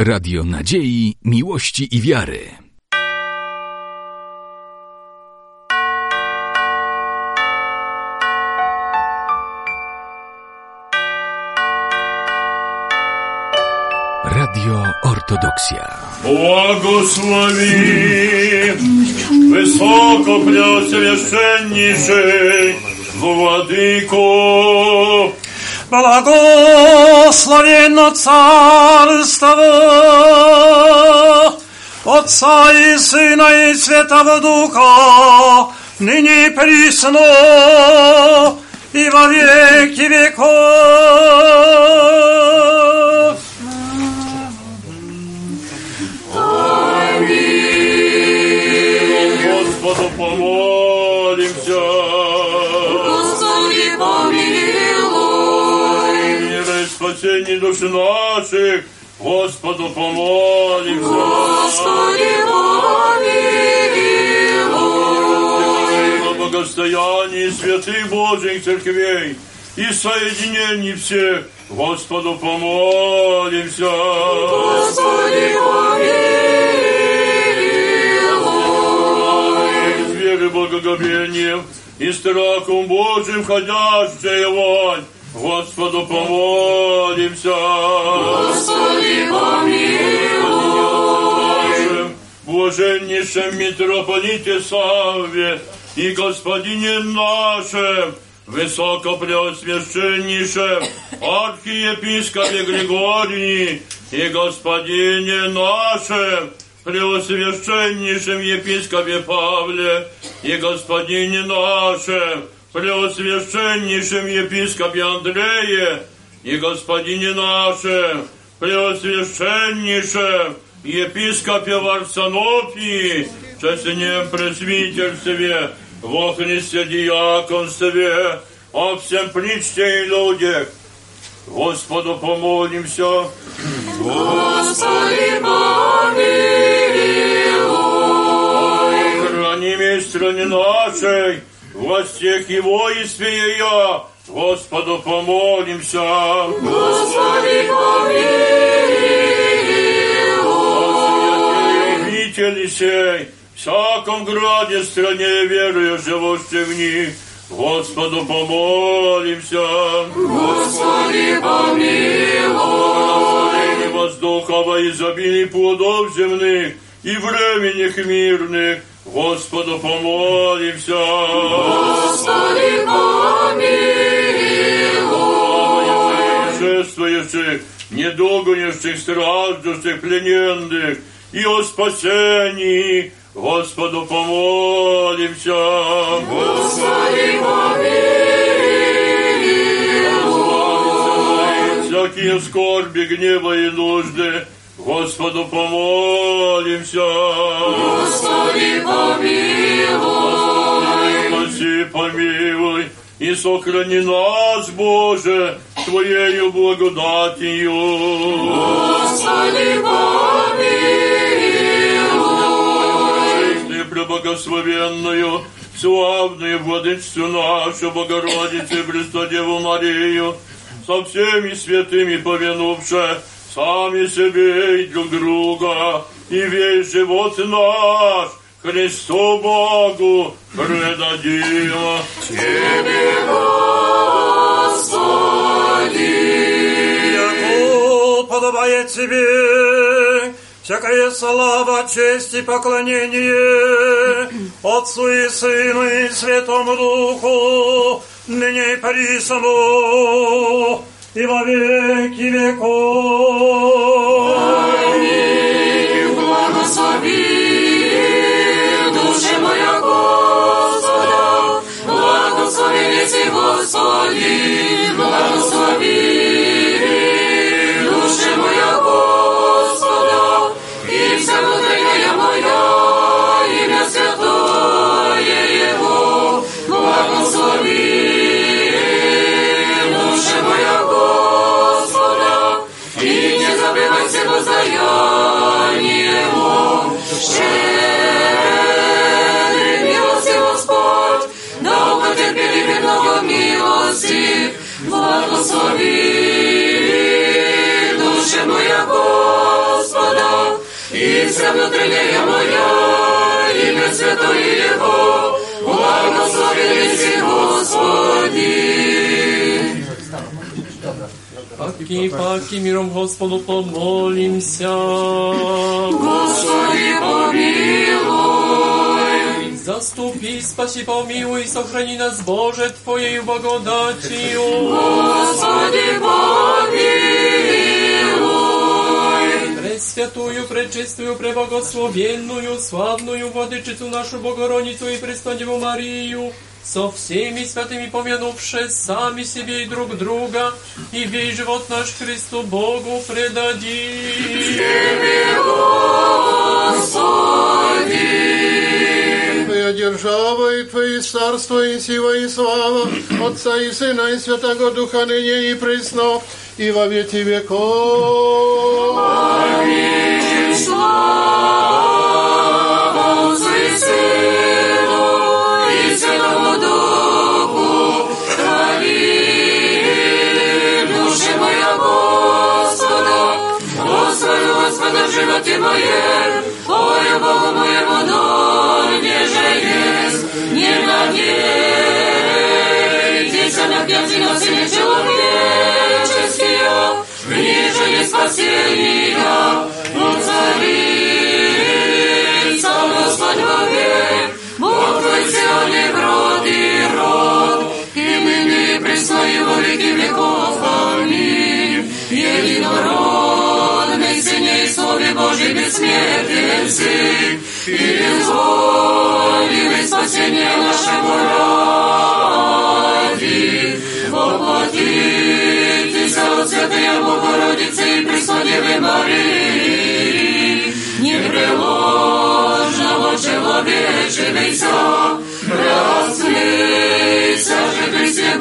Radio nadziei, miłości i wiary. Radio Ortodoksja. Błogosławi wysoko preosвященнейший Władyko. Благословенно царство Отца и Сына и Святого Духа, ныне и присно и во веки веков. Аминь. Господу помолимся. Господи, помилуй. Мира и спасение души наших, Господу помолимся. Господи, помилуй. Во благостоянии святых Божьих церквей и соединении всех, Господу помолимся. Господи, помилуй. С верой, благоговением и страхом Божьим ходящая вонь, Господу помолимся. Господи, помилуй. Блаженнейшем митрополите Савве и Господине нашем, высокопреосвященнейшем архиепископе Григории и Господине нашем, преосвященнейшем епископе Павле и Господине нашем, преосвященнейшем епископе Андрее и Господине нашем, преосвященнейшем епископе Варсонофии, честном пресвитерстве, во Христе диаконстве, о всем причте и людях. Господу помолимся. Господи, помилуй. Храни меч стране нашей, властях и воинстве ее, Господу помолимся. Господи, помилуй. Обители сей, всяком граде, стране верою, живущей в них, Господу помолимся. Господи, помилуй. Воздухова изобилий плодов земных и временных мирных, Господу помолимся. Господи, помилуй. Шествующих, недугующих, страждущих, плененных, и о спасении, Господу помолимся. Господи, помилуй. Всякие скорби, гнева и нужды, Господу помолимся. Господи, помилуй. Спаси, помилуй, и сохрани нас, Боже, Твоею благодатью. Господи, помилуй. Преблагословенную, славную владычицу нашу, Богородицу Престодеву Марию, со всеми святыми повинувши сами себе и друг друга, и весь живот наш Христу Богу предадим. Тебе, Господи. Яко подобает Тебе всякая слава, честь и поклонение Отцу и Сыну и Святому Духу, ныне и присно и во веки веков. Аминь. Благослови душа моя Господа, благослови Ты, Господи, благослови душа моя Господа, и вся внутренняя моя, имя святое Его, благослови душа моя Господа, и не забывай все воздаяние Его. Щедрый милости Господь, да потерпели много милости, благослови душа моя Господа. и вся внутренняя моя, имя святое Его, благословен си Господи. Паки, миром Господу помолимся. Господи, помилуй. Заступи, спаси, помилуй, сохрани нас, Боже, Твоею благодатью. Господи, помилуй. Пресвятую, пречистую, преблагословенную, славную Владычицу нашу Богородицу и Преснодеву Марию, со всеми святыми помянувши сами себе и друг друга, и весь живот наш Христу Богу предадим. Тебе, Господи. Твоя держава и Твои царство и сила и слава Отца и Сына и Святого Духа ныне и присно и во веки веков. Аминь. Слава Отцу и Сыну и Святому Духу. Хвали, душа моя Господа, Господа в животе моем, Ой, Богу моему, дольнеже есть, не надейтесь на князя на сыне человеческие, ниже не спасения, но царица Господь вовек, Бог твой Сионе в род и род, и ныне и пресно и во веки веков. Аминь. Единородный Сыне и Слове Божий бессмертен Сын, и безвольный спасение нашего ради, воплотитесь от Святая Богородицы и Преснодевы Марии, непреложного человечевейся, рассмейся же Христе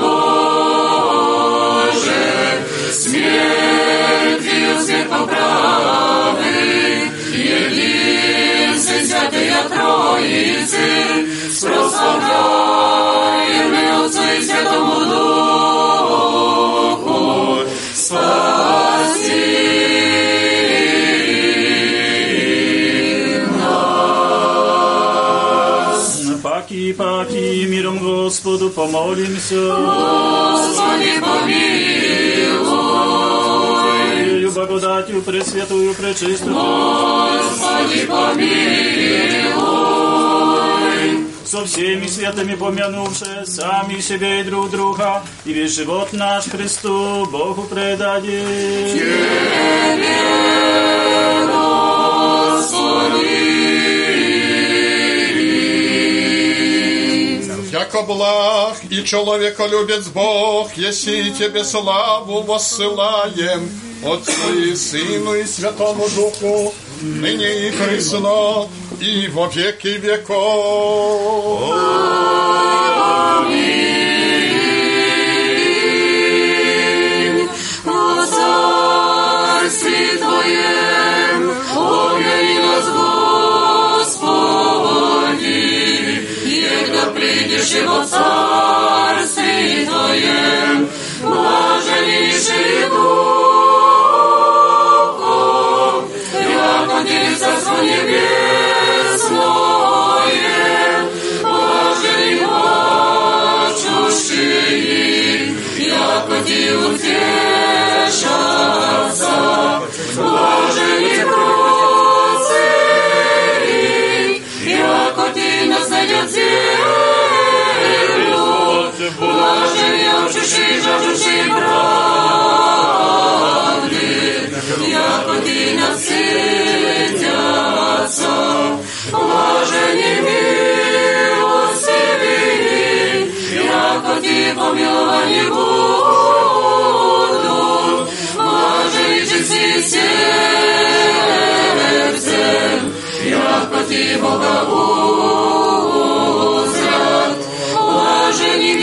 Боже, смертью свет поправы, единствен Святая Троицы, с прославляемой Отцу и Святому Духу, спаси нас. Паки, миром Господу помолимся. Господи, помилуй. Благодатью пресвятую, пречистую, Господи, помилуй. со всеми святыми помянувши сами себе и друг друга, и весь живот наш Христу Богу предадим. Тебе, Господи. Яко благ и человеколюбец Бог, если Тебе славу воссылаем, Отцу и Сыну и Святому Духу, ныне и присно, и во веки веков. Аминь. О царстве Твоем, помяни нас, Господи, егда придешь и во царстве Твоем, блаженнейший Духом, яко Тебе царство небесное, блаженный плачущий, яко Ти утешатся, блаженный просит, яко Ти наследят землю, блаженный алчущий, жаждущий правды, яко Ти насытятся, блаженный милостивый, яко Ти помилование будут, блаженный чистый сердцем, яко Ти Бога узрят, блаженный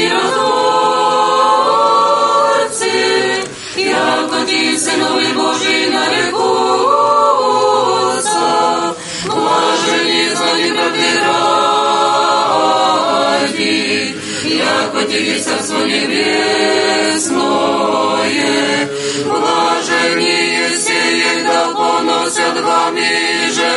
миротворцы, яко Ти Сыновы Божии нарекутся, блаженный звание правды ради, яко Ти Царство Небесное, блаженнее сеет, да поносят вами же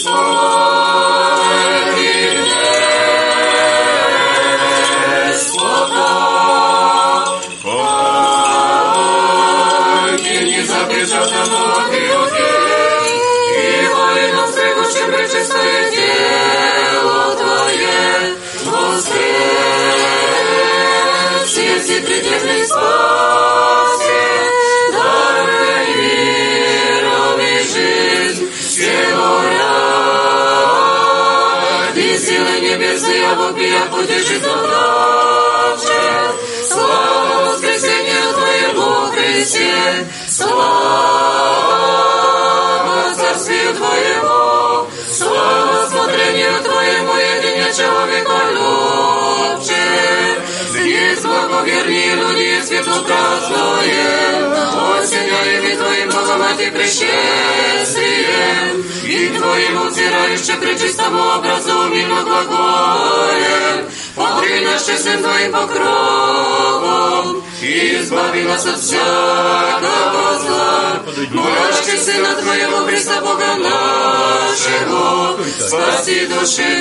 И Твоим узирающим пречистому образу мимо глаголем, покрой нас честным Твоим покровом, и избави нас от всякого зла. Мурашки Сына Твоего, Христа Бога нашего, спаси души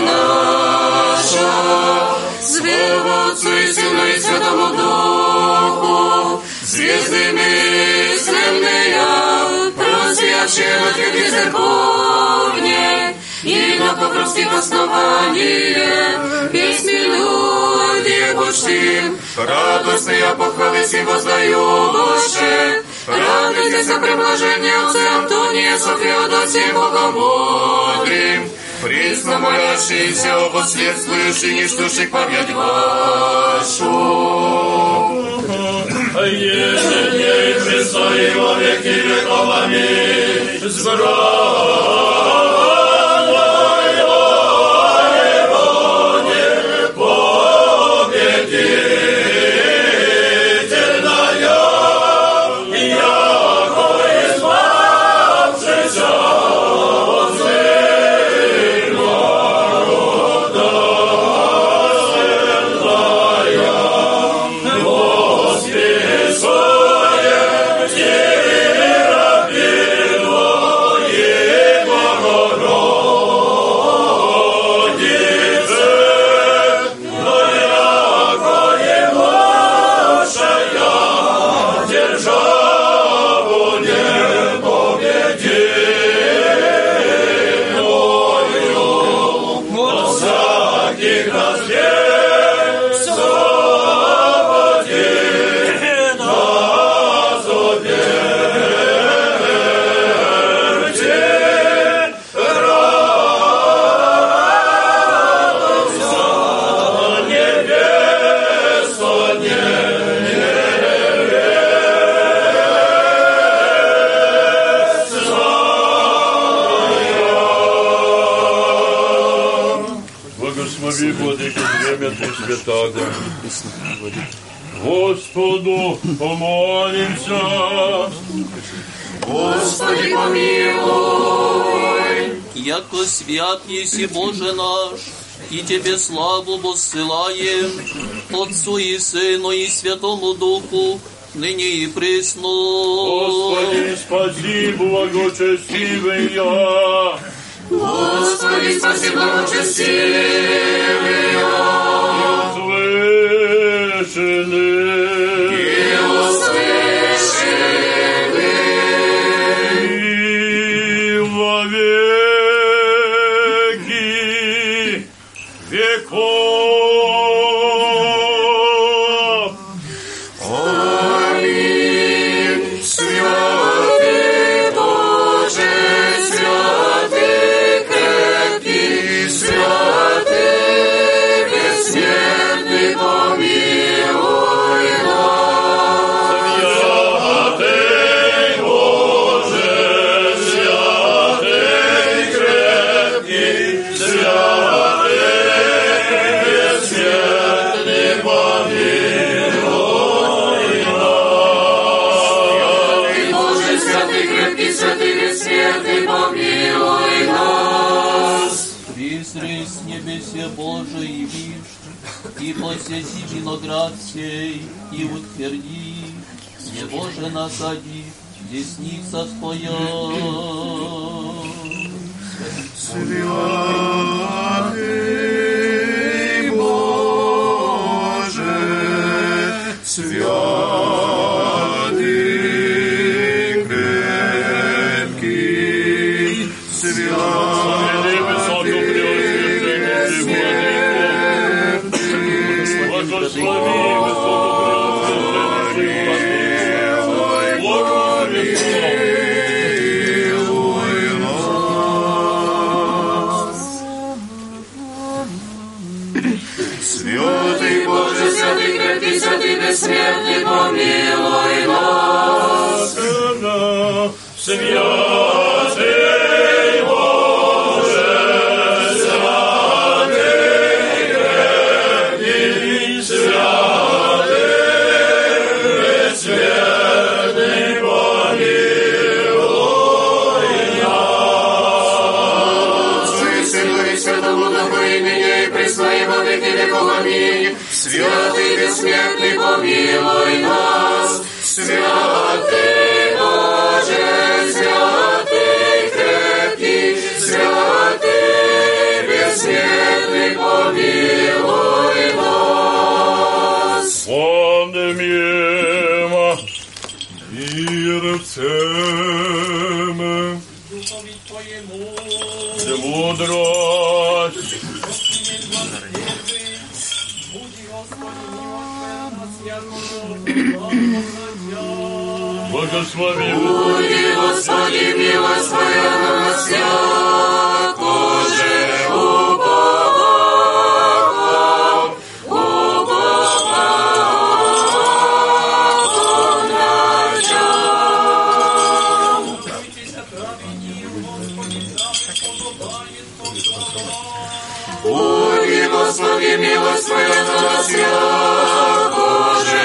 наша. Слава Отцу и Сыну и Святому Духу, звезды мысленные, просвявшие на твоей церковне, и на покровских основаниях, песнь мелодии почтим, радостные похвалы сим воздающие. Радуйтесь о преблажении Отца Антония, Софеодосии, Богомодрим, присно молящиеся о последствующих нештушек память вашу. Ежедней Христа и во веки веков. Аминь. Господу помолимся. Господи, помилуй. Яко свят еси Боже наш, и Тебе славу воссылаем, Отцу и Сыну и Святому Духу, ныне и присно. Господи, спаси, благочестивый я. Господи, спаси, благочестивый я. Божий вишь, и посети виноград сей, и утверди, где Боже насади, десница твоя. Святый Боже, святый крепкий, святый Святый Боже, святый крепкий, святый бессмертный, помилуй нас. Святый Боже, святый крепкий, святый бессмертный, помилуй нас. Сыну и Святому Духу имени и пресно и во веки веков. Аминь. Святый бессмертный, помилуй нас. Святый Боже, святый крепкий, святый бессмертный, помилуй нас. Помним мирцем, Духові Твоєму, мудрость, Будь Господи, милосердна, святого, благослови. Буди, Господи, милость Твоя на нас, святоже, Буди, Господи, милость Твоя на нас, святоже,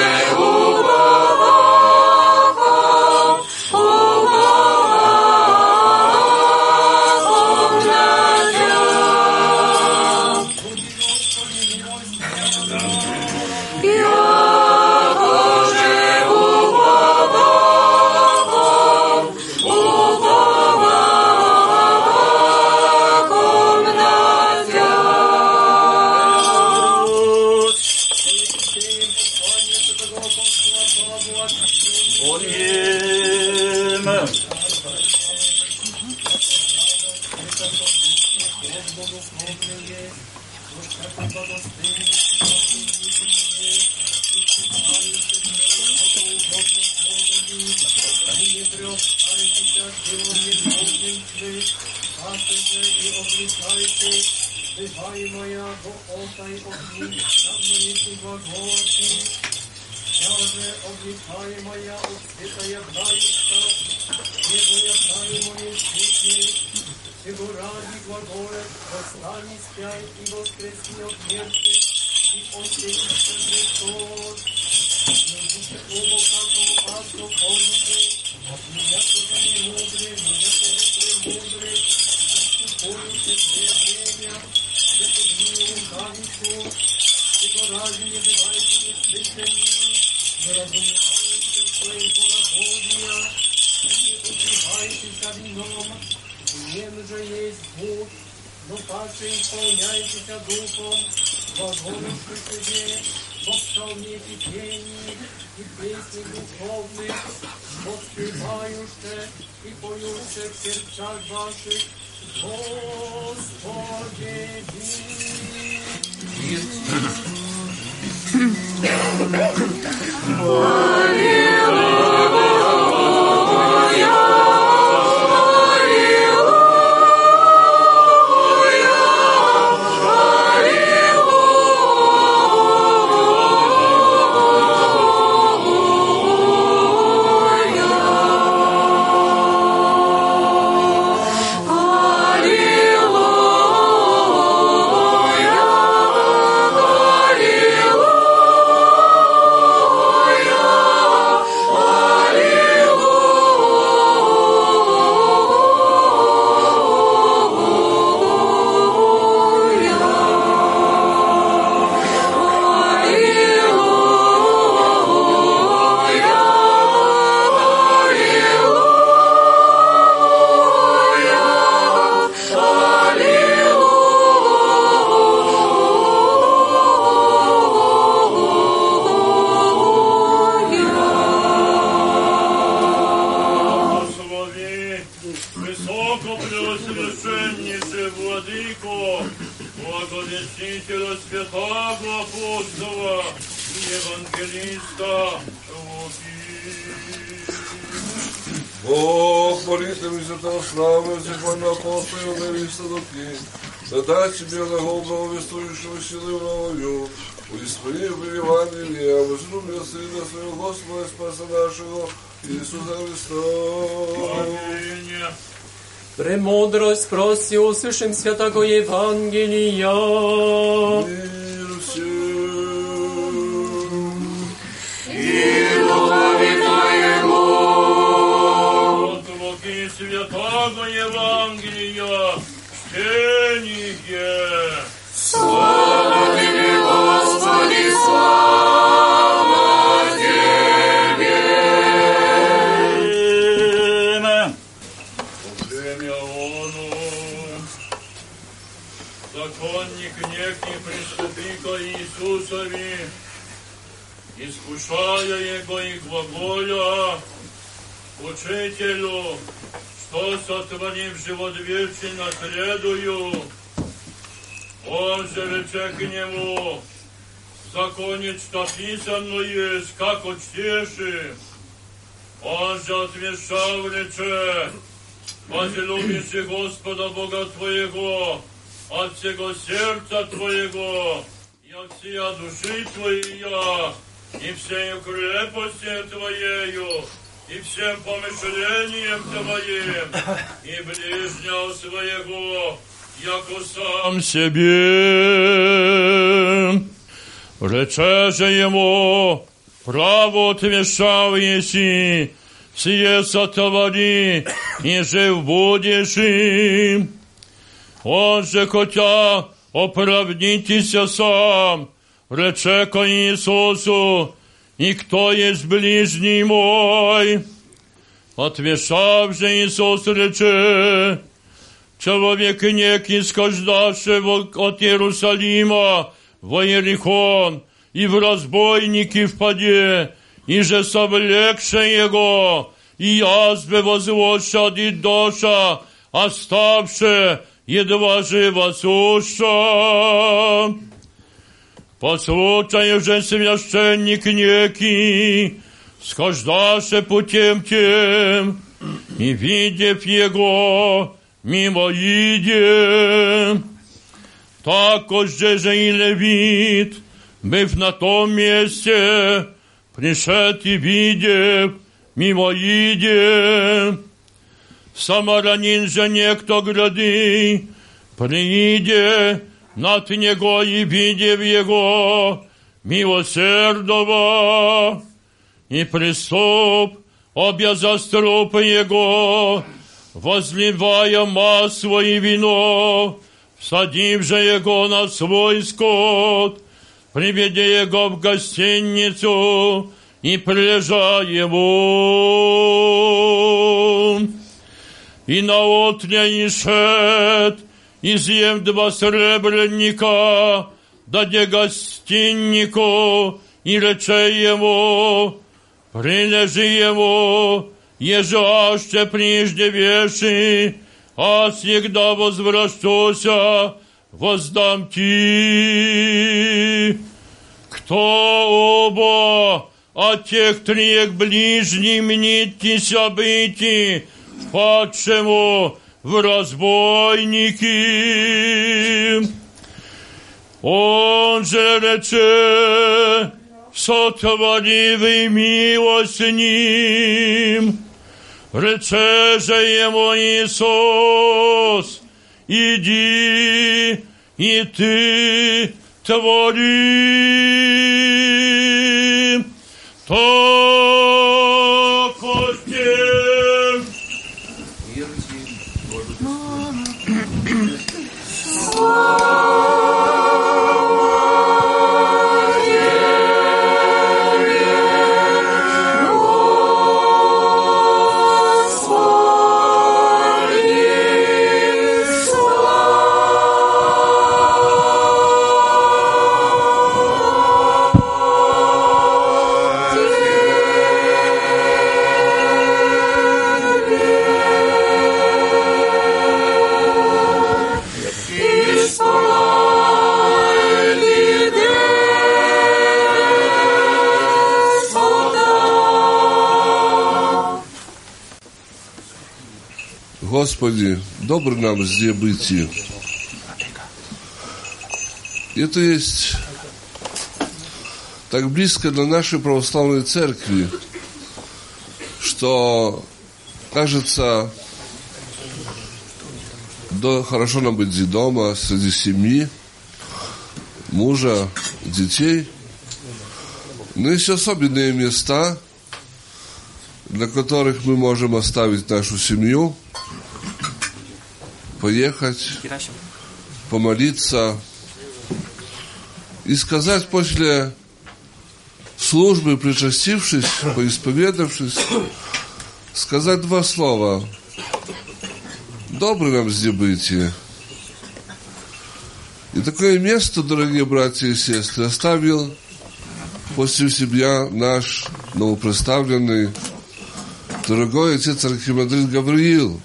Его, благовестителя святого апостола и евангелиста Луки. Бог, молитвами святого славы, зихвального апостола и евангелиста Луки, да дай тебе глагол благовествующего силы новою, Исполни в Евангелии, а возлюбил Сына Своего Господа, Спаса нашего, Иисуса Христа. Аминь. Премудрость проси, услышим святого Евангелия. Мир всем. И духові Твоєму. От Луки святого Евангелия, чтение. Слава Тебе, Господи, слава Тебе. Время оно, законник некий приступи ко Иисусови, искушая Его и глаголя, Учителю, что сотворив живот вечный наследую, Он же рече к нему, в законе, что писано есть, как учтеши. Он же отвечал, рече, возлюбишь Господа Бога твоего, от всего сердца твоего, и от всей души твоей, и всею крепостью твоею, и всем помышлением твоим, и ближнего своего, яко сам себе. Рече же ему, право отвешал еси, сие сотвори, и жив будешь им. Он же, хотя оправдитеся сам, рече ко Иисусу, и кто есть ближний мой? Отвешав же Иисус рече, человек некий, схождавший от Иерусалима во Иерихон, и в разбойники впаде, и же совлекше его, и язбе возвощади доша, оставше едва живо суша. По случаю же священник некий, схождаше путем тем, и, видев его, мимо иде. Також же и левит, быв на том месте, пришед и видев, мимо иде. Самарянин же некто грады, прииде над него и видев его, милосердного, и приступ, обяза струп его, возливая масло и вино, всадив же его на свой скот, приведя его в гостиницу и прилежа ему. И наотня ишед, изъем 2 сребренника, даде гостиннику, и рече ему, прилежи ему, еже аще прежде веши, а всегда возвращуся, воздам ти. Кто оба от тех 3 ближним мнитеся быти, падшему в разбойники? Он же рече, сотворивый милость с ним. Рече же ему Иисус, иди, и ты твори. То костем. Господи, Господи, добр нам здесь быть. Это есть так близко для нашей православной церкви, что кажется, да, хорошо нам быть дома, среди семьи, мужа, детей. Но есть особенные места, для которых мы можем оставить нашу семью, поехать, помолиться и сказать после службы, причастившись, поисповедавшись, сказать два слова. Добрый нам здесь быть. И такое место, дорогие братья и сестры, оставил после себя наш новопредставленный дорогой отец архимандрит Гавриил.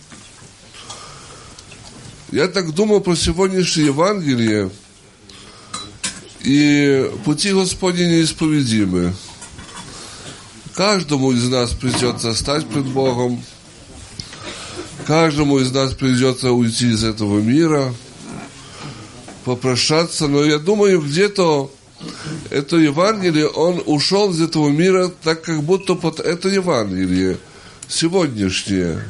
Я так думал про сегодняшнее Евангелие, и пути Господни неисповедимы. Каждому из нас придется стать пред Богом, каждому из нас придется уйти из этого мира, попрощаться, но я думаю, где-то это Евангелие, он ушел из этого мира, так как будто под это Евангелие сегодняшнее.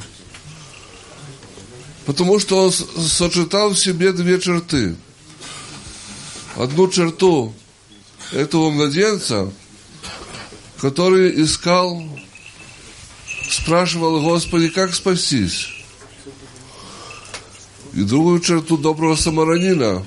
Потому что он сочетал в себе две черты. Одну черту этого младенца, который искал, спрашивал: Господи, как спастись? И другую черту доброго самарянина,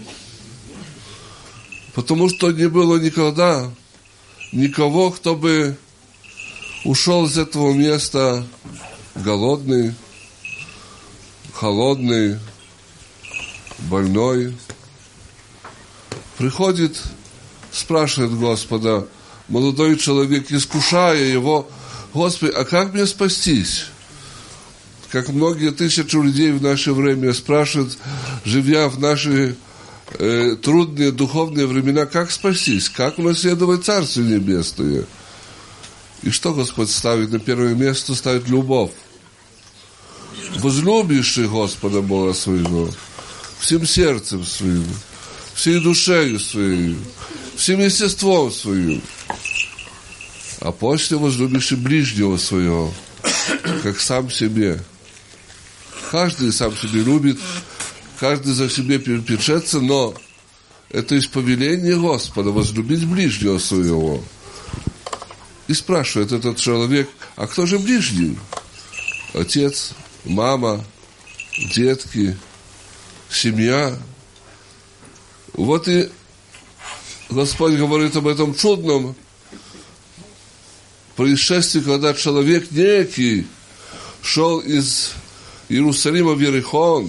потому что не было никогда никого, кто бы ушел из этого места голодный, холодный, больной. Приходит, спрашивает Господа, молодой человек, искушая его: Господи, а как мне спастись? Как многие тысячи людей в наше время спрашивают, живя в наши трудные духовные времена, как спастись, как унаследовать Царствие Небесное. И что Господь ставит на первое место? Ставит любовь. Возлюбивший Господа Бога своего всем сердцем своим, всей душою своей, всем естеством своим, а после возлюбивший ближнего своего, как сам себе. Каждый сам себе любит, каждый за себе печется, но это есть повеление Господа возлюбить ближнего своего. И спрашивает этот человек: а кто же ближний? Отец, мама, детки, семья. Вот и Господь говорит об этом чудном происшествии, когда человек некий шел из Иерусалима в Иерихон,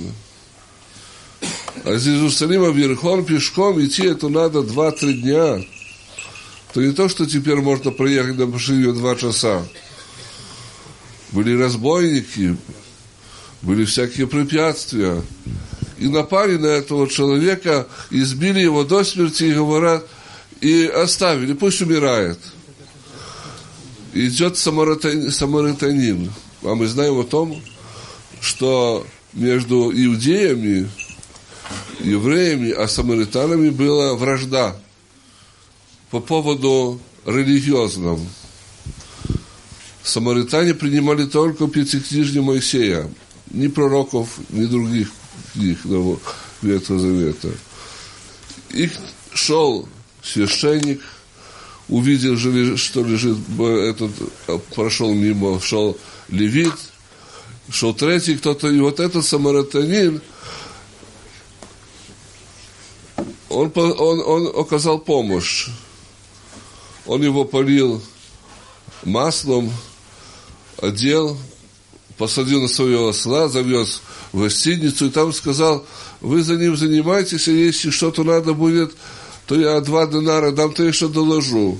а из Иерусалима в Иерихон пешком идти это надо 2-3 дня. То не то, что теперь можно проехать на машине 2 часа. Были разбойники, были всякие препятствия. И напали на этого человека, избили его до смерти и говорят, и оставили, пусть умирает. Идет самаритянин. А мы знаем о том, что между иудеями, евреями, а самаритянами была вражда по поводу религиозном. Самаритяне принимали только Пятикнижие Моисея, ни пророков, ни других книг Ветхого Завета. И шел священник, увидел, что лежит этот, прошел мимо, шел левит, шел третий кто-то, и вот этот самаритянин, он оказал помощь. Он его полил маслом, одел, посадил на своего осла, завез в гостиницу и там сказал: вы за ним занимайтесь, и если что-то надо будет, то я 2 динара дам, то я еще доложу.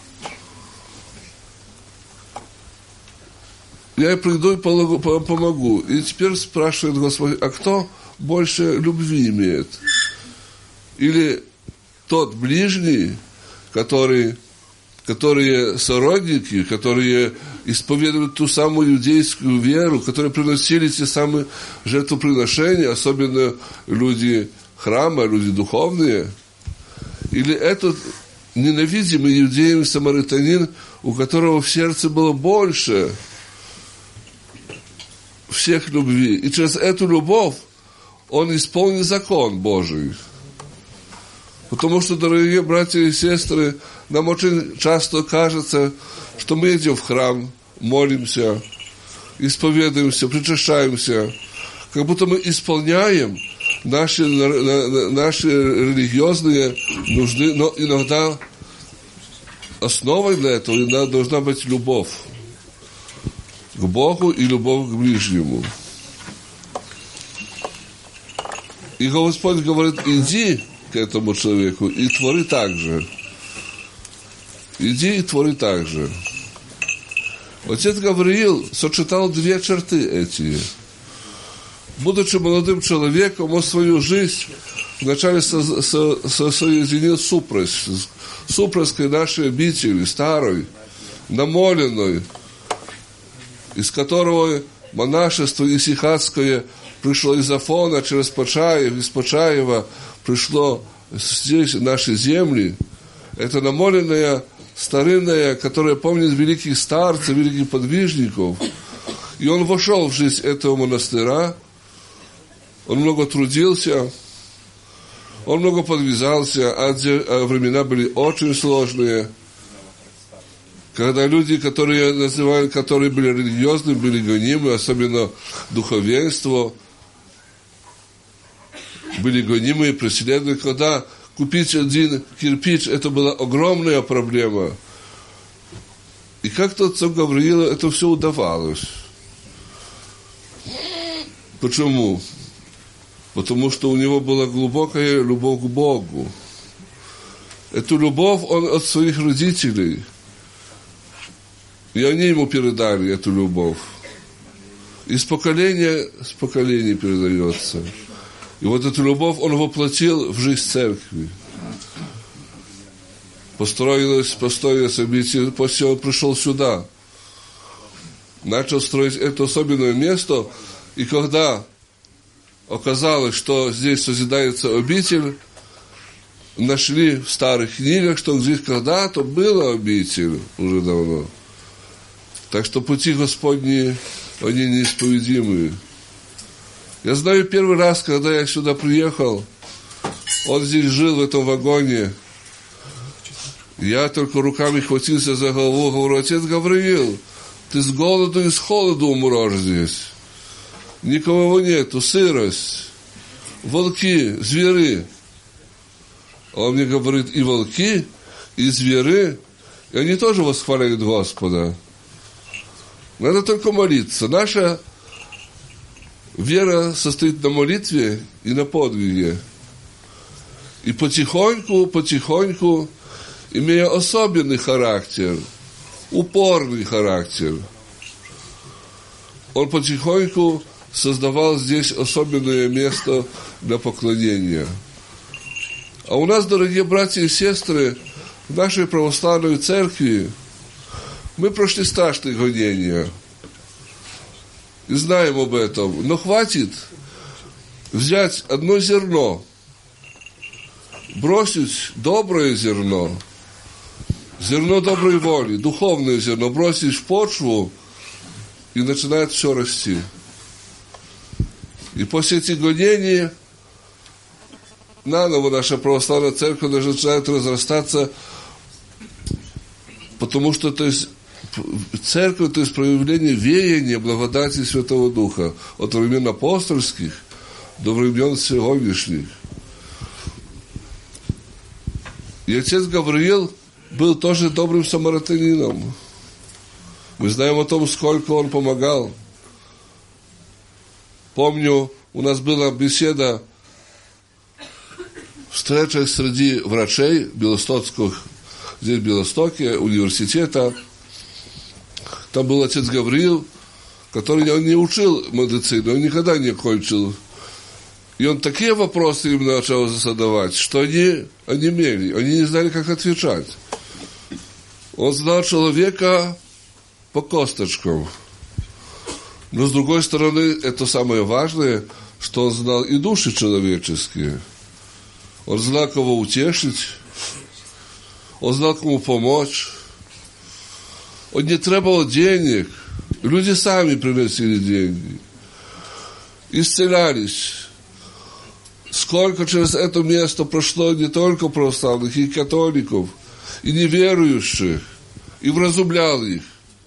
Я приду и помогу. И теперь спрашивает Господь: а кто больше любви имеет? Или тот ближний, которые сородники, которые исповедовали ту самую иудейскую веру, которые приносили те самые жертвоприношения, особенно люди храма, люди духовные? Или этот ненавидимый иудеем самаритянин, у которого в сердце было больше всех любви, и через эту любовь он исполнил закон Божий? Потому что, дорогие братья и сестры, нам очень часто кажется, что мы идем в храм, молимся, исповедуемся, причащаемся, как будто мы исполняем наши религиозные нужды, но иногда основой для этого иногда должна быть любовь к Богу и любовь к ближнему. И Господь говорит: иди к этому человеку и твори так же. Иди и твори так же. Отец Гавриил сочетал две черты эти. Будучи молодым человеком, он свою жизнь вначале соединил с супруской нашей обители, старой, намоленной, из которого монашество исихатское пришло из Афона через Почаев, из Почаева пришло здесь, в наши земли. Это намоленная, старинная, которая помнит великих старцев, великих подвижников. И он вошел в жизнь этого монастыря. Он много трудился, он много подвязался, а времена были очень сложные. Когда люди, которые были религиозны, были гонимы, особенно духовенство, были гонимы и преследованы. Когда купить один кирпич, это была огромная проблема. И как-то отцу Гавриилу это все удавалось. Почему? Потому что у него была глубокая любовь к Богу. Эту любовь он от своих родителей. И они ему передали эту любовь. Из поколения в поколение передается. И вот эту любовь он воплотил в жизнь церкви. Построилось событие, после он пришел сюда. Начал строить это особенное место. И когда оказалось, что здесь созидается обитель, нашли в старых книгах, что здесь когда-то была обитель уже давно. Так что пути Господни, они неисповедимые. Я знаю, первый раз, когда я сюда приехал, он здесь жил, в этом вагоне. Я только руками хватился за голову, говорю: отец Гавриил, ты с голоду и с холоду умрешь здесь. Никого нету, сырость, волки, звери. А он мне говорит: и волки, и звери, и они тоже восхваляют Господа. Надо только молиться. Наша вера состоит на молитве и на подвиге. И потихоньку, имея особенный характер, упорный характер, он потихоньку создавал здесь особенное место для поклонения. А у нас, дорогие братья и сестры, в нашей православной церкви мы прошли страшные гонения. И знаем об этом. Но хватит взять одно зерно, бросить доброе зерно, зерно доброй воли, духовное зерно, бросить в почву, и начинает все расти. И после этих гонений наново наша православная церковь начинает разрастаться, потому что церковь, то есть проявление веяния благодати Святого Духа от времен апостольских до времен сегодняшних. И отец Гавриил был тоже добрым самаритянином. Мы знаем о том, сколько он помогал. Помню, у нас была беседа, встреча среди врачей Белостокских, здесь в Белостоке, университета. Там был отец Гавриил, который он не учил медицину, он никогда не кончил. И он такие вопросы им начал задавать, что они онемели, они не знали, как отвечать. Он знал человека по косточкам. Но, с другой стороны, это самое важное, что он знал и души человеческие. Он знал, кого утешить, он знал, кому помочь. Он не требовал денег. Люди сами приносили деньги. Исцелялись. Сколько через это место прошло не только православных, и католиков, и неверующих, и вразумлял их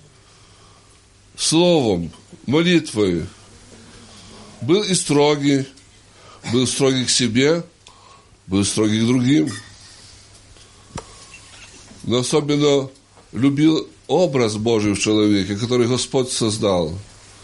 словом, молитвой. Был и строгий, был строгий к себе, был строгий к другим. Но особенно любил образ Божий в человеке, который Господь создал.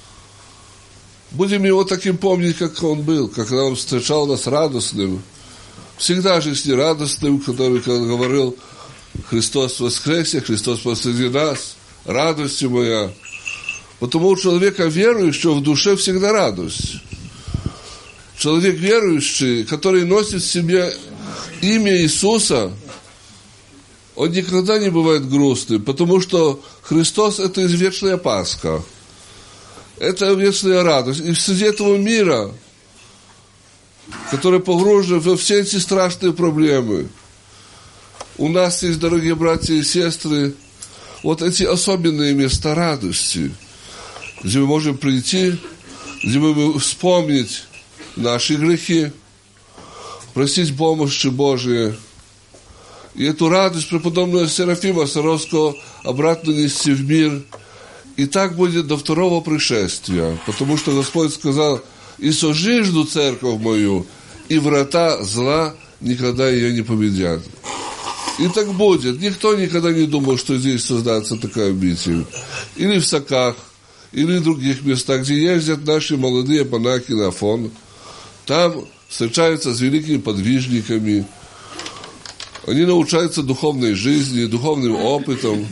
Будем его таким помнить, как он был, когда он встречал нас радостным, всегда жизнерадостным, который говорил: Христос воскресе, Христос посреди нас, радость моя. Потому у человека верующего в душе всегда радость. Человек верующий, который носит в себе имя Иисуса, он никогда не бывает грустным, потому что Христос – это извечная Пасха. Это вечная радость. И среди этого мира, который погружен во все эти страшные проблемы, у нас есть, дорогие братья и сестры, вот эти особенные места радости, где мы можем прийти, где мы можем вспомнить наши грехи, просить помощи Божией. И эту радость преподобного Серафима Саровского обратно нести в мир. И так будет до второго пришествия, потому что Господь сказал: «И сожижду церковь мою, и врата зла никогда ее не победят». И так будет. Никто никогда не думал, что здесь создастся такая обитель. Или в Соках, или в других местах, где ездят наши молодые монахи на Афон. Там встречаются с великими подвижниками. Они научаются духовной жизни, духовным опытом.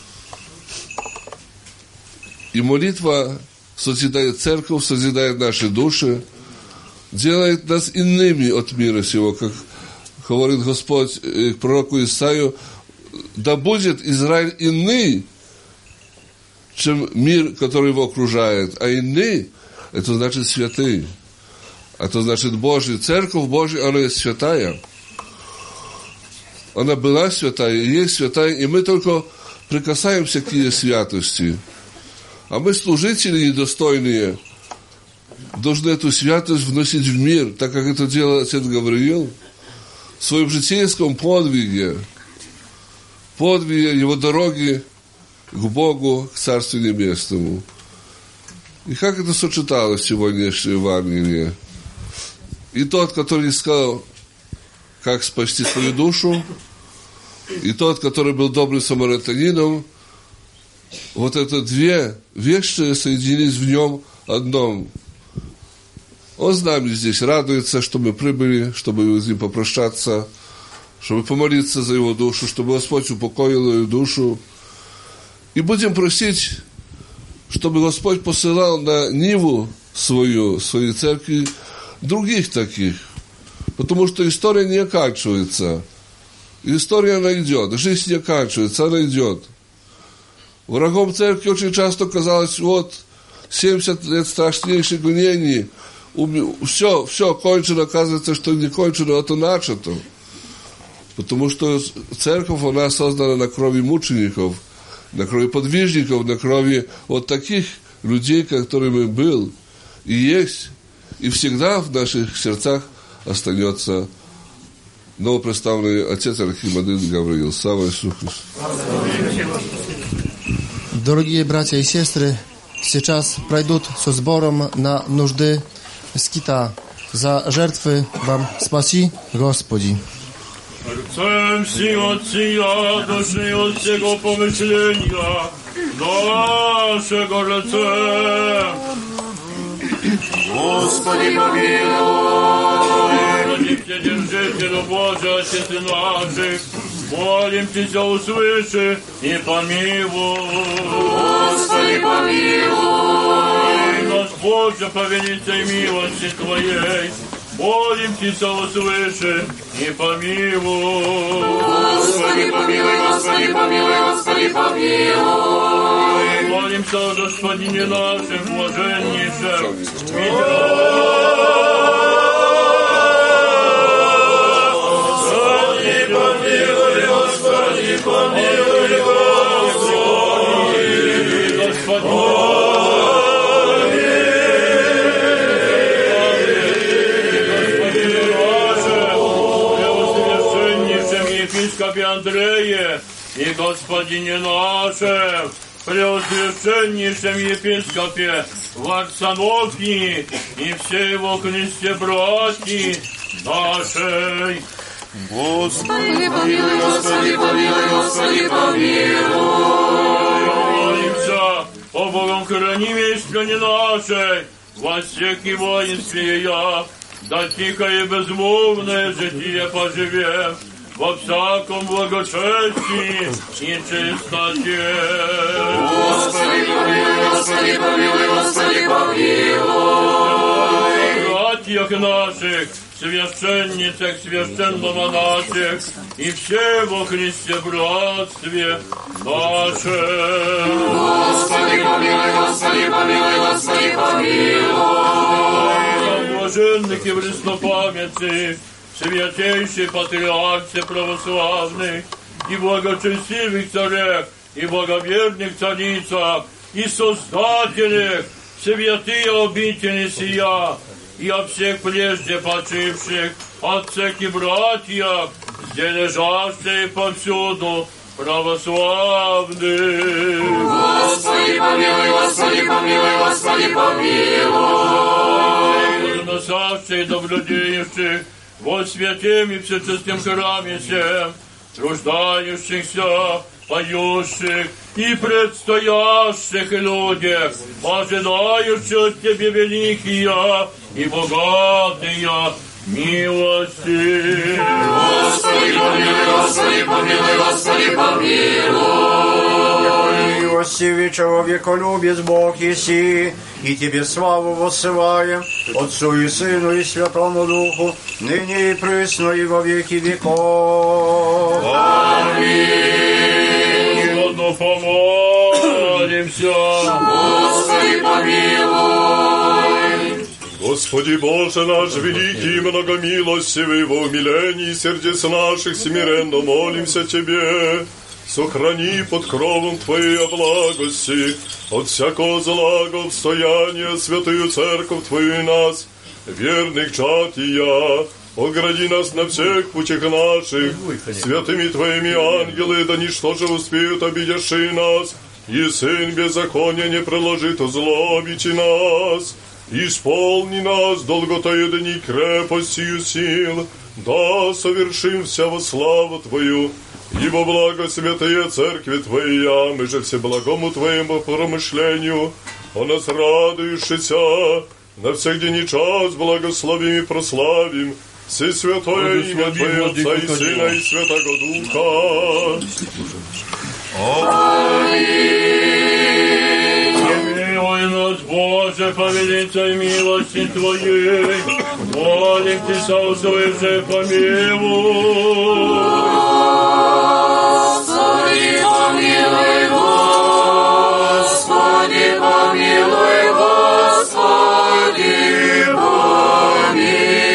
И молитва созидает церковь, созидает наши души, делает нас иными от мира сего, как говорит Господь к пророку Исаию: да будет Израиль иный, чем мир, который его окружает. А иный – это значит святый. Это значит Божий. Церковь Божия, она есть святая. Она была святая, есть святая, и мы только прикасаемся к ее святости. А мы, служители недостойные, должны эту святость вносить в мир, так как это делал отец Гавриил в своем житейском подвиге его дороги к Богу, к Царству Небесному. И как это сочеталось в сегодняшнем Евангелии? И тот, который искал, как спасти свою душу, и тот, который был добрым самаритянином, вот это две вещи соединились в нем одном. Он с нами здесь радуется, что мы прибыли, чтобы с ним попрощаться, чтобы помолиться за его душу, чтобы Господь упокоил его душу. И будем просить, чтобы Господь посылал на ниву своей церкви других таких. Потому что история не оканчивается. История, она идет. Жизнь не оканчивается, она идет. Врагом церкви очень часто казалось: вот 70 лет страшнейших гонений, все кончено, оказывается, что не кончено, это начато. Потому что церковь, она создана на крови мучеников, на крови подвижников, на крови вот таких людей, которыми был и есть, и всегда в наших сердцах останется новопредставленный отец Архимандрит Гавриил. Слава Иисусу Христу! Дорогие братья и сестры, сейчас пройдут со сбором на нужды скита. За жертвы вам спаси, Господи. Chcę si od Sija, duszy od Jego pomyślenia, naszego rzece. Господи, помилуй. Родите, держителю Божий, Отец наших, молим Тебя, услыши и помилуй. Господи, помилуй. Наш Боже, по великой милости Твоей, молим Тебя, услыши и помилуй. Господи, помилуй, Господи, помилуй, Господи, помилуй. Молимся о Господине нашем, блаженнейшем. Господи, помилуй, Господи, помилуй, епископе Андрее и Господине нашем, преосвященнейшем епископе Варсонофии и все его Христе братьи нашей. Господи, помилуй, Господи, помилуй, Господи, помилуй. Молимся о Богом хранимой стране нашей, во всех и воинстве я, да тихо и безмолвное житие поживем, во всяком благочестии и чистоте. Господи, помилуй, Господи, помилуй, Господи, помилуй. Братьях наших, священницах, священномонашек и все во Христе братстве нашем. Господи, помилуй, Господи, помилуй, Господи, помилуй. Блаженных и преснопамятных, святейший патриархе православных, и благочестивых царях, и благоверных царицах, и создателях, святые обители сия, и о всех прежде почивших, отцах и братьях, где лежащие повсюду православных. Господи, помилуй, Господи, помилуй, Господи, помилуй. Носавших, наблюдающих во святем и всечестном храме всем, труждающихся, поющих и предстоящих людях, ожидающих от Тебе великие и богатые милости. Господи, помилуй, Господи, помилуй, Господи, помилуй. Милостивый человеколюбец Бог еси, и Тебе славу воссылаем, Отцу и Сыну и Святому Духу, ныне и присно и во веки веков. Аминь. Godno помолимся. Господи, помилуй. Господи Боже наш, великий и многомилостивый, во умилении сердец наших смиренно молимся Тебе. Сохрани под кровом Твоей благости от всякого зла обстояния святую церковь Твою и нас, верных чад и я. Огради нас на всех путях наших, святыми Твоими ангелы, да ничто же успеют обидевшие нас, и Сын беззакония не приложит озлобите нас. Исполни нас долготою дни крепостью сил, да совершим вся во славу Твою, ибо благо святые церкви Твоя, мы же все благому Твоему промышлению, о нас радующийся, на всех день и час благословим и прославим, все святое имя Твое, Отца и Сына и Святого Духа. Помилуй нас, Боже, по великой милости Твоей, молим Тебя, услыши, помилуй. Господи, помилуй, Господи, помилуй, Господи, помилуй.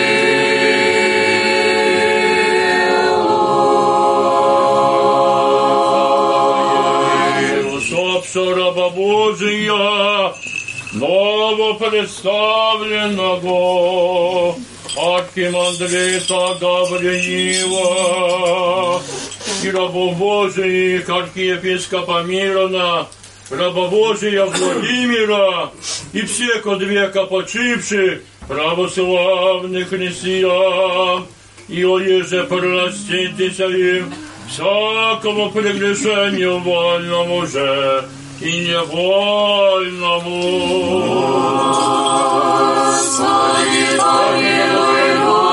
Раба Божия, новопредставленного архимандрита Гавриила и рабов Божиих архиепископа Мирона, раба Божия Владимира и всех от века почивших православных христиан, и оеже проститеся им всякому прегрешению вольному же и невольному. Господи, помилуй,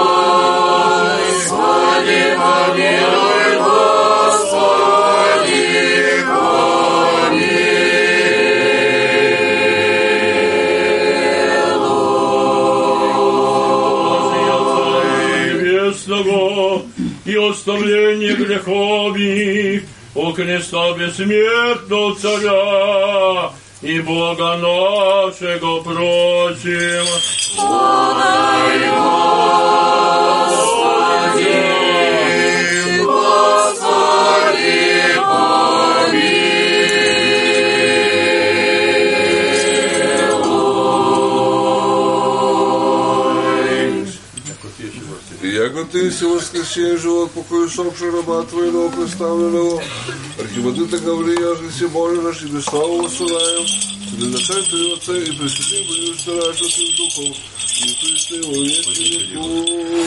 Господи, помилуй, Господи, помилуй. И оставление грехов их, у Христа бессмертного Царя и Бога нашего просим. Подай, Господи, Господи, Яко ты си воскресен живот, покой усопший раба твоего представленного, архивадыта Гаврия, же си Боже наш, и без славу воссылаем, тебе зачать Твоего Отца, и пресвятым будешь старать Святым Духом, и Христе во веки веков.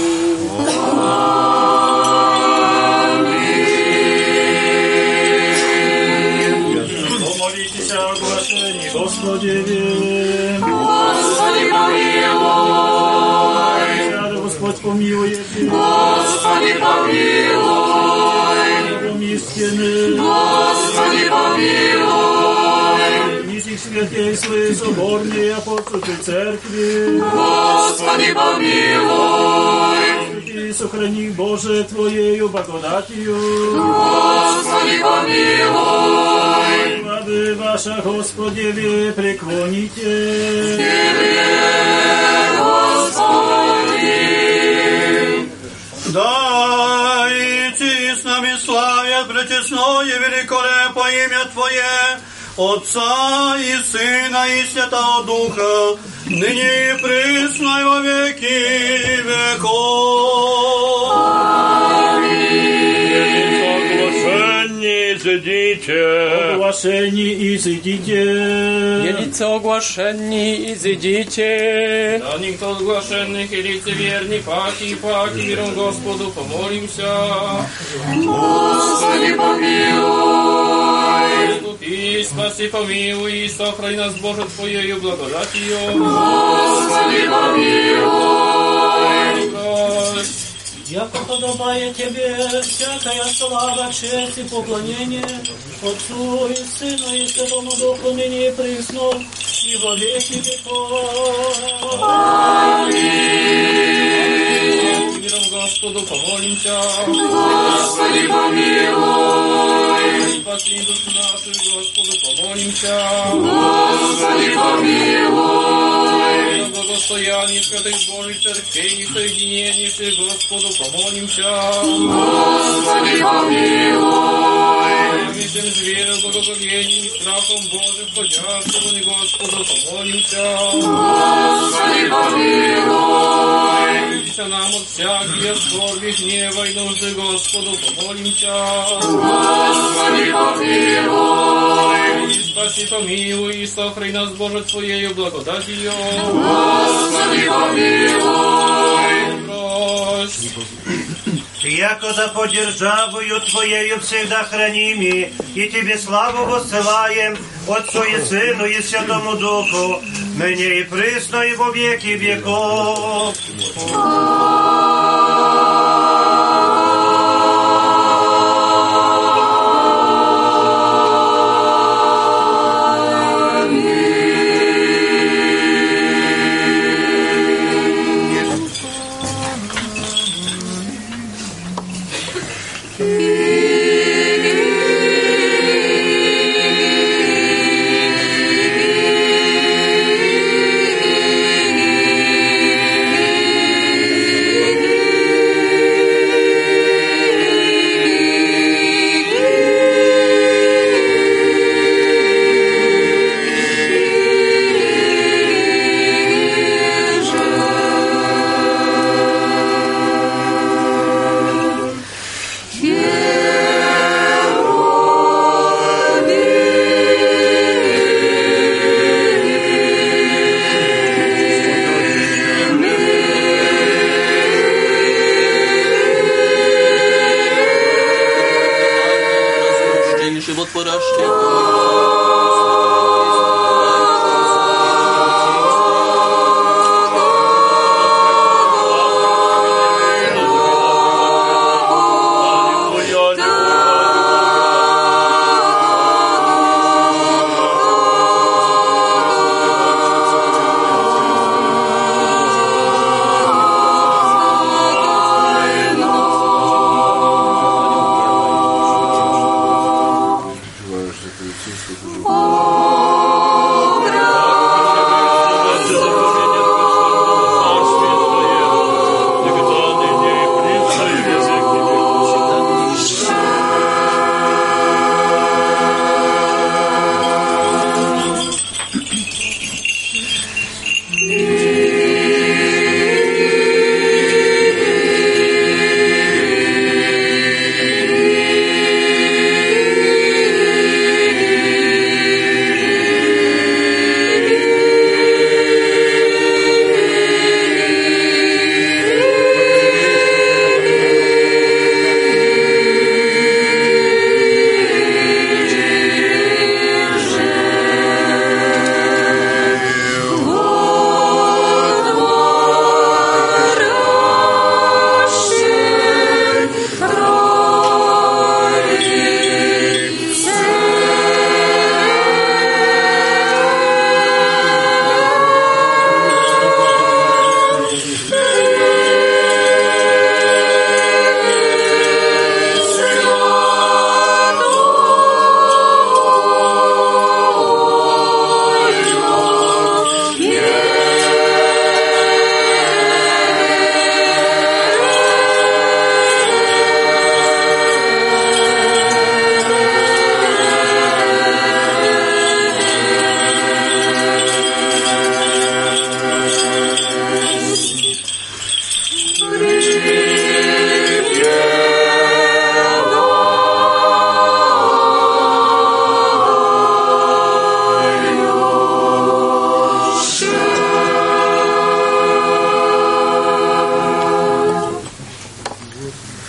Помолитесь о оглашении, Господи, Господи, помилуй, Господь помилует, Господи, помилуй, истины, Господи, помилуй, низких святейших соборной апостольской церкви, Господи, помилуй, и сохрани, Боже, Твоею благодатью, Господи, помилуй, славы ваша, Господи, вы преклоните, Да, идти с нами славят пречестное великолепное имя Твое, Отца и Сына и Святого Духа, ныне и присно и во веки веков. Оглашение, изыдите. Елица оглашенни, изыдите. Да никто оглашенных и лицеверни, паки, миром Господу помолимся. Господи, помилуй, Искупи, спаси, помилуй, и сохрани нас, Боже, Твоею благодатью. Господи, помилуй, Яко подобает Тебе всякая слава, честь и поклонение Отцу и Сыну и Святому Духу, ныне и присно, и во веки веков. Аминь. Миром Господу помолимся. Господи, помилуй, Спаси душу нашу, Господу помолимся. Господи, помилуй, За благостояние святых Божьих церквей и соединение Господу помолимся. Господи, помилуй, Всем зверям, благоговением и страхом Божьим, входящего не Господу помолимся. Господи, помилуй, Молимся нам от всяких скорби, гнева и нужды Господу помолимся. Господи, помилуй, И спаси, помилуй, и сохрани нас, Боже, Твоею благодатью. Господи, помилуй, Брось. Яко за поддержавою Твоею всегда храними, и Тебе славу воссылаем, Отцу и Сыну и Святому Духу, ныне и присно и во веки веков. Yeah.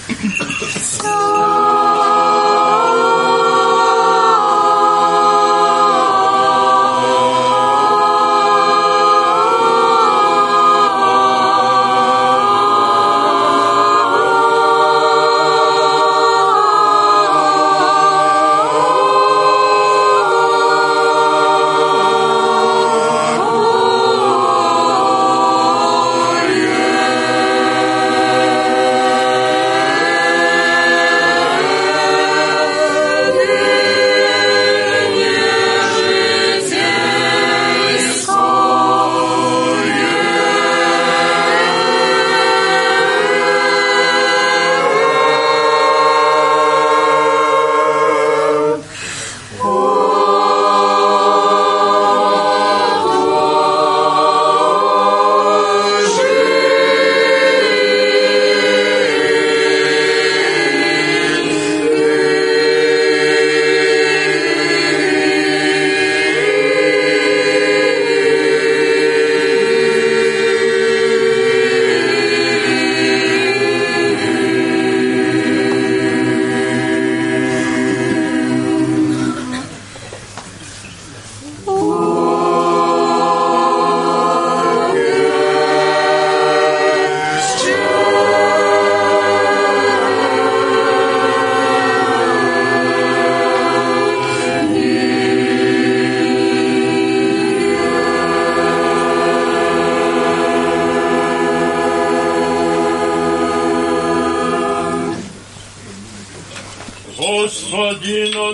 Господина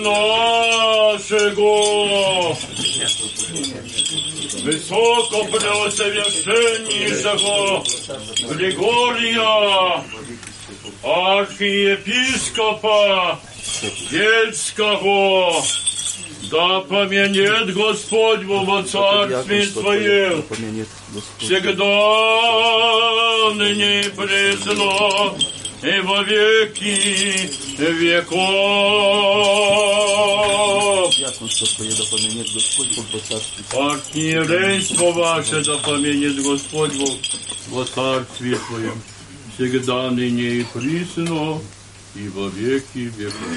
нашего, высокопреосовершеннейшего Григория, архиепископа Бельского, да помянет Господь во Царстве Своем, всегда, ныне и пресно, и во веки веков. Архиерейство ваше да помянет Господь во Царстве Своем, всегда, ныне и присно, и во веки веков.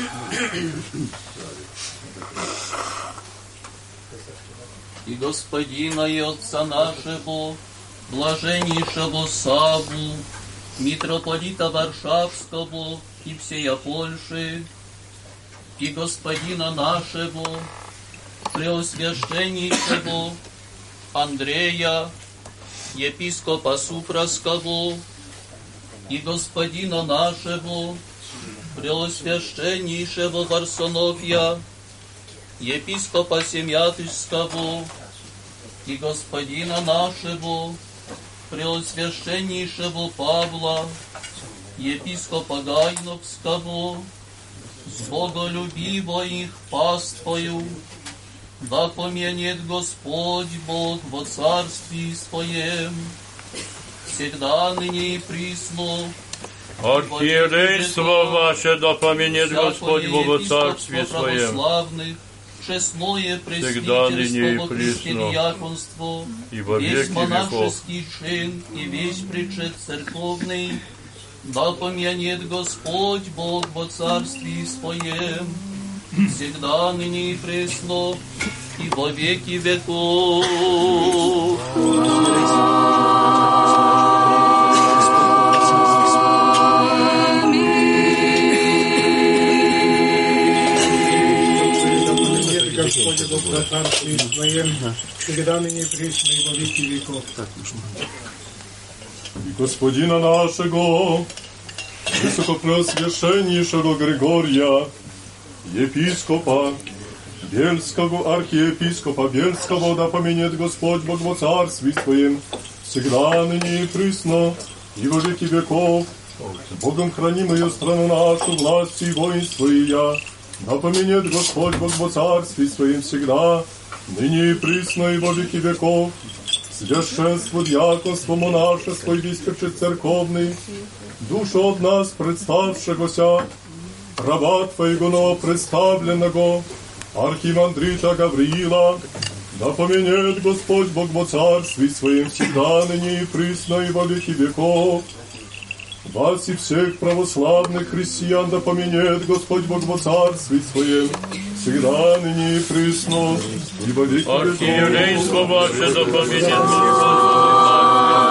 И Господина и Отца нашего, блаженнейшего Савву, митрополита Варшавского и всея Польши, и Господина нашего, преосвященнейшего Андрея, епископа Супровского, и Господина нашего, преосвященнейшего Варсонофия, епископа Семятышского, и Господина нашего, преосвященнейшего Павла, епископа Гайновского, с боголюбивой их паствою, да помянет Господь Бог во Царстве Своем, всегда, ныне и присно. Архиерейство ваше да помянет Господь Бог во Царстве Своем, честное пресвитерство, християконство, весь монашеский чин и весь причет церковный, да помянет Господь Бог во Царстве Своем, всегда, ныне и пресно, и во веки веков. Господи, Бог во Царстве Своем, всегда ныне присно и во веки веков. Господина нашего, высокопреосвященнейшего Григория, епископа Бельского, архиепископа Бельского, да помянет Господь Бог во Царстве Своем, всегда, ныне и присно, и во веки веков. Богом хранимую страну нашу, власть и воинство и я, да помянет Господь Бог во Царстве Своем всегда, ныне и присно, и во веки веков. Священство, диаконство, монашество и весь причет церковный, душу от нас представшегося, раба Твоего новопредставленного, архимандрита Гавриила, да помянет Господь Бог во Царстве Своем всегда, ныне и присно, и во веки веков. Вас и всех православных христиан да поменет Господь Бог во Царстве Своем, всегда, ныне и присно, и во веки веков. Архиерейство ваше да поменет Господь.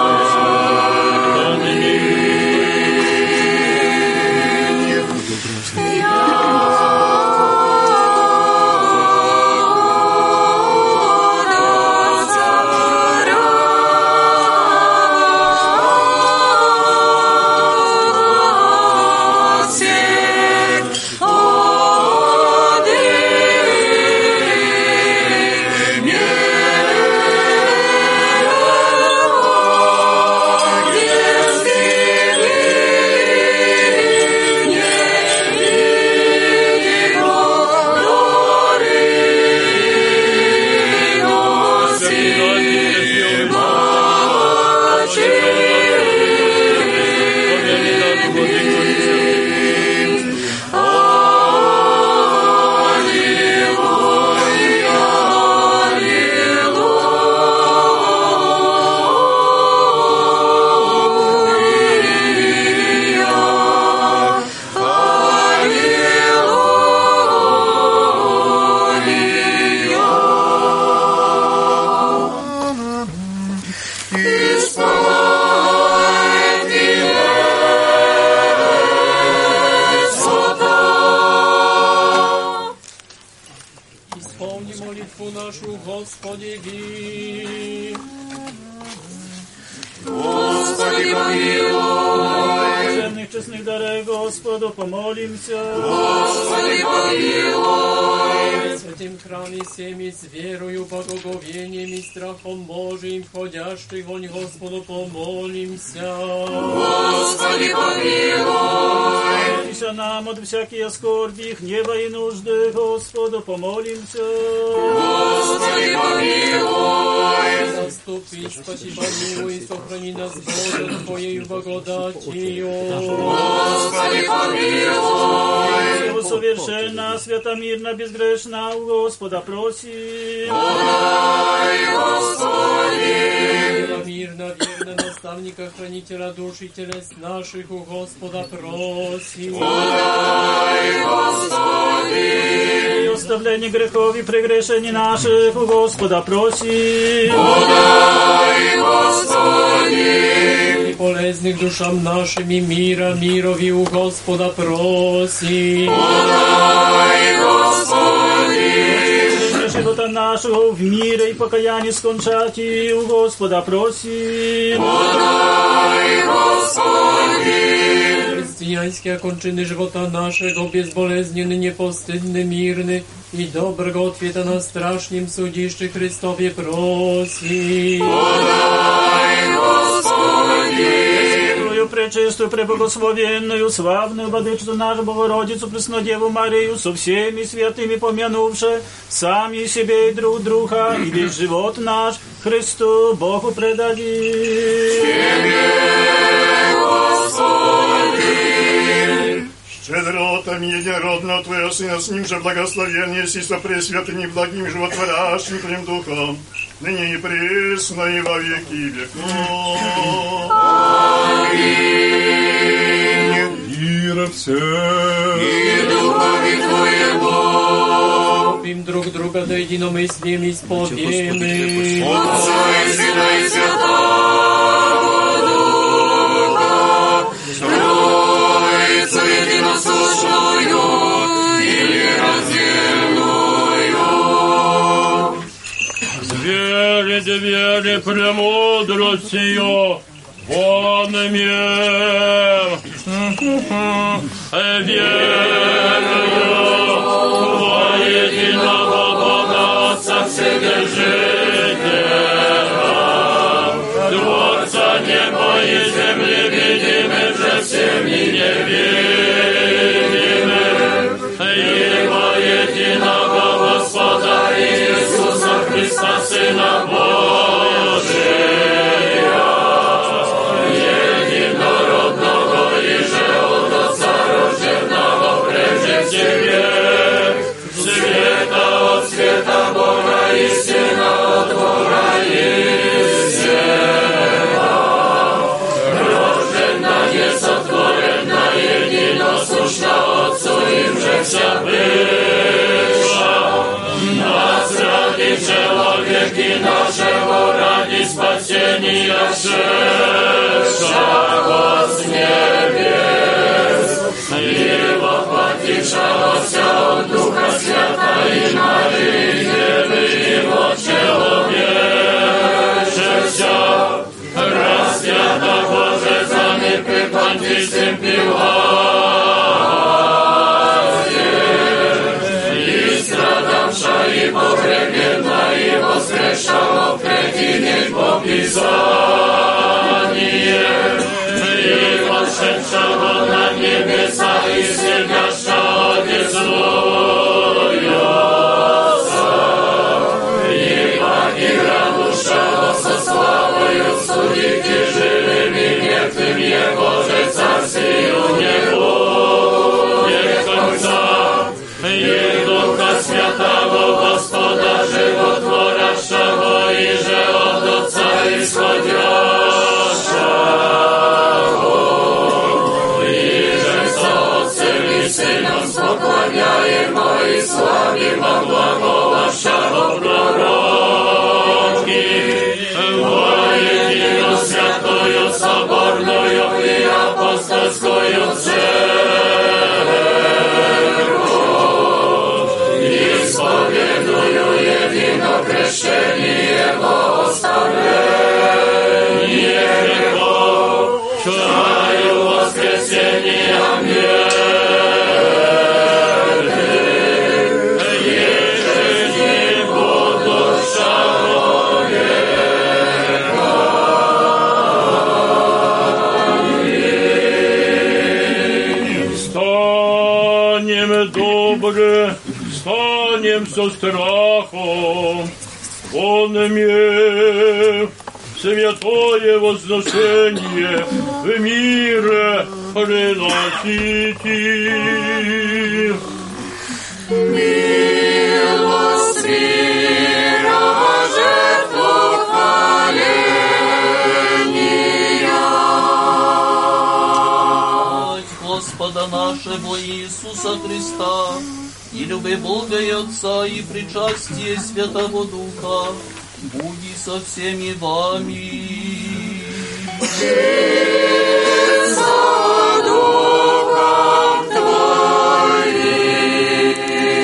Господу помолимся. Господи, помилуй. В святым храме всеми с верою, благоговением и страхом Божиим, входящих вонь Господу помолимся. Господи, помилуй. Ися нам от всякие скорби, гнева и нужды, Господу помолимся. Господи, помилуй. Заступи, спаси, помилуй, и сохрани нас, Боже, Твоею благодатью. Господи, помилуй. Совершенно, свято-мирно, безгрешно у Господа просим. Подай, Господи. Мирно, верно, наставника, хранителя душ и телес наших у Господа просим. Подай, Господи. И оставление грехов и прегрешений наших у Господа просим. Подай, Господи. И полезных душам нашим и мира, мирови у Господа просим. Подай, Господи. Живота нашего в мире и покаянии скончати у Господа просим. Подай, Господи. Християнские кончины живота нашего безболезненны, непостыдны, мирны и доброго ответа на страшном судище Христове просим. Подай, Господи. Пречистую, преблагословенную, славную Владычицу нашу Богородицу, Преснодеву Марию, со всеми святыми помянувши, сами себе и друг друга, и весь живот наш Христу Богу предадим. Тебе, Господи. Щедротами единородного Твоего Сына, с Ним же благословен, еси со пресвятым и благим животворящим Твоим Духом, ныне и пресно и во веки веков. Аминь. Мира всем. И духове Твоему. Любим друг друга до единомыслием и исповедуем. Отца и Сына и Святого Духа, Троицу единосущную и нераздельную. Двери, премудрость ее, вон имем. Верую во единого Бога Отца Вседержителя, Творца неба и земли, видимых же всеми невидимых, Его единого Господа Иисуса Христа, Сына Божия, единородного и же от Отца рожденного, zeszedłszego z niebies i pochwyciłszego się od Ducha Świata i Maryi Dziewy i poczęłowieszy raz świata Boże zamykły Pan wystąpił i pogrebiona i woskrzeszała prekinieś popisanie i odszedszała na niebesa i zjebiaszcza odezlująca i Pani radusza со славою судите живыми мертвым Его же царствию не будет конца и Духа Святого Господа животворящего и же от Отца исходящего и же со Отцем и Сыном споклоняемо и славимо благовещаго пророки воедино святою соборною и апостольскою исповедую едино крещение во оставление грехов, чаю воскресения мертвых, еже не будущего века. Станем добры, станем со страхом, вон мне святое возношение в мире приносите. Милость мира жертву хваления. Господа нашего Иисуса Христа, и любви Бога и Отца, и причастие Святого Духа, буди со всеми вами. И со Духом Твоим.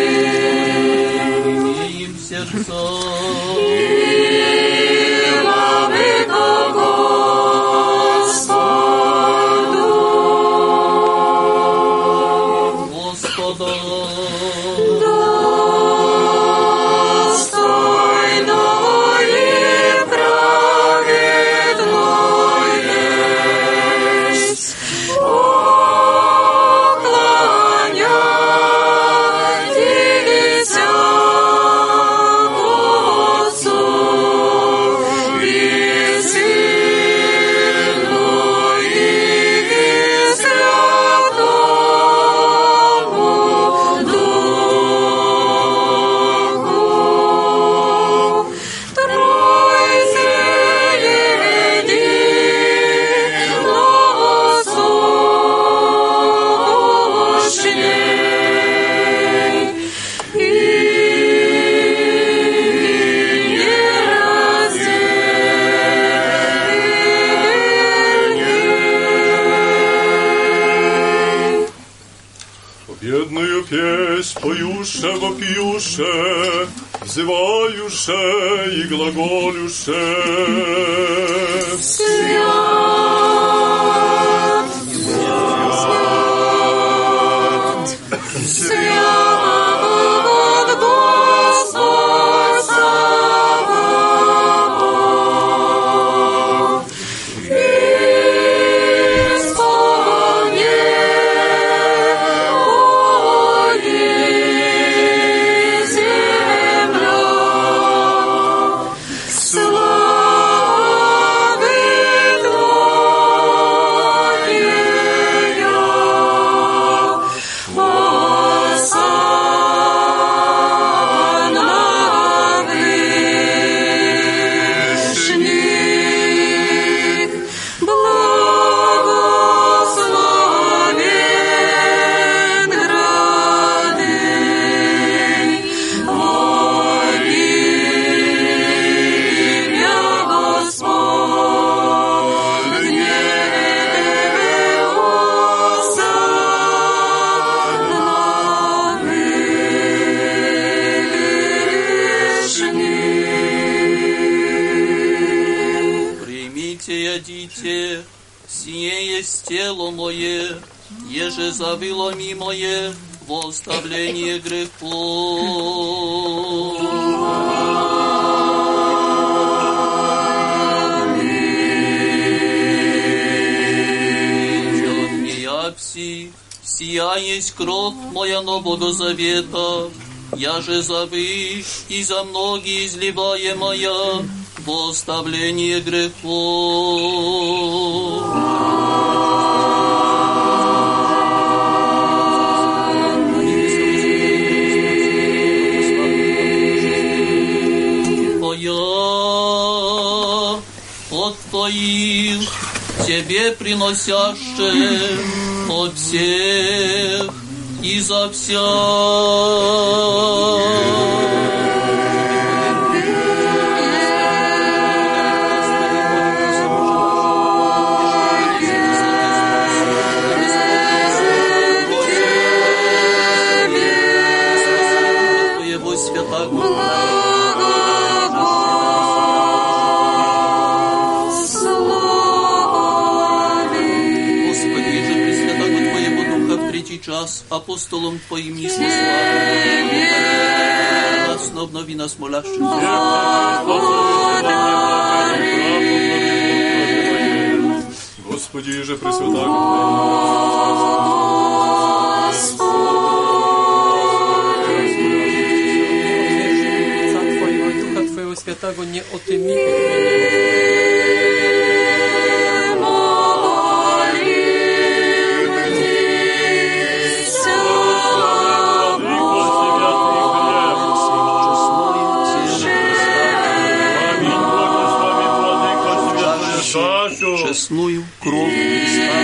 Имеем сердца. Бедную песнь поюше, вопиюше, взываюше и глаголюше. Свят, свят, свят, Господь Саваоф, Слава есть тело мое, еже завыло мое во оставление грехов. Сия есть кровь моя Нового Завета, я же за вы и за многие изливаемая во оставление грехов. От Твоих Тебе приносяще от всех и за вся. Твоего святого. Час апостолом Твоим несли славу, нас обнови нас молящих. Господи, же пресвята Твоего и Духа Твоего Святого не отыми. Честную кровь Христа.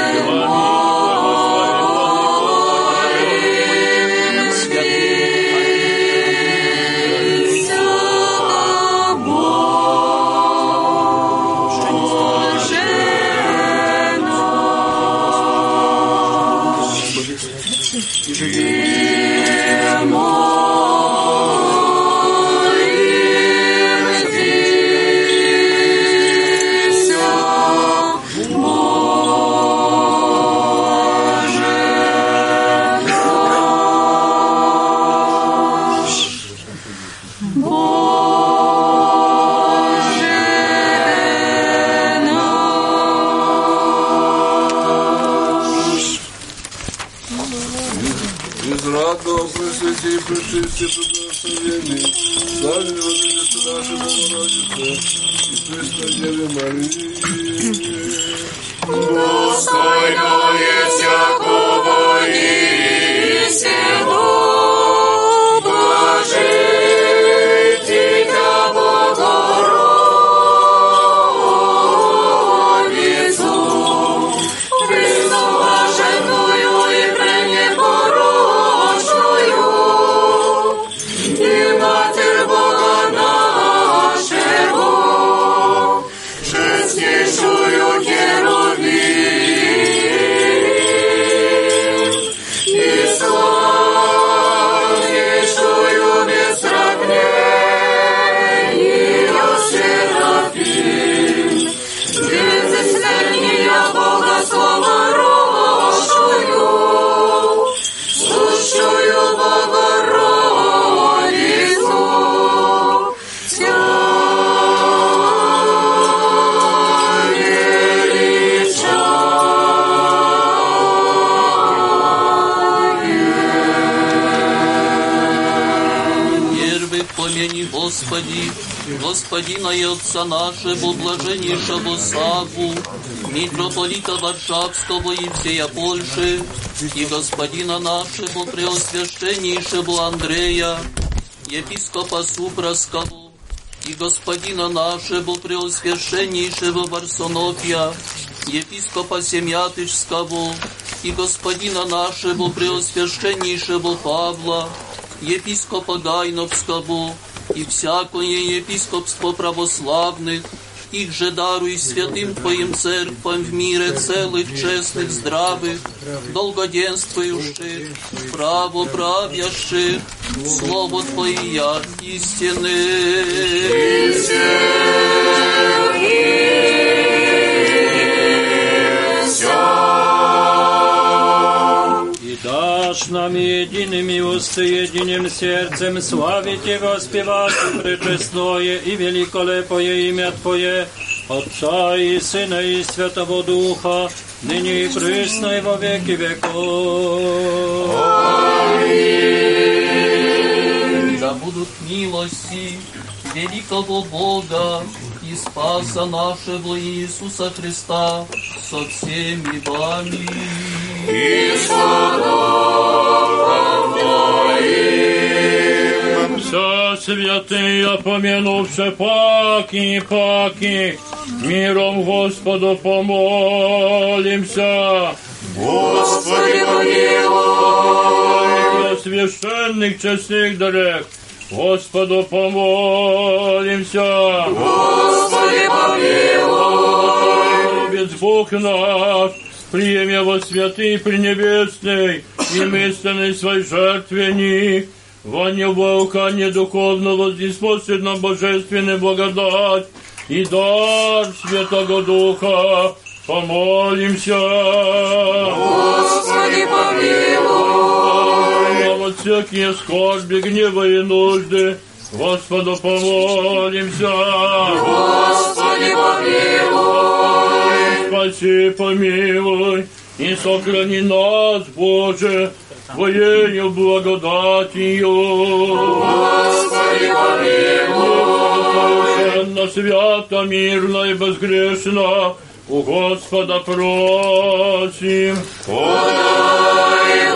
Господина и Отца нашего, блаженнейшего Савву, митрополита Варшавского и всея Польши, и Господина нашего, преосвященнейшего Андрея, епископа Супраского, и Господина нашего, преосвященнейшего Варсонофия, епископа Семятышского, и Господина нашего, преосвященнейшего Павла, епископа Гайновского, и всякое епископство православных, их же даруй святым Твоим церквам в мире целых, честных, здравых, долгоденствующих, правоправящих, Слово Твое истины. наш, нами едиными усты, единым сердцем славить и воспевать пречестное и великолепое имя Твое, Отца и Сына и Святого Духа, ныне и присно и во веки веков. Аминь. Да будут милости великого Бога и Спаса нашего Иисуса Христа со всеми вами. И со Духом Твоим. Со святые помянувши паки, миром Господу помолимся. Господи, помилуй. Священных честных дарек Господу помолимся. Господи, помилуй. Любец Бог наш, приемя во святый пренебесный и мысленный свой жертвенник, во неубаукание духовного ниспослед нам божественной благодать и дар Святого Духа. Помолимся. Господи, помилуй. Во всякие скорби, гнева и нужды Господу помолимся. Господи, помилуй. Спаси, помилуй и сохрани нас, Боже, Твоею благодатью. Господи, помилуй. Совершенно, свято, мирно и безгрешно у Господа просим. Подай,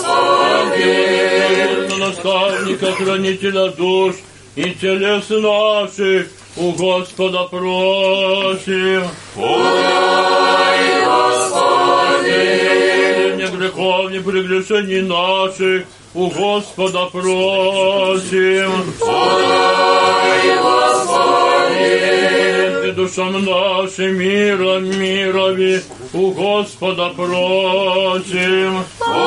Господи. Наставника, хранителя душ и телес наших у Господа просим. Подай, Господи. Не грехов, не прегрешений наших у Господа просим. Подай, Господи. Душам нашим мирови у Господа просим.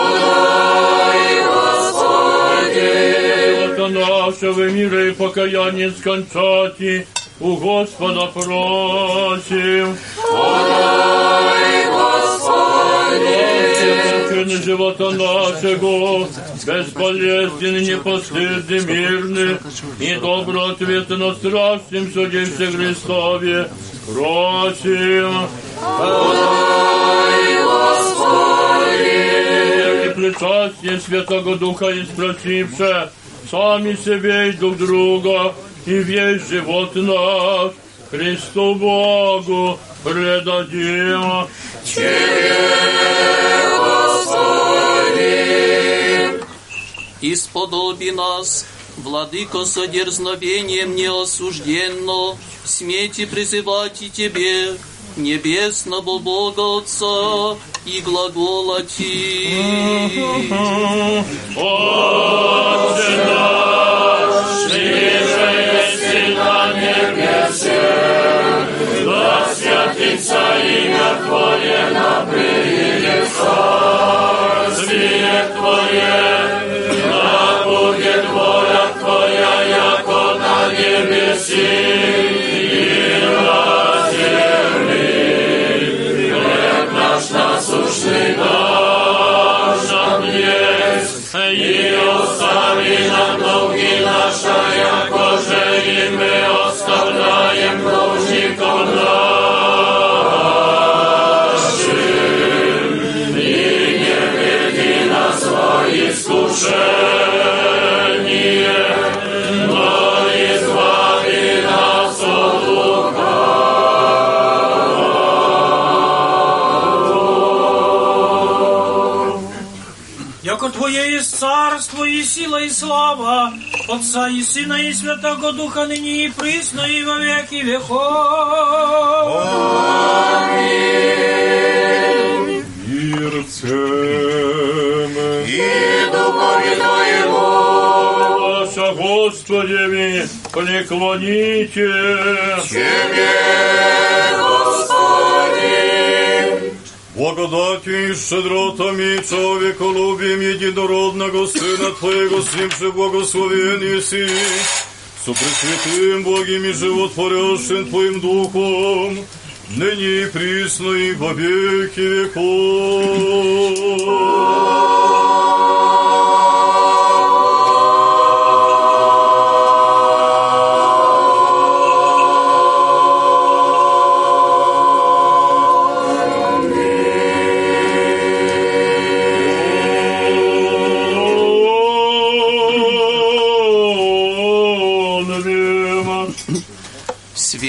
Подай, Господи. От нашего мира и покаяния скончати у Господа просим. Подай, Господи. Живота нашего, бесполезен, непостыдный, мирный и добро ответа на страшном суде Христове просим. Подай, Господи. И причастие Святого Духа испросивши сами себе и друг друга, и весь живот наш Христу Богу предадим. Тебе, Господи. Исподоби нас, Владыко, со дерзновением неосужденно, смейте призывать и Тебе, небесного Бога Отца, и глаголати. Отче наш, ниже есть на небесе, да святится имя Твое, да придет царствие Твое, да будет воля Твоя, яко на небеси и на земли. Хлеб наш насущный дашь нам есть, и остави нам долги наши, яко же и мы оставляем должников нашим. И не веди нас во искушение, но избави нас от лукавого. Яко Твое есть царство и сила и слава Отца и Сына и Святого Духа, ныне и присно и во веки веков. Аминь. Мир всем и Духове Твоему. Ваша Господи, преклоните. Тебе, Господи. Благодатью и щедротами и человеколюбием единородного Сына Твоего, с ним же благословен еси, со пресвятым, благим и животворящим Твоим Духом, ныне и присно и во веки веков.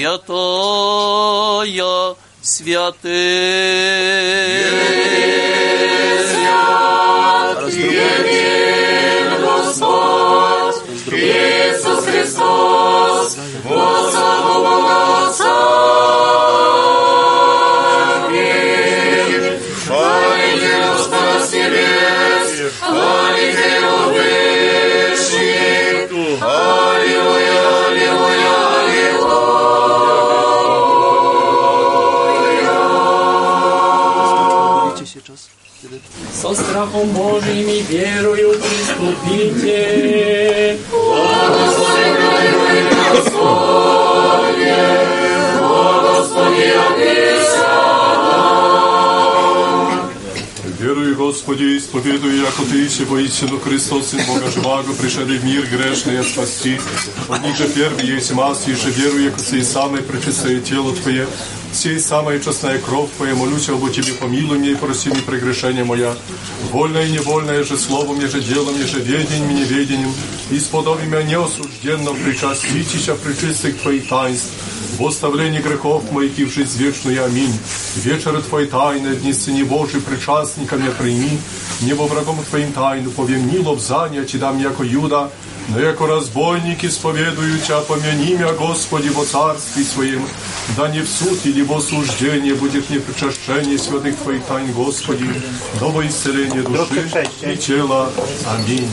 святая святых. Един Господь, Иисус Христос, во славу Бога Отца. Аминь. Хвалите Господа с небес, хвалите Его вышних. Аллилуйя, аллилуйя, аллилуйя. Со страхом Божьим и верою приступите. Господи, Господи, Господи, обися. Верую, Господи, исповедую, яко Ты, си воистину Христос, Сын Бога живаго, пришедший в мир грешный спасти. От них же первый есть масс, и же верую, яко сей самое пречистое тело Твое, сей самая честная кровь Твоя, молюсь об Тебе, помилуй меня и проси мне прегрешения моя. Вольное и невольное же словом, еже делом, еже ведением и неведением, исподоби меня неосужденным причаститеся пречистых Твоих таинств, в оставлении грехов моих и в жизнь вечную. Аминь. Вечеры Твои тайны, дни Сыне Божий, причастниками прими, не во врагом Твоим тайну, повем ни лобзания, Ти дам яко Юда, но яко разбойник исповедую Тя, помяни меня, Господи, во царстве Своем, да не в суд или в осуждение будет не причащение святых Твоих тайн, Господи, но во исцеление души и тела. Аминь.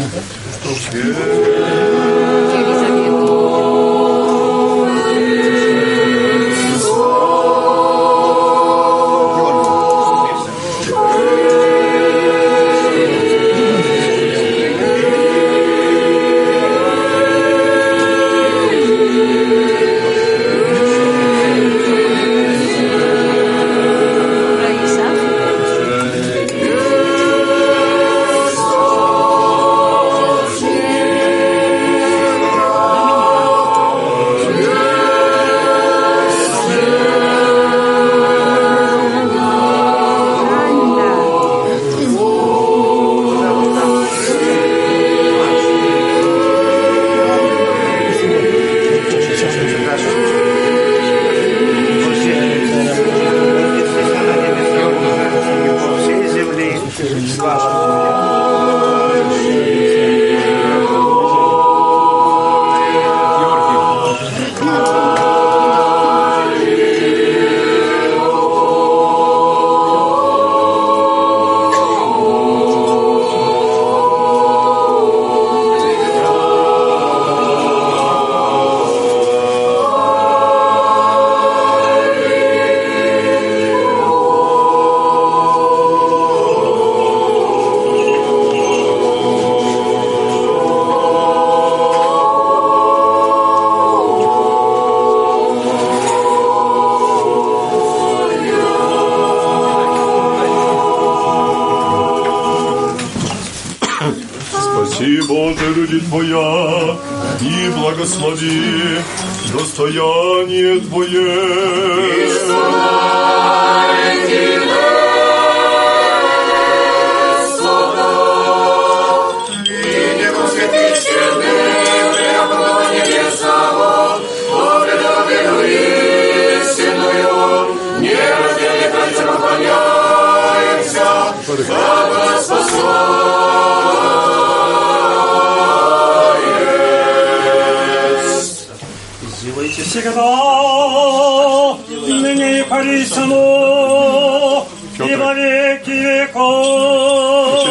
Спаси, Боже, люди Твоя, и благослови достояние Твое. Всегда, ныне и присно, и во веки веков.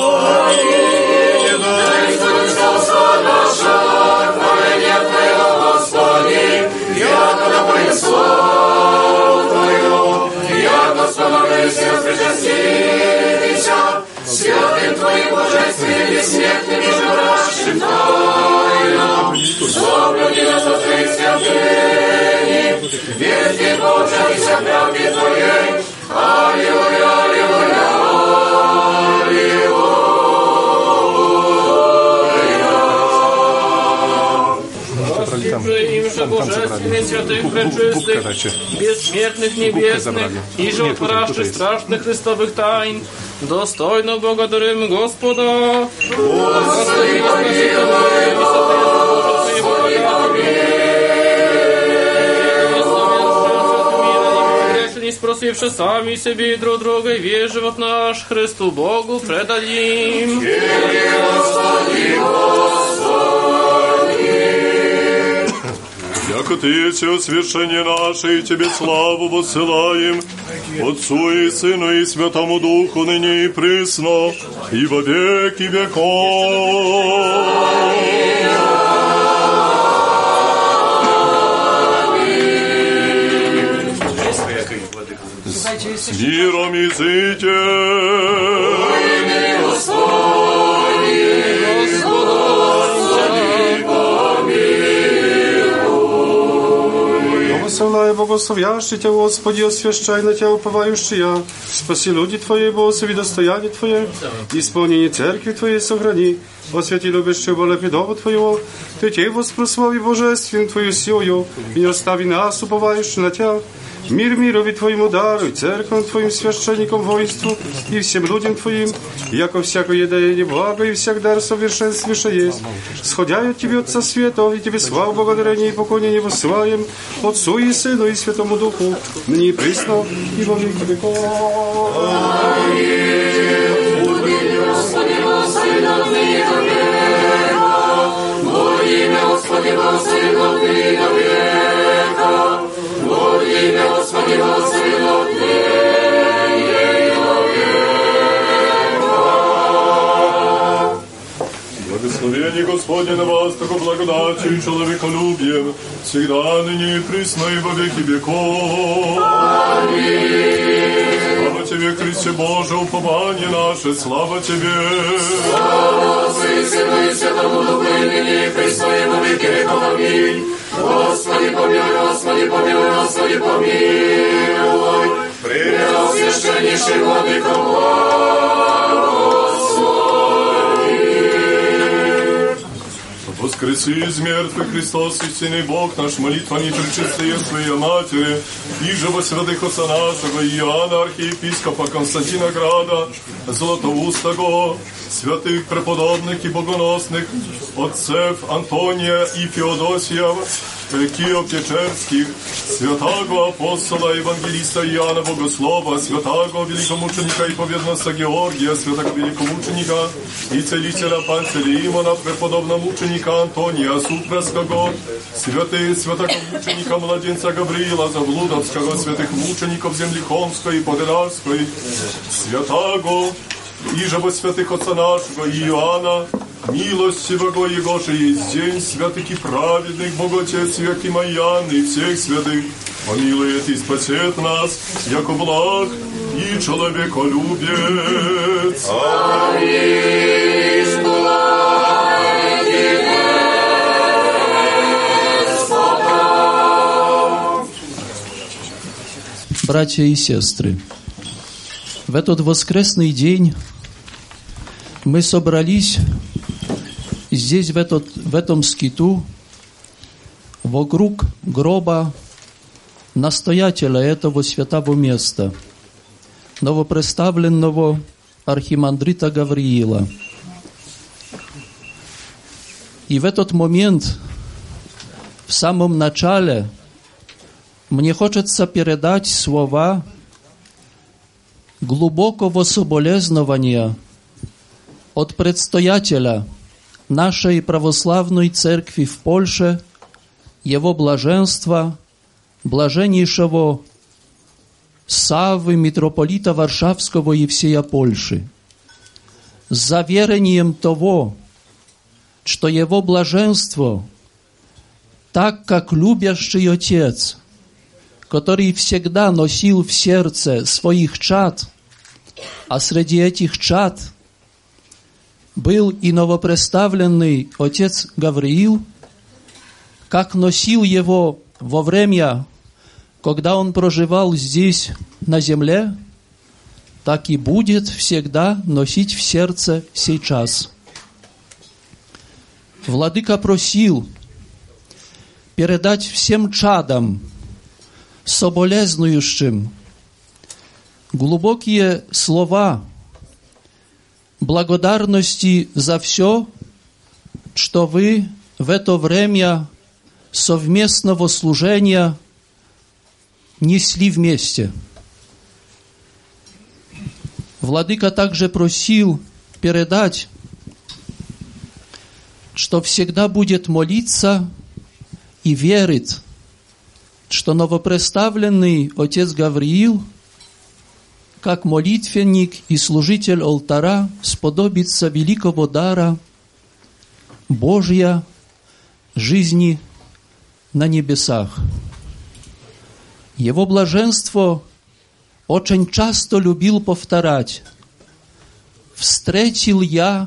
Святым Твоим божеством бессмертным и живущим тайнам, соблюди нас от Твоих святыни, верьте Боже и вся правде Твоей. Аллилуйя, аллилуйя, Им же божественных, святых, пречистых, бессмертных, небесных и животворящих страшных Христовых тайн, достойно благодарим Господа. Господи, не спросивши сами себе и друг друга, весь живот наш Христу Богу предадим. Яко Ты все свершение наше, и Тебе славу воссылаем, Отцу и Сыну и Святому Духу, ныне и присно, и во веки веков. С миром идите. Благословляй, благословящий Тебя, Господи, освящай на Тебя уповающие. Спаси люди Твои, благослови достояние Твое, исполнение церкви Твоей сохрани. Освяти любящего Бога Твоего, Ты Тебе воспрослави божествен Твою силою, и не остави нас, уповающих на Тебя. Мир мирови Твоему даруй, церковь Твоим священникам воинству и всем людям Твоим, яко всякое едание благо и всяк дар совершенствующий есть. Сходя от Тебе, Отца Святого, и Тебе славу, благодарение и поклонение воссылаем, Отцу и Сыну и Святому Духу, ныне и присно, и во веки веков. Господи, благослови нам ныне до века. Имя Господи, благослови нам ныне до века. Благословение Господне на вас, тако благодатью и человеколюбием, всегда, ныне и присно, и во веки веков. Аминь. Слава Тебе, Христе Боже, упование наше, слава Тебе. Слава Отцу и Сыну и Святому Духу, и ныне и присно, и во веки веков. Аминь. Господи помилуй, Господи помилуй, Господи помилуй. Преосвященнейший Владыка Воскреси из мертвых Христос, истинный Бог наш, молитвами пречистые Своей Матери, и же во святых отца нашего Иоанна, архиепископа Константина Града, Златоустого, святых преподобных и богоносных отцев Антония и Феодосия, Киев-Печерских, святаго апостола евангелиста Иоанна Богослова, святаго великомученика и поведноста Георгия, святаго великомученика и целителя Пантелеимона, преподобного мученика Антония Супрасского, святаго мученика младенца Гавриила Заблудовского, святых мучеников Землихомской и Подерарской, святаго и же во святых отца нашего Иоанна, милостивого Егоша есть день святых и праведных, Бог Отец Яким Аян и всех святых, помилует и спасет нас, яко благ и человеколюбец. Аминь. Братья и сестры, в этот воскресный день мы собрались здесь, в этом скиту, вокруг гроба настоятеля этого святого места, новопредставленного архимандрита Гавриила. И в этот момент, в самом начале, мне хочется передать слова глубокого соболезнования от предстоятеля нашей православной церкви в Польше, его блаженства, блаженнейшего Саввы, митрополита Варшавского и всея Польши, с заверением того, что его блаженство, так как любящий Отец, который всегда носил в сердце своих чад, а среди этих чад был и новопредставленный отец Гавриил, как носил его во время, когда он проживал здесь на земле, так и будет всегда носить в сердце сейчас. Владыка просил передать всем чадам, соболезнующим, глубокие слова благодарности за все, что вы в это время совместного служения несли вместе. Владыка также просил передать, что всегда будет молиться и верит, что новопредставленный отец Гавриил, как молитвенник и служитель алтаря, сподобится великого дара Божья жизни на небесах. Его блаженство очень часто любил повторять: «Встретил я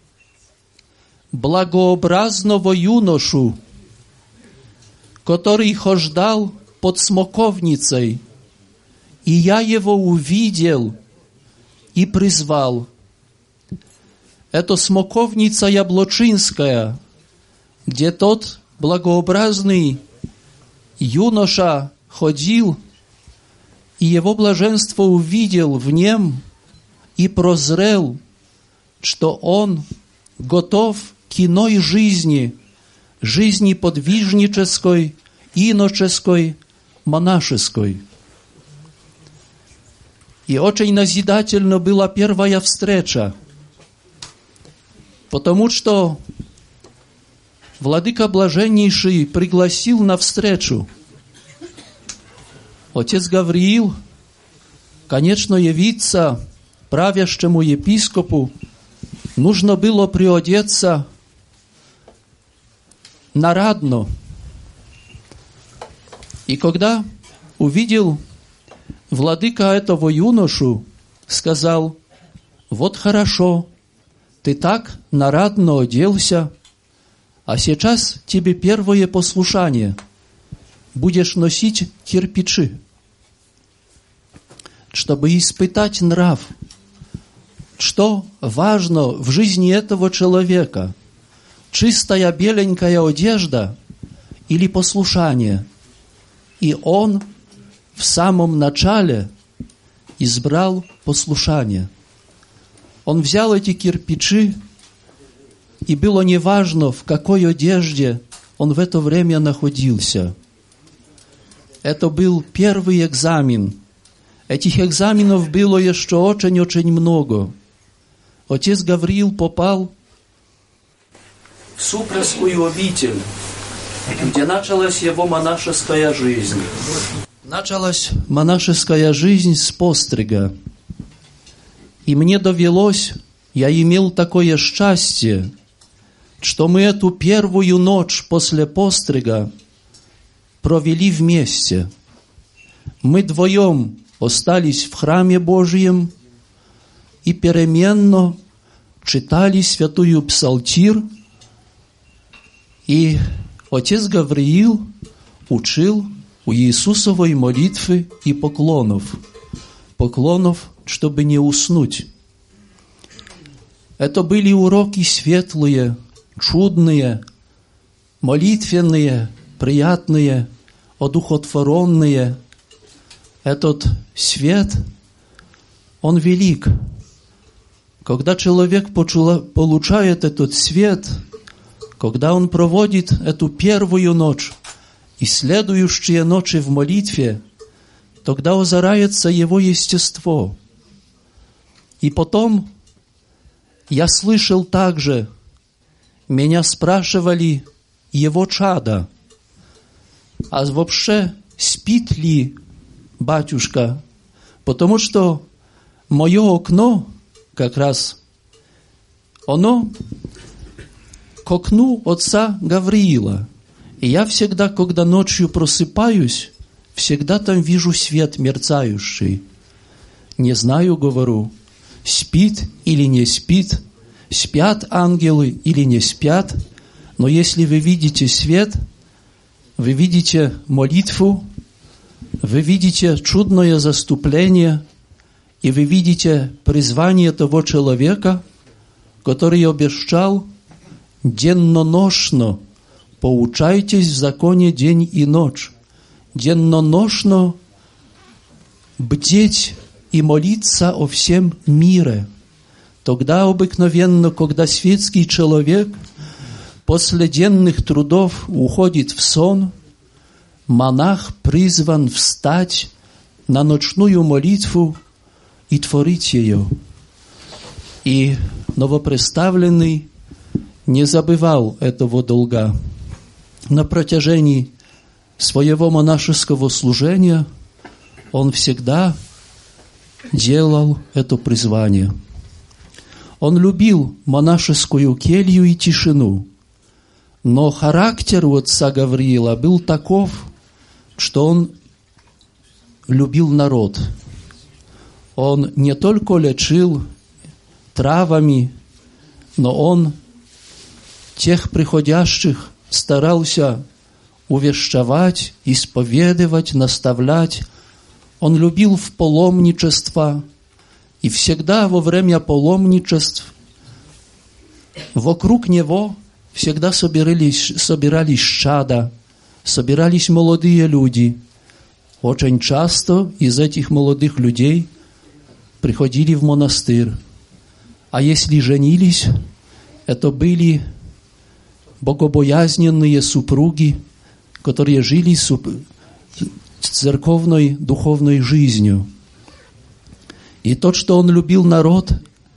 благообразного юношу, который хождал под смоковницей, и я его увидел и призвал». Это смоковница Яблочинская, где тот благообразный юноша ходил, и его блаженство увидел в нем и прозрел, что он готов к иной жизни, жизни подвижнической, иноческой, монашеской. И очень назидательно была первая встреча, потому что Владыка Блаженнейший пригласил на встречу. Отец Гавриил, конечно, явиться правящему епископу, нужно было приодеться нарадно. И когда увидел владыка этого юношу, сказал: вот хорошо, ты так нарадно оделся, а сейчас тебе первое послушание. Будешь носить кирпичи, чтобы испытать нрав. Что важно в жизни этого человека? Чистая беленькая одежда или послушание? И он в самом начале избрал послушание. Он взял эти кирпичи, и было неважно, в какой одежде он в это время находился. Это был первый экзамен. Этих экзаменов было еще очень-очень много. Отец Гавриил попал в Супресскую обитель, где началась его монашеская жизнь. Началась монашеская жизнь с пострига. И мне довелось, я имел такое счастье, что мы эту первую ночь после пострига провели вместе. Мы вдвоем остались в храме Божьем и переменно читали святую псалтирь, и отец Гавриил учил у Иисусовой молитвы и поклонов, чтобы не уснуть. Это были уроки светлые, чудные, молитвенные, приятные, одухотворенные. Этот свет, он велик. Когда человек получает этот свет, когда он проводит эту первую ночь и следующие ночи в молитве, тогда озаряется его естество. И потом я слышал также, меня спрашивали его чада, а вообще спит ли батюшка? Потому что мое окно как раз, оно к окну отца Гавриила. И я всегда, когда ночью просыпаюсь, всегда там вижу свет мерцающий. Не знаю, говорю, спит или не спит, спят ангелы или не спят, но если вы видите свет, вы видите молитву, вы видите чудное заступление, и вы видите призвание того человека, который обещал денно-ношно поучайтесь в законе день и ночь, денно-ношно бдеть и молиться о всем мире. Тогда обыкновенно, когда светский человек после денных трудов уходит в сон, монах призван встать на ночную молитву и творить ее. И новоприставленный не забывал этого долга. На протяжении своего монашеского служения он всегда делал это призвание. Он любил монашескую келью и тишину, но характер у отца Гавриила был таков, что он любил народ. Он не только лечил травами, но он тех приходящих старался увещевать, исповедовать, наставлять. Он любил в паломничество, и всегда во время паломничеств вокруг него всегда собирались чада, собирались молодые люди. Очень часто из этих молодых людей приходили в монастырь. А если женились, это были богобоязненные супруги, которые жили церковной духовной жизнью. И то, что он любил народ,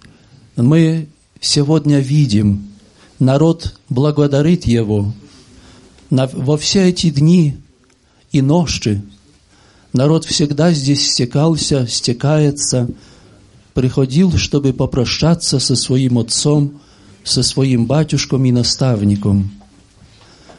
мы сегодня видим. Народ благодарит его. Во все эти дни и ночи народ всегда здесь стекается, приходил, чтобы попрощаться со своим отцом, со своим батюшком и наставником.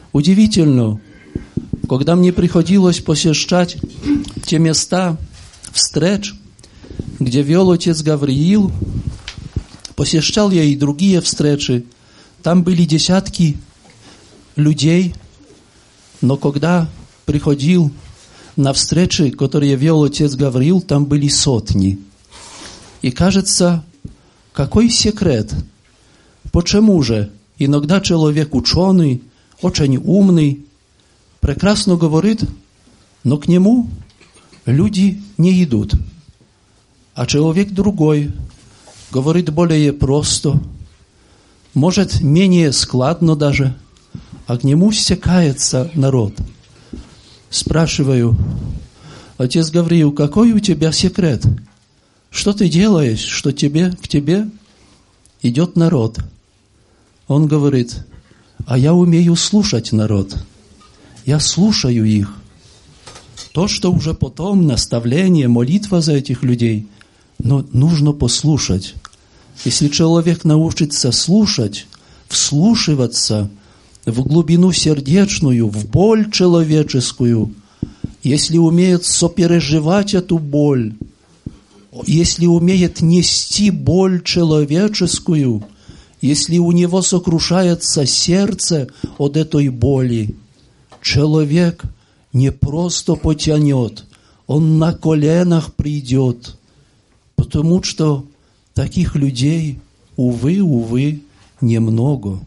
Удивительно, когда мне приходилось посещать те места встреч, где вел отец Гавриил, посещал я и другие встречи, там были десятки людей, но когда приходил на встречи, которые вел отец Гавриил, там были сотни. И кажется, какой секрет? Почему же иногда человек ученый, очень умный, прекрасно говорит, но к нему люди не идут. А человек другой говорит более просто, может, менее складно даже, а к нему стекается народ. Спрашиваю: отец Гавриил, какой у тебя секрет? Что ты делаешь, что к тебе идет народ? Он говорит: а я умею слушать народ. Я слушаю их. То, что уже потом наставление, молитва за этих людей, но нужно послушать. Если человек научится слушать, вслушиваться в глубину сердечную, в боль человеческую, если умеет сопереживать эту боль, если умеет нести боль человеческую, если у него сокрушается сердце от этой боли, человек не просто потянет, он на коленах придет, потому что таких людей, увы, немного.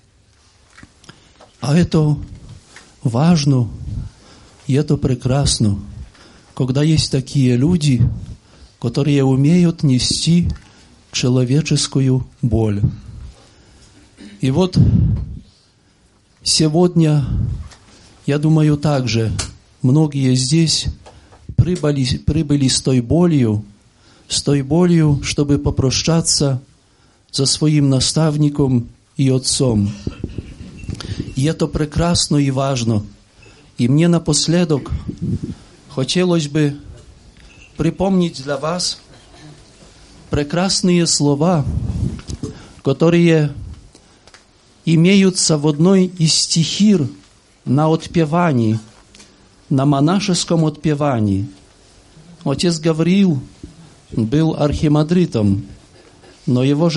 А это важно, и это прекрасно, когда есть такие люди, которые умеют нести человеческую боль. И вот сегодня, я думаю, также многие здесь прибыли с той болью, чтобы попрощаться со своим наставником и отцом. И это прекрасно и важно. И мне напоследок хотелось бы припомнить для вас прекрасные слова, которые имеются в одной из стихир на отпевании, на монашеском отпевании. Отец Гавриил был архимандритом, но его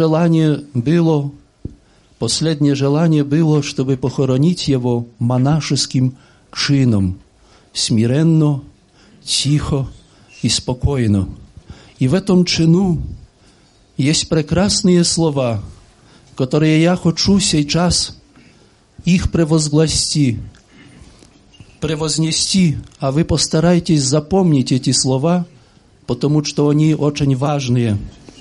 последнее желание было, чтобы похоронить его монашеским чином, смиренно, тихо и спокойно. И в этом чину есть прекрасные слова, которые я хочу сейчас их превознести, а вы постарайтесь запомнить эти слова, потому что они очень важные.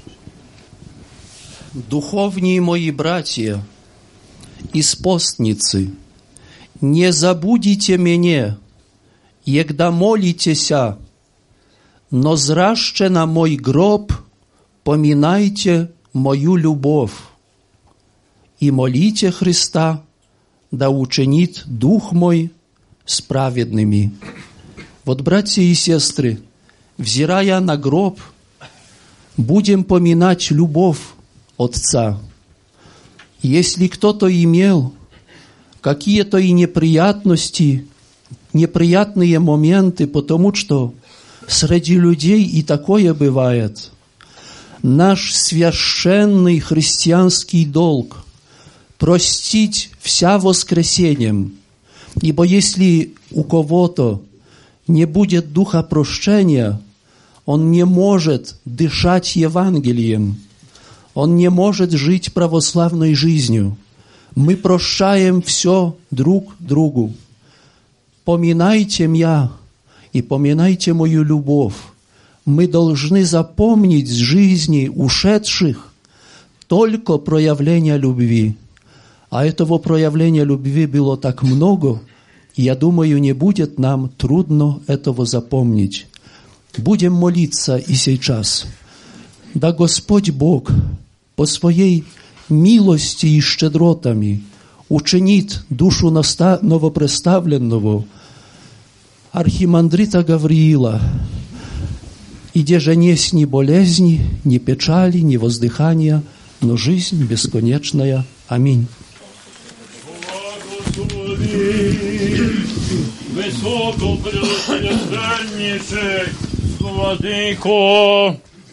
Духовные мои братья и спостницы, не забудите меня, егда молитеся, но зраще на мой гроб поминайте мою любовь и молите Христа, да учинит дух мой справедными. Вот, братья и сестры, взирая на гроб, будем поминать любовь Отца. Если кто-то имел какие-то и неприятные моменты, потому что среди людей и такое бывает, наш священный христианский долг простить вся воскресением, ибо если у кого-то не будет духа прощения, он не может дышать Евангелием, он не может жить православной жизнью. Мы прощаем все друг другу. Поминайте меня и поминайте мою любовь. Мы должны запомнить с жизни ушедших только проявление любви. А этого проявления любви было так много, и я думаю, не будет нам трудно этого запомнить. Будем молиться и сейчас. Да Господь Бог по своей милости и щедротами учинит душу новопредставленного архимандрита Гавриила, и где же нет ни болезни, ни печали, ни воздыхания, но жизнь бесконечная. Аминь. Господи, Тобі, високо прелестенніший, владико.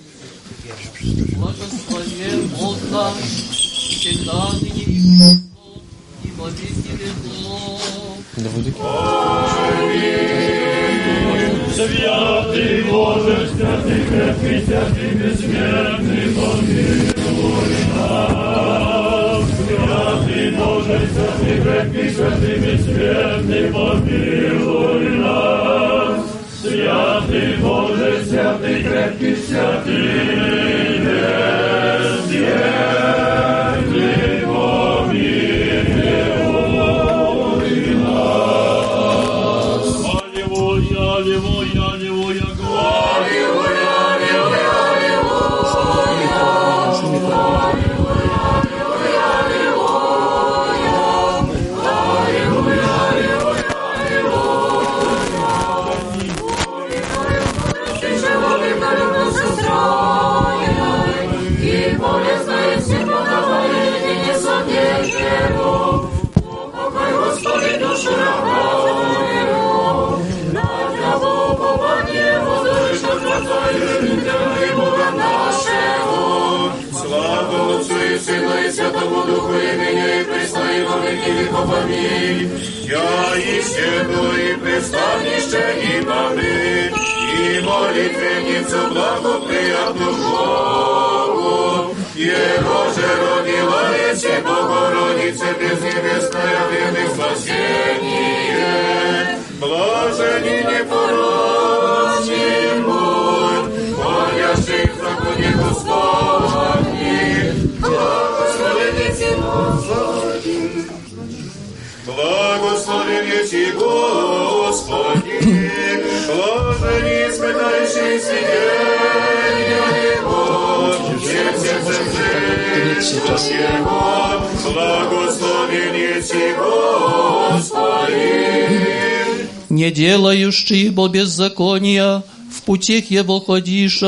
Благословен Бог наш, всегда ныне и во веки веков. Святый Боже, святый крепкий, святый бессмертный, помилуй нас. Святый Боже, святый крепкий, святый бессмертный, помилуй нас. Святый Боже, святый крепкий, святый бессмертный, помилуй нас. Аллилуйя, аллилуйя, аллилуйя, аллилуйя, Слава Отцу и Сыну и Святому Духу, и ныне и присно и во веки веков. Аминь. Я исчеду и представнище и помы, и молитвенницу благоприятную Богу. Его же родила есть и Богородица безнебесная, верных спасение. Блажени непорочный будь, молящих в законе Господни, благословенницы Господи. Благословенницы Господи, блажени испытающие свидетеля Его, всем сердцем жителям Его, благословенницы Господи. Не делающий бо беззакония, в путях его ходиша.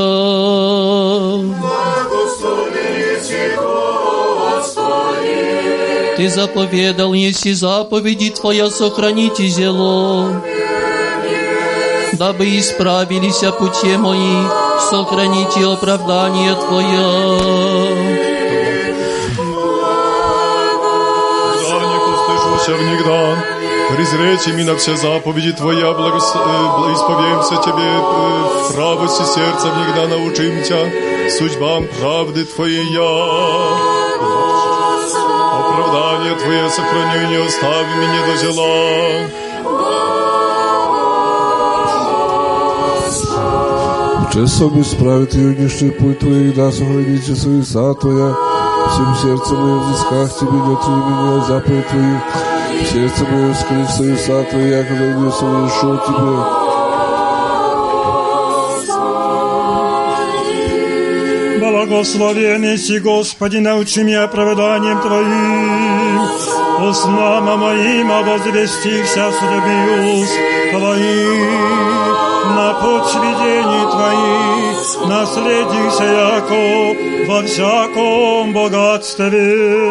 Благословенницы Господи. Ты заповедал, неси заповеди Твоя, сохраните зело. Дабы исправились пути мои, сохраните оправдание Твое. Да не устыжуся внегда, презречь ми на все заповеди Твоя, исповемся Тебе, в правости сердца внегда научим Тя, судьбам правды Твоей оправдание Твое сохраню, не остави меня до зела. Учи собі справити юнішний путь Твоїх, да сохраните совеса Твоя, всем сердцем моим взысках Тебе не отвели меня заповедь Твоих, сердце мое скрыть совеса Твои, я когда не совершу Тебе. Благословенный си, Господи, научи меня оправданием Твоим, устам моим возвестихся судьбе уст Твоих, на путь видений Твоих, наследихся яко во всяком богатстве.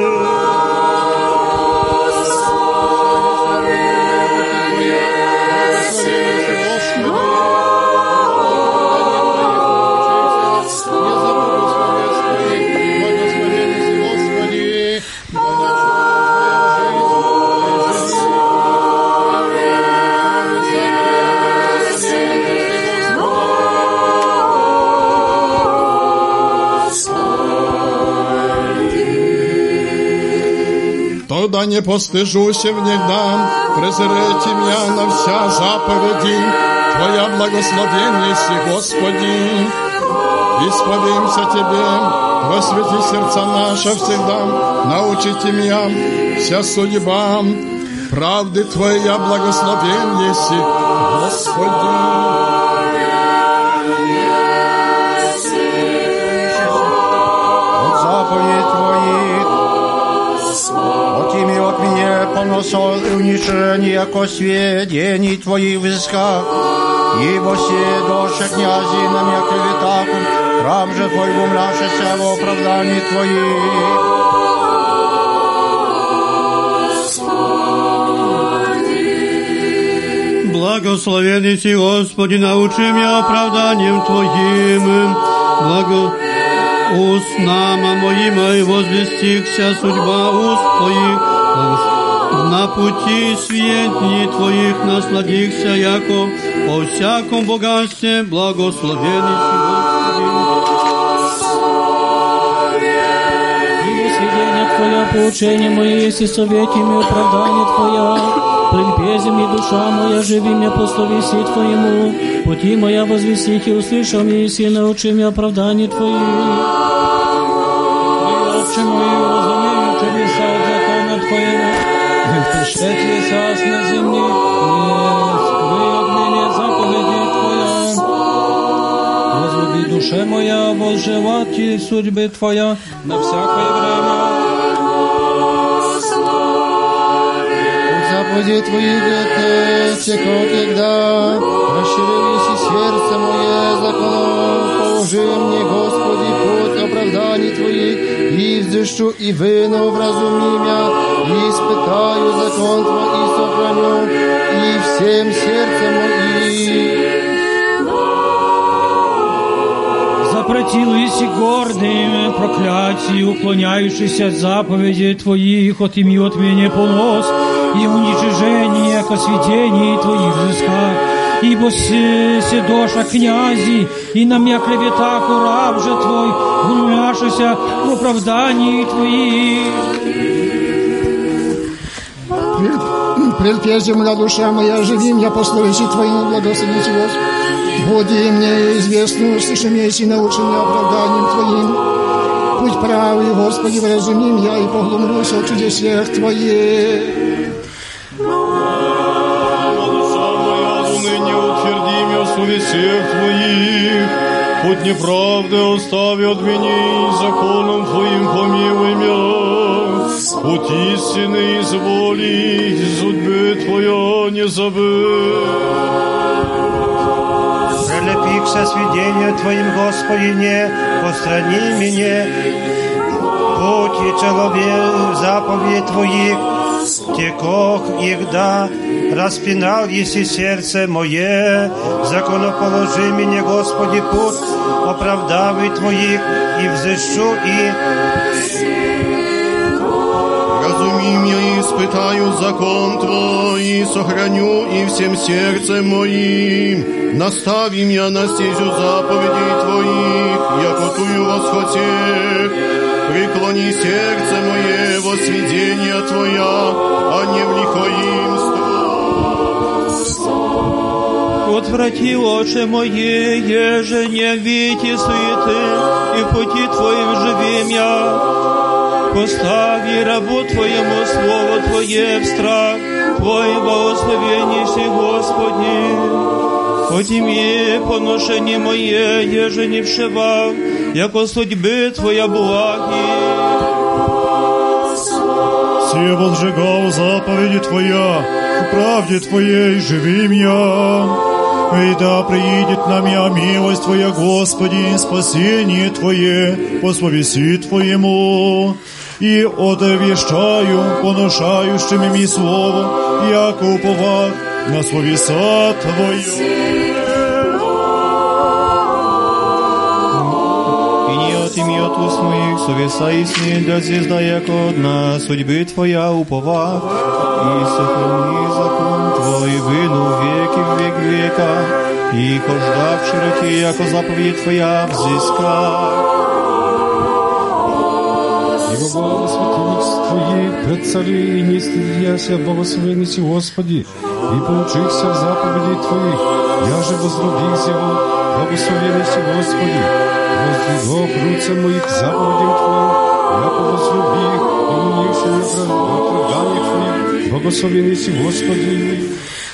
Да не постыжуся внегда, презрите меня на вся заповеди Твоя, благословение си, Господи. Исповемся Тебе, просвети сердца наши всегда, научите меня вся судьба правды Твоя, благословение си, Господи. От заповедь Твоих, от ими от меня поносо и унижение, яко сведений Твоих в исках, ибо все доши князи на меня клеветаку, раб же Твой умляшися в оправдании Твоих. Благословенный си, Господи, научи меня оправданием Твоим. Устнама моима и возвестихся судьба уст Твоих. На пути светни Твоих насладихся, яко по всяком богатстве благословенный си, Господи. И сведения Твоя, поучение мое, есть и советами оправдание Твоя. Прельпези мне душа моя, живи меня по словеси Твоему. Пути моя возвестих и услышал мне, и си научи меня оправдание Твои. Отче мой, разумею чудеса от закона Твоего. Пришлете сас на земле, вы от меня заповеди Твоя. Возлюби душе моя, возжелати судьбы Твоя на всякое время. Заповеди Твоих теко, когда расширились и сердце мое законом, положи мне, Господи, путь оправданий Твоих, и взыщу, и выну вразуми меня, и испытаю закон Твой, и сохраню, и всем сердцем моим. Запротивись гордым проклятию, уклоняющийся от заповедей Твоих, отыми от меня понос и уничижение, яко сведений Твоих взыска. Ибо седоша князи, и на меня клеветах у раб же Твой, умяшися в оправдании Твоих. Прельпези моя душа моя, живи меня по словеси Твоему, благословите Господи. Буди мне известно, слыши меня и научи меня оправданием Твоим. Путь правый, Господи, вразуми меня и поглумлюсь от чудесах Твоих. Совестях Твоих, путь неправды остави от меня, законом Твоим помилуй меня, путь истины изволи, судьбы Твоя не забудь. Прилепихся сведения Твоим, Господи, не пострани меня, путь и человек заповедь Твоих, текох игда, распинал еси сердце мое, законоположи меня, Господи, путь оправдавай Твоих, и взыщу, и разуми меня, и испытаю закон Твой, и сохраню, и всем сердцем моим. Настави меня на стезю заповедей Твоих, яко тую восхотех. Преклони сердце мое во сведения Твоя, а не в лихоимство. Отврати очи мои, еже не види суеты, и в пути Твоим живи я. Постави рабу Твоему слово Твое в страх, Твое благословение си, Господи. Отими поношение мое, еже не вшивав, яко судьбы Твоя благи. Все возжигал заповеди Твоя, в правде Твоей живи меня. И да приидет на меня милость Твоя, Господи, спасение Твое по словеси Твоему. И одовещаю поношающими ми слово, яко уповах на словеса Твое. Отими от уст моих совеса и сны, да звезда яко одна, судьбы Твоя упова, и сохрани закон Твой, выну веки в век века, и хожда в широте, яко заповедь Твоя взыска. Ибо благо святых Твоих пред цари, и не стыдяся благословенности Господи, и поучихся в заповедей Твоих, я же возлюбись его, благословенности Господи. Воздвигов руце моих заповедям Твоим, яко возлюбих, и унивши на оправданиях Твоих, благословенный си, Господи.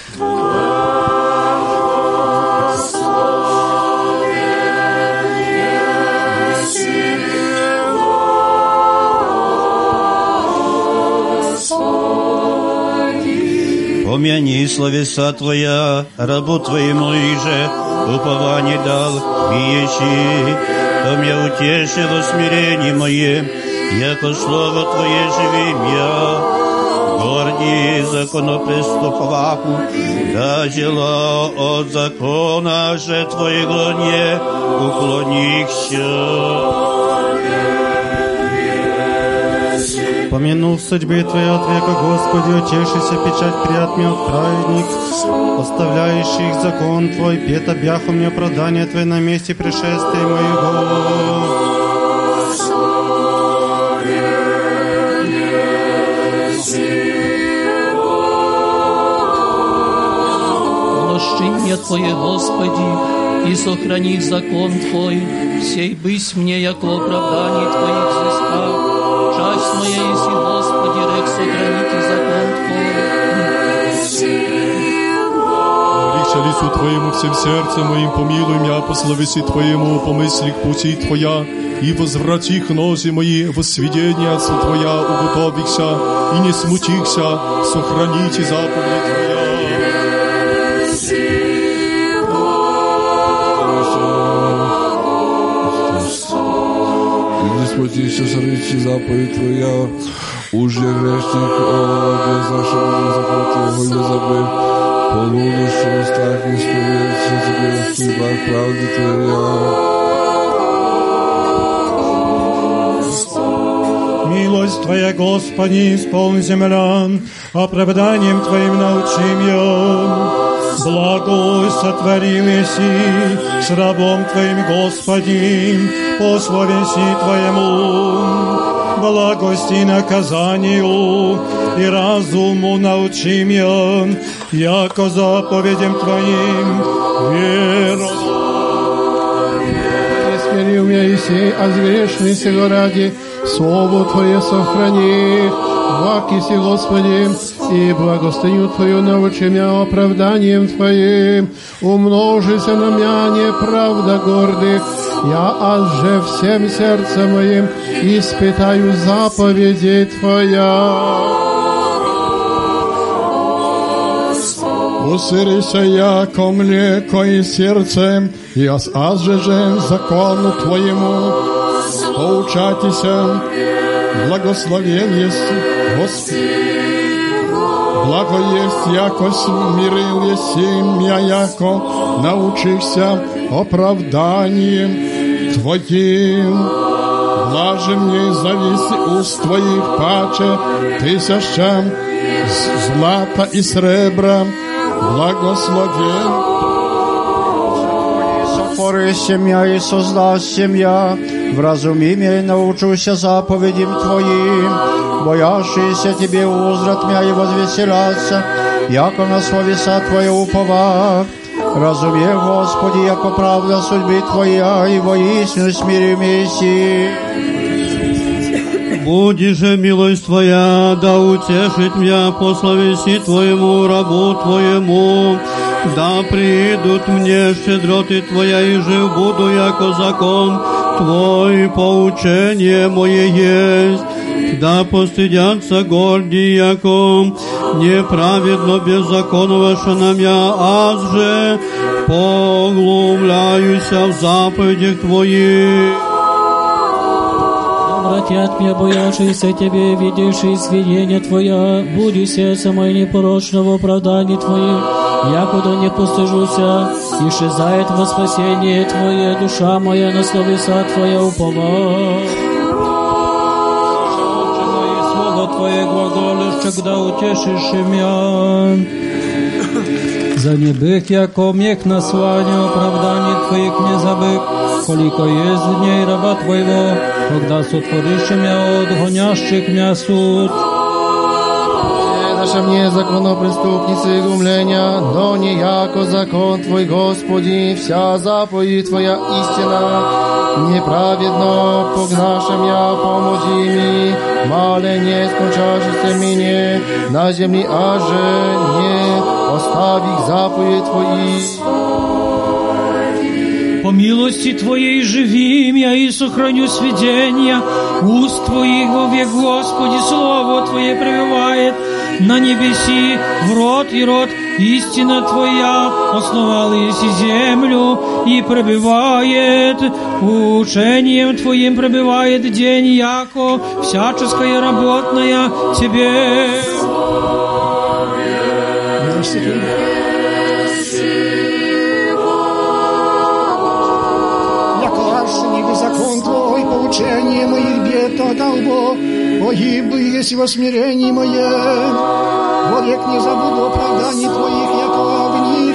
Помяни словеса Твоя, рабу Твоему иже, упование дал, биещи, то меня утешило смирение мое, яко слово Твое живим я. Горди законопреступаку, да дела от закона же Твоего не уклонихся. Помянув судьбы Твоя от века, Господи, утешися, печать приятный праведник, оставляющих закон Твой, пет обяхом мне оправдание Твое на месте пришествия моего. Прощение Твое, Господи, и сохрани закон Твой, сей бысь мне, яко оправдание Твоих взыскав. Часть моя, если, Господи, рек, сохраните закон Твой. Молися лицу Твоему всем сердцем моим, помилуй меня по словеси Твоему, по мыслях пути Твоя, и возврати к нозе мои во сведения отцу Твоя, уготовихся и не смутихся, сохраните заповеди Твоя. Смутися, сорвите заповедь Твоя, уж я грешник, без нашего закона Твоего не забыв, полуночью в устах не споведься Тебе в судьбах правды Твоя. Милость Твоя, Господи, исполни землян, оправданием Твоим научи меня. Благой сотворил еси с рабом Твоим, Господи, по словеси Твоему, благости наказанию и разуму научи меня, яко заповедям Твоим веру. Смирил меня Иисей, а грешный сего ради, слово Твое сохрани, вакиси, Господи, и благостыню Твою научи меня оправданием Твоим, умножися на меня неправда гордых, я же всем сердцем моим испытаю заповеди Твоя. Усырися яко млеко и сердцем, и азжежем закону Твоему, поучатися, благословен есть Господь. Благо есть, яко смирил еси меня, яко научишься оправданием Твоим. Блаже мне зависи уст Твоих паче тысячам злата и сребра, благословен. Сотворися меня и создасся меня, вразуми меня и научуся заповедям Твоим, боящийся Тебе узрат меня и возвеселятся, яко на словеса Твои уповав. Разуме, Господи, яко правда судьбы Твоя, и воистину смиримися. Буди же милость Твоя, да утешит меня по словеси Твоему, рабу Твоему, да придут мне щедроты Твоя, и жив буду, яко закон Твой, поучение мое есть. Да постыдятся горди, яко неправедно беззаконного, что на меня, аз же поглумляюся в заповедях Твоих. Обратят меня, боявшиеся Тебе, видевшие сведения Твоя, буди сердце мое непорочно в оправдании Твоих, якуда не постыжуся, исчезает во спасение Твое, душа моя на словеса Твоя упова. Твое глаголешь, когда утешишь меня. За небых, яко мех на славе, оправданий Твоих не забыв, колико есть дней раба Твоего, когда сотворишь меня от гонящих меня суд. Наша мне законопреступницы и глумления, но не яко закон Твой, Господи, вся заповедь Твоя истина. Неправедно погнашем я, помози ми, мале не скончашься мне на земли, аже не оставих заповедь Твои. По милости Твоей живи меня и сохраню сведения уст Твоих вовек, Господи, Слово Твое пребывает на небеси, в род и род. Истина Твоя основала еси землю и пребывает, учением Твоим пребывает день, яко всяческая работная Тебе. милостивый. Яко закон Твой, поучение моих бед отдал Бог, погиб бы, если во смирении мое, вовек не забуду оправданий Твоих, яко в них.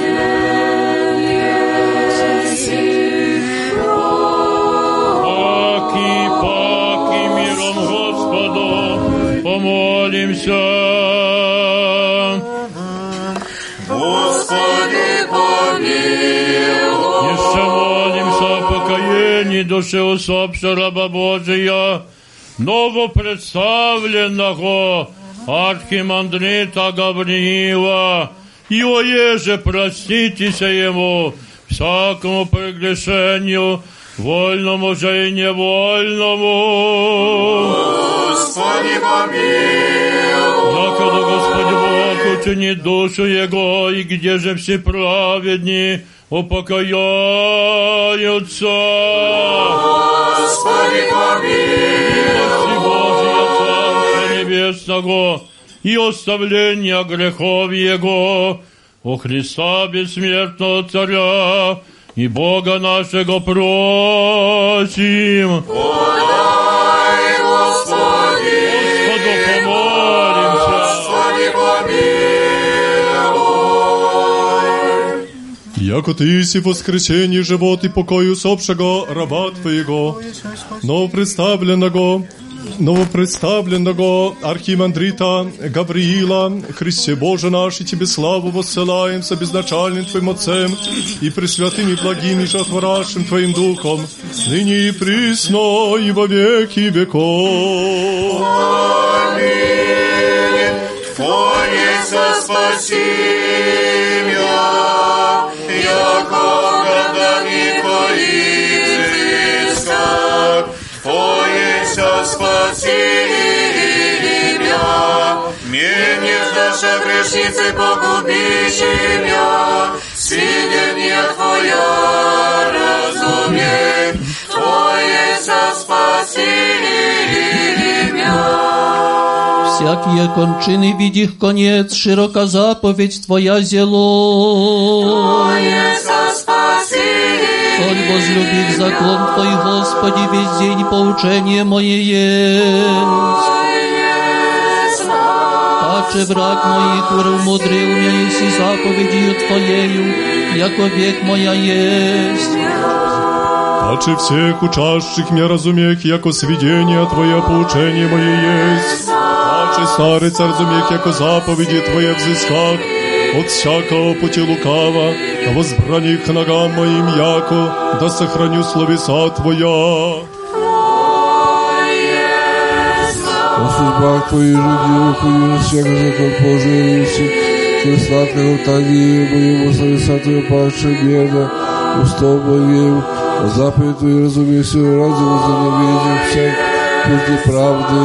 Паки миром Господу помолимся. Господи, помилуй. Еще молимся о покаянии души усопшего раба Божия, новопредставленного архимандрита Гавриила, и оеже проститеся ему всякому прегрешению, вольному же и невольному. Господи, помилуй. Якогда Господи Бог учини душу Его, и где же все праведни упокояются. Господи, помилуй. Божия Царства Небесного и оставления грехов Его, о Христа бессмертного Царя и Бога нашего просим. Подай, Господи. Господу помолимся. Господи, помилуй. Яко Ты си воскресение, живот и покой усопшего раба Твоего, новопредставленного архимандрита Гавриила, Христе Боже наш, и Тебе славу воссылаем со безначальным Твоим Отцем и пресвятым и благим и жотворящим Твоим Духом, ныне и присно и во веки веков. Аминь. Твое спасение, яко оправдани Твоих взысках, Твое спасение, менее наша грешницы погубище меня, свидетельня Твоя разумей, Твое спасение. Всякие кончины видих конец, широка заповедь Твоя зело. Твое спасение. Коль возлюбив закон Твой, Господи, весь день поучение мое есть. Паче враг моих умудрил меня, еси заповедью Твоею, яко век моя есть. Паче всех учащих меня разумех, яко сведения Твое поучение мое есть. Паче старец разумех, яко заповеди Твоя взысках, от всякого пути лукава, а возбрани к ногам моим, яко да сохраню словеса Твоя. О судьбах Твоих жидів, хуй всех закон поживisi, что сладкого таги моему словеса Твоя паче беда, устов моим, заповедь Твою разумею, ради возненавидим всех пути правды.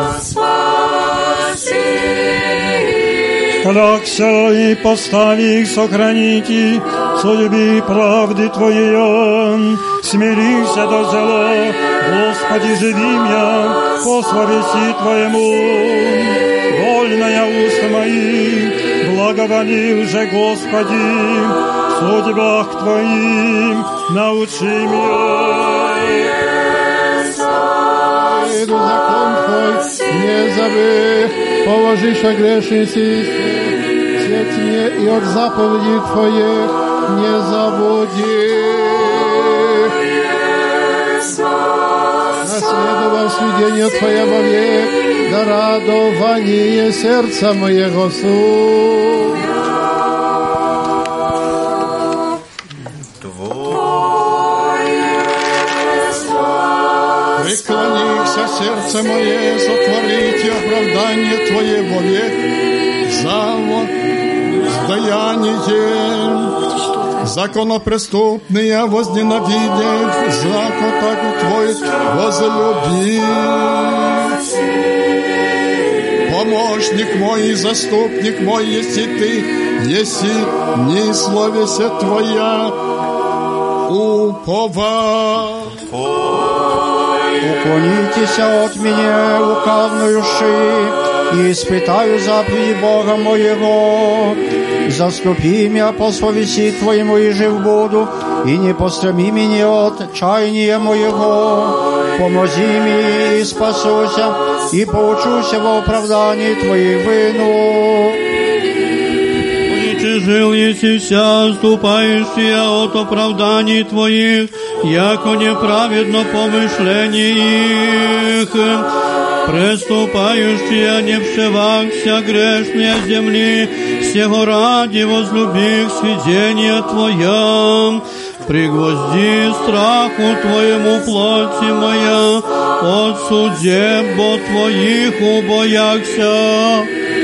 Врагся и постави их сохраните, судьби правды Твоей, смирися до зела, Господи, живи меня, по словеси Твоему. Вольная уста мои, благоволил же Господи, в судьбах Твоим научи меня. Закон Твой не забыв, положишь грешницы, свет мне и от заповедей Твоих не забуди. Наследовал сведение Твое вовек, да радование сердца моего суд. Преклонися, сердце мое, сотворите оправдание Твое вовек, за воздаяние. Законопреступные возненавидят, закон так Твой возлюби. Помощник мой и заступник мой, если Ты, если не словеся Твоя упова. Уклонитесь от меня, лукавнующие, и испытаю заповеди Бога моего. Заступи меня по совести Твоему и жив буду, и не пострами меня от чаяния моего. Помози мне и спасуся, и поучуся во оправдании Твоей вину. Жил еси вся, ступающая от оправданий Твоих, яко неправедно помышление их. Преступающая не вшивахся грешные земли, всего ради возлюбих свидения Твоя. Пригвозди страху Твоему плоти моя, от судеб Твоих убояхся.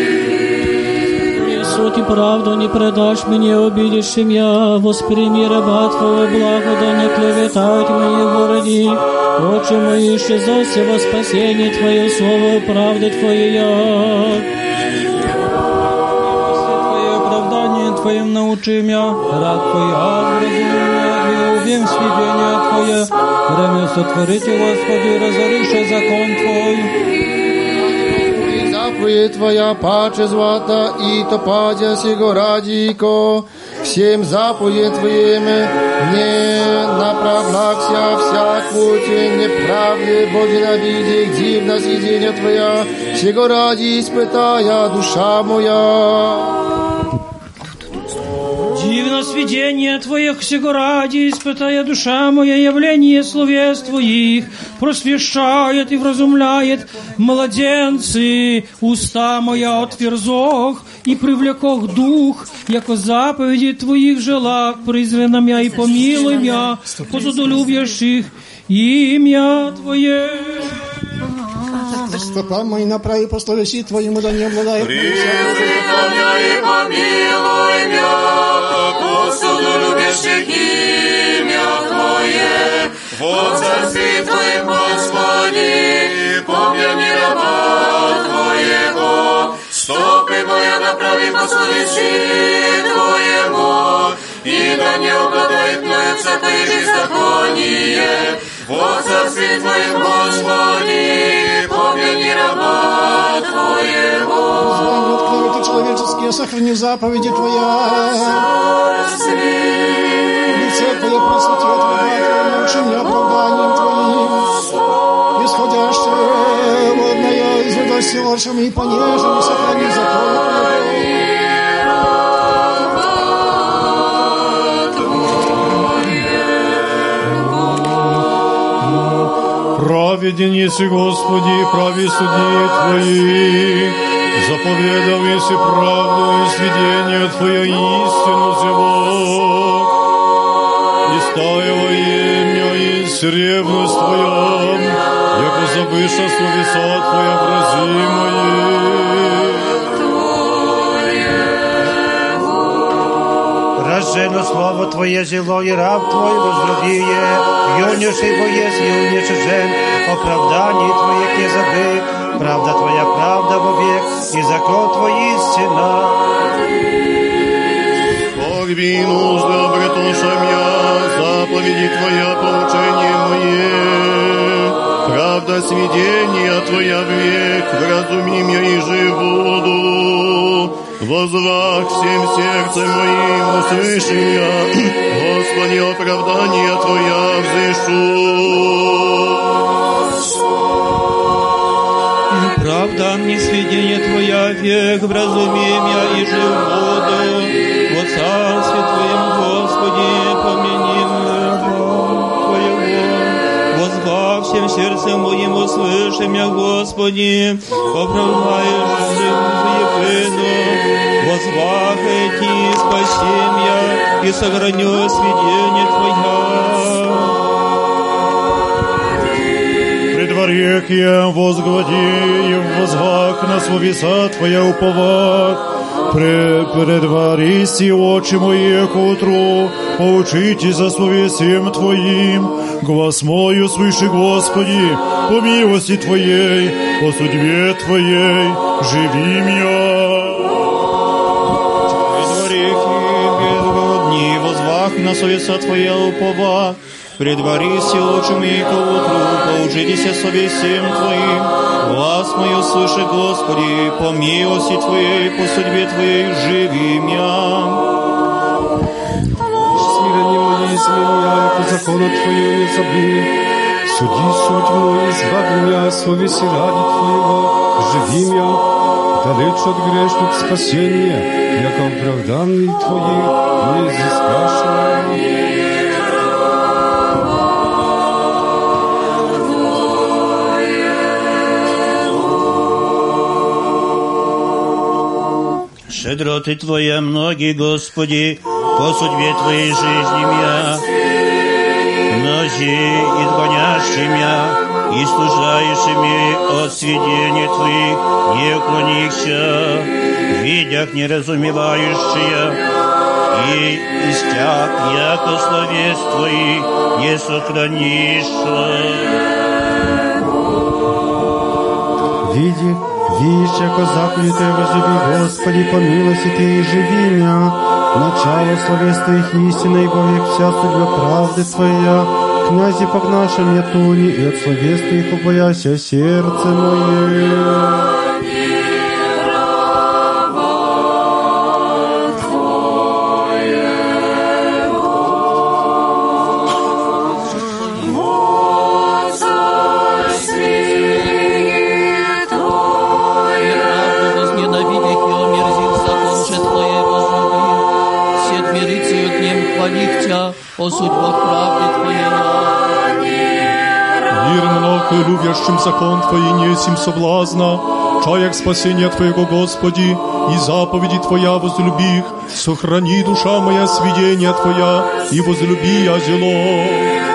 Суд и правду не предашь мне обидевшим я, восприми раба Твоего благо, да не клеветают мои вороги. Очи мои исчезося во спасение Твое, слово правды Твоя. Твое оправдание Твоим научи меня, рад Твоя вразумия, и увим сведения Твое. Время сотворите, Господи, разорише закон Твой. Заповедь Твоя паче звата, и топадя сего радико, всем заповедь Твоим не направлякся всяк путь неправды, Боже набиди, дивно свидение Твоя, сего ради испытая душа моя. Дивно свидение Твоих, сего ради испытая душа моя, явление словес Твоих просвещает и вразумляет младенцы, уста моя отверзох и привлекох дух, яко заповеди Твоих желах, призри на мя и помилуй мя, по судолюбящих имя Твое. Стопа мои направи по словеси Твоему, да не обладает. Призри на мя и помилуй мя, по судолюбящих имя Твое. Во царстве Твоем, Господи, помяни раба Твоего. Стопы моя направи по словеси Твоему, и да не обладает мною всякое беззаконие. Во царстве Твоем, Господи, помяни раба Твоего. Звание от клеветы человеческие, сохрани заповеди Твоя. Лице Твое просвети от врага Твоего, научи меня оправданием Твоим. Исходящее водное изведоси лошами и понежами, сохрани закон Праведен еси, Господи, прави суди Твои. Заповедал еси правду и сведение Твое, истину зело. Истаяло имя и ревность Твоя, яко забыша словеса Твоя вразимое. Рождено слово Твое зело, и раб Твой возлюбие, юношей боец, юношей жен, оправдание Твоих не забыт, правда Твоя правда вовек, и закон Твой истина. Бог вину обретуша мя, заповеди Твоя поучение мое. Правда сведения Твоя век, вразуми меня и живуду. Возвах всем сердцем моим услыши я, Господи, оправдание Твоя взышу. Правда мне сведение Твоя век, вразуми меня и жив буду. Во царстве Твоем, Господи, помяни раба Твоего. Возвах всем сердцем моим услыши меня, Господи, оправдаешь живую. Возвах эти спаси меня и сохраню сведение Твоя. Пред варекием возглади и возвах на словеса Твоя уповах. Предваристи очи мои к утру, поучите за словесием Твоим. Глаз мой услыши, Господи, по милости Твоей, по судьбе Твоей, живи меня. Возвах на совеса Твоя упова, Предварися очами и ко утру, поужитеся совесием Твоим. Глас мой услыши, Господи, по милости Твоей, по судьбе Твоей живи мя. Смирение мое изменяй, по закону Твоему не забыв. Суди суть мою, избави меня, совести ради Твоего, живи мя. Далеч от грешных спасения, яко оправданный Твоих не изыскашь. Щедроты Твоя многие, Господи, по судьбе Твоей жизни мя. Mnozi изгонящими и служающими от сведения Твоих не уклонихся, видях неразумевающие, и истяг, яко словес Твоих не сохранишь. Видишь, яко заповеди Твои возлюби, Господи, по милости Ты и живи мя. Начало словес Твоих истины, и вовек вся судьба правды Твоя. Князи погнаша мне туни, и от словес Твоих убояся сердце мое. о судьбах правды Твоей. Мир много любящим закон Твои несим соблазна, чаяк спасения Твоего, Господи, и заповеди Твоя возлюби их, сохрани, душа моя, сведения Твоя, и возлюби я зело.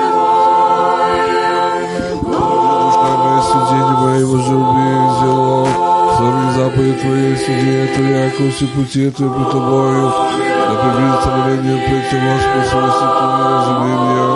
Душа моя, сведения мои, возлюби зело, сохрани заповеди Твои, сведения Твоя, яко все пути Твои пред Тобою, да приблизится моление пред Тебя, спасибо, Твои, разумей меня.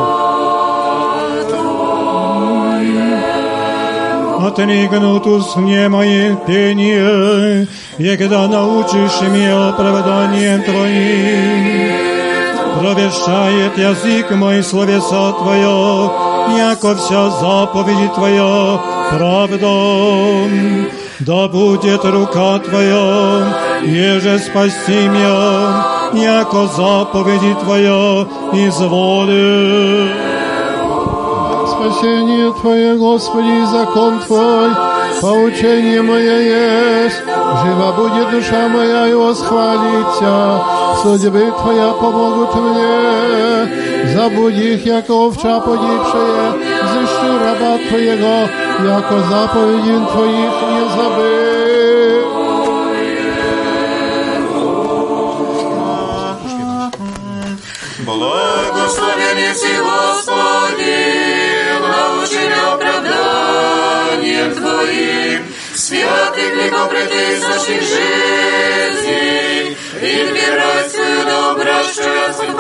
Отригнут усне моих пение, егда научишь меня оправданием Твоим. Провещает язык мой словеса Твоя, яко вся заповеди Твоя правда. Да будет рука Твоя, еже спасти меня, яко заповеди Твоя изволи. Спасение Твое, Господи, закон Твой, поучение мое есть. Жива будет душа моя и восхвалится. Судьбы Твоя помогут мне. Забудь их, яко овца погибшая. Взыщу раба Твоего, яко заповеди Твоих не забыл. Благословен еси, Господи, научи меня оправданием Твоим, святых веков предыдущих жизней, и дверь свою да обращая свое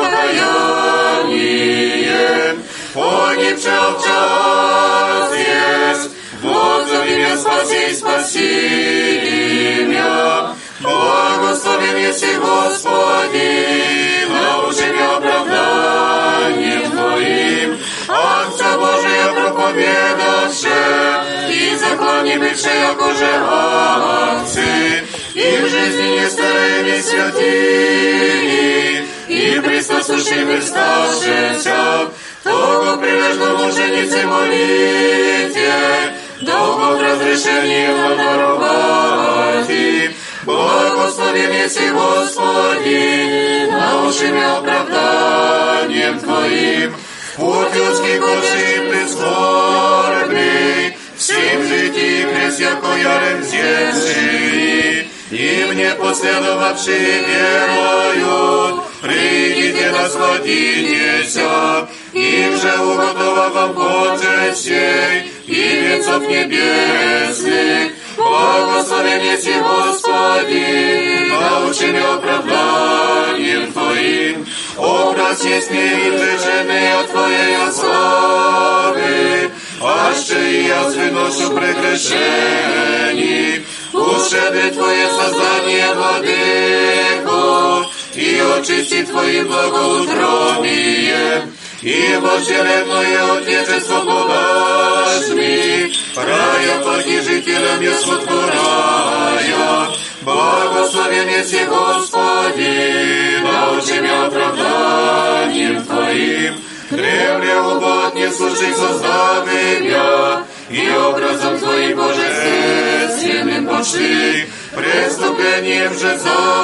покаяние. Погибший в час есть, воззови меня, спаси меня. Благословен еси, Господи, научи меня оправданием Твоим, Отца Божия проповедавши, и законе бывши, якоже акции, и в жизни не старые, не святые, и присосущими вставшися, того прилежно мученицы молите, долго в разрешении вам даровати. Благословен еси, Господи, научи меня оправданием Твоим, путь людский Божий прискорбный, всем житии крест, яко ярем земший, и мне последовавшие веруют, придите насладитеся, им же уготова вам почестей и венцов небесных. Благословен еси, Господи, научи меня оправданием Твоим, образ есть неизжиженный от Твоей славы, аще и я выношу прегрешений, ушеби Твое создание владыку, и очисти Твоим благоутробием, и вожделенное Отечество подашь ми, рая паки жителям ясотку рая. Благословен еси, Господи, научи меня оправданием Твоим, древле убот не слушай создавы меня, и образом Твоим божественным пошли, преступлением же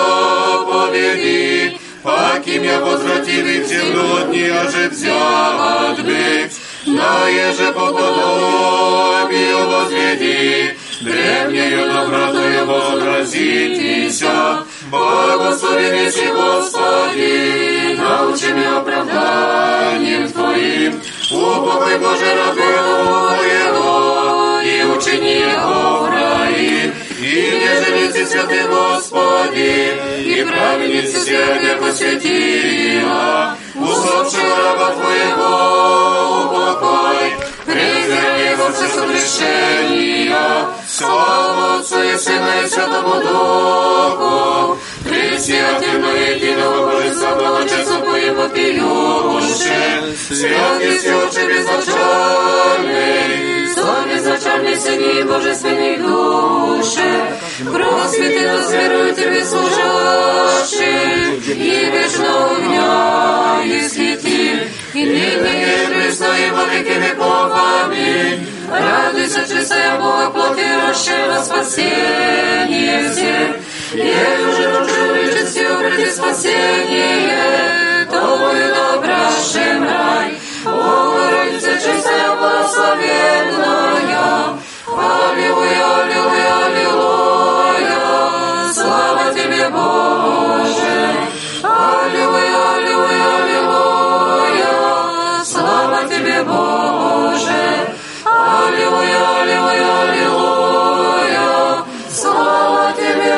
заповеди, паки меня возвратили в темно дни, а же взят быть, на еже по подобию возведи, древнею добротою вообразитеся. Благословен еси, Господи, научи меня оправданием Твоим, упокой Боже рабу Твоего, и учини его в раю. И не жалите, святый Господи, и праведницы святые посвятила, усопшего раба Твоего упокой, презри его все согрешения. Слава Отцу и Сыну и Святому Духу, пресвятому единого Божества, благочестно Твоим вопиюше, святый Отче безначальный, Сон безначальный, Сыне и Божественной Душе, кровь святых верует Тебе служащих, и вечного огня и светил, и ныне и пресно и во веки веков. Аминь. Радуйся, чистая Бога, плоти расширила спасение всех, и уже нужно лечить обрети спасение, Тобою добрашем рай. Богородица, чистая, благословенная, аллилуйя, аллилуйя, аллилуйя, слава Тебе, Боже, аллилуйя, аллилуйя, аллилуйя, слава Тебе, Боже, аллилуйя, аллилуйя, аллилуйя, слава Тебе,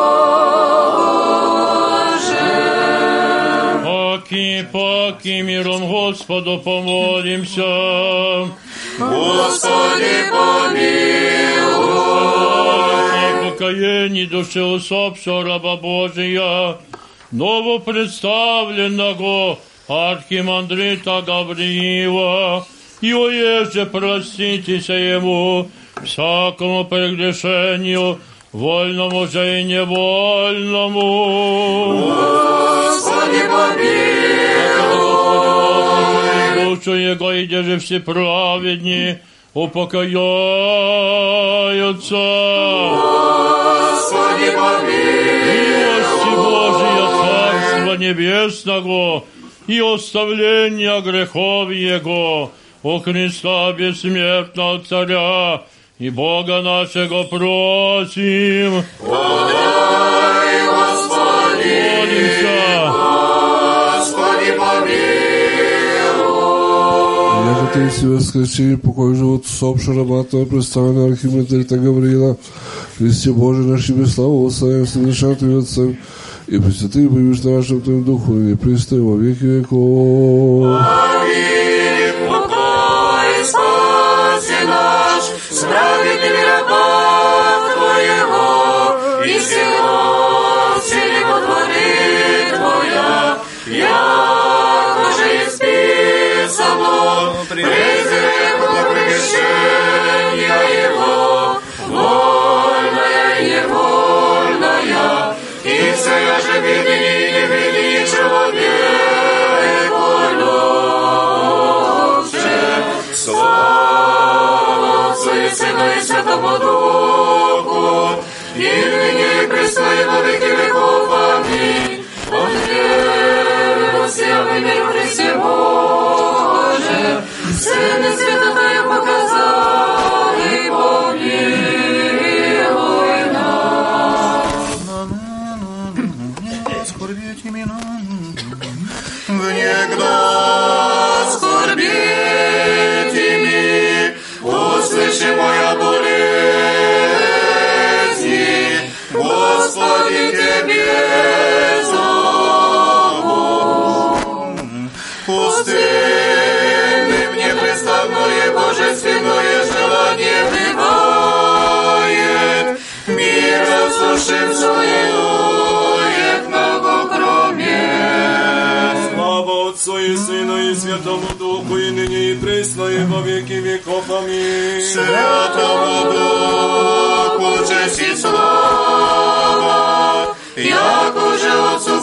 Боже. Поки миром Господу помолимся. Господи, помилуй. Покаяние души усопшего раба Божия, новопредставленного архимандрита Гавриила, и оеже проститеся ему всякому прегрешению, вольному же и невольному. Господи, помилуй. Душу его, и где же все праведни упокоятся. Господи, помилуй. Милости Божия, Царства Небесного, и оставления грехов Его, у Христа бессмертного Царя и Бога нашего просим. Подай, Господи, молимся. Господи, помилуй. Яко Ты все воскресили, покой живот усопшего раба Твоего, представленного архимандрита Гавриила, Христе Божий наш Тебе славу, восславим с небесам Твоим Отцем, и пресвятый будешь на нашем Твоем Духу, и престой во веки веков. Аминь. Покой, Спаси наш, справедливый раба Твоего, и всего силе во дворе Твоя, яко же исписано, презри благопрещения Его, вольная и невольная, и вся же видни и не видни человек любче. Слава Отцу и Сыну и Святому Духу, и ныне и пресно и во веки веков. Аминь. От веры всем и мир Христе Боже, Сын и святая показал, и помилуй нас. Внегда скорбетими, услыши моя болезни, Господи, Тебе зову. Пустынным непрестанное божественное желание бывает, мира слушаем свою, як много кроме. Слава Отцу Отцу и Сыну и Святому Духу, и ныне и присно, и во веки веков. Аминь. Святому Духу честь и слава, яко же Отцу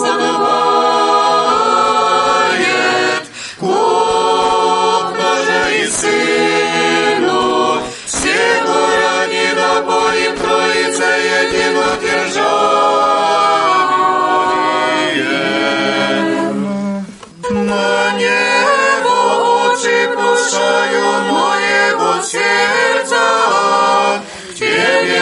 подобает, купно же и Сыну, всего ради напоим Троице единодержавие. На небо очи пущаю моего сердца, в Тебе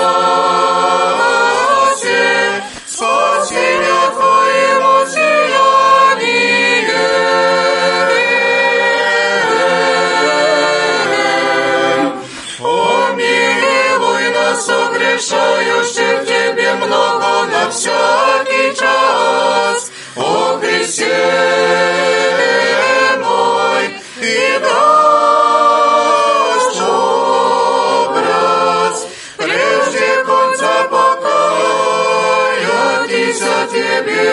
спасе, спасения Твоему сияние. Помилуй нас, согрешающих Тебе много на всякий час, о Христе мой, и дашь образ, прежде конца покаятися Тебе.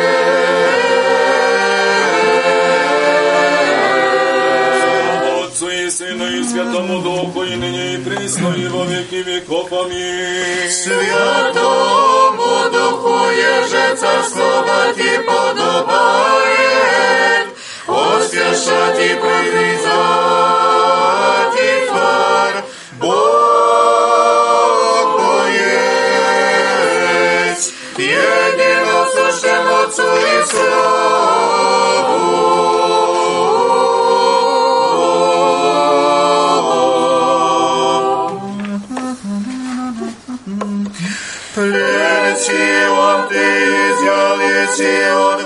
Отцу и Сыну и Святому Духу, и ныне и присно, и во веки веков. Аминь. Святому Духу еже царствовать и подобает, освящать и прогрызать и тварь, Бог есть, единосущим Отцу и славу. Плетион ты изъял еси от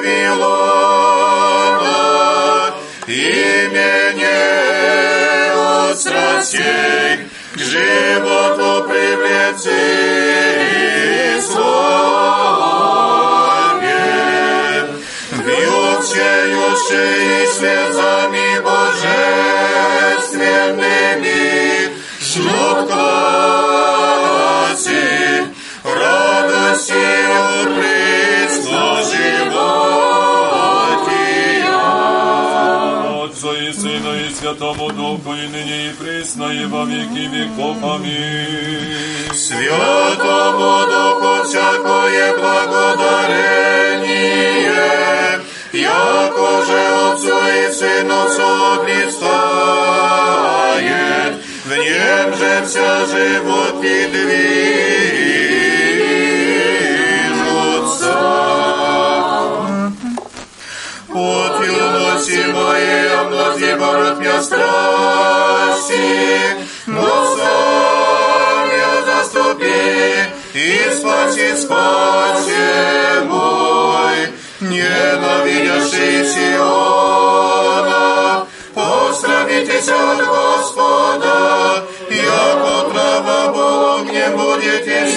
Вавилона, имене от страстей к животу привлечи и славе, вьючеющий слезами божественными, ждут класси, радостью прыцно животия. Отцу и Сыну и Святому Духу, и ныне и присно, и во веки веков. Аминь. Святому Духу всякое благодарение, яко же Отцу и Сыну соблистает, в нем же вся живот и движутся. От юности моей омлади борот меня страсти, но сам я заступи и спаси мой, ненавидящий Сиона, посрамитесь от Господа, яко трава Богом не будете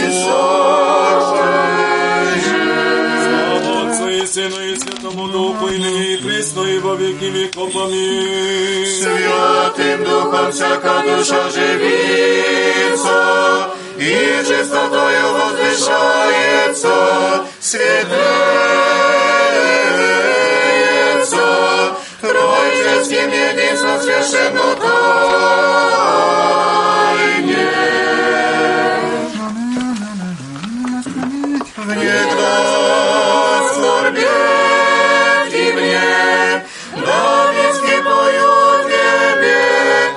сожжать. Отцу и Сыну и Святому Духу, и ныне и присно, и во веки веков. Аминь. Святым Духом всяка душа живится, и чистотою возвышается, светлеется, Троицким единством священно тайне. Внегда скорбеть и мне, Давидский пою Тебе,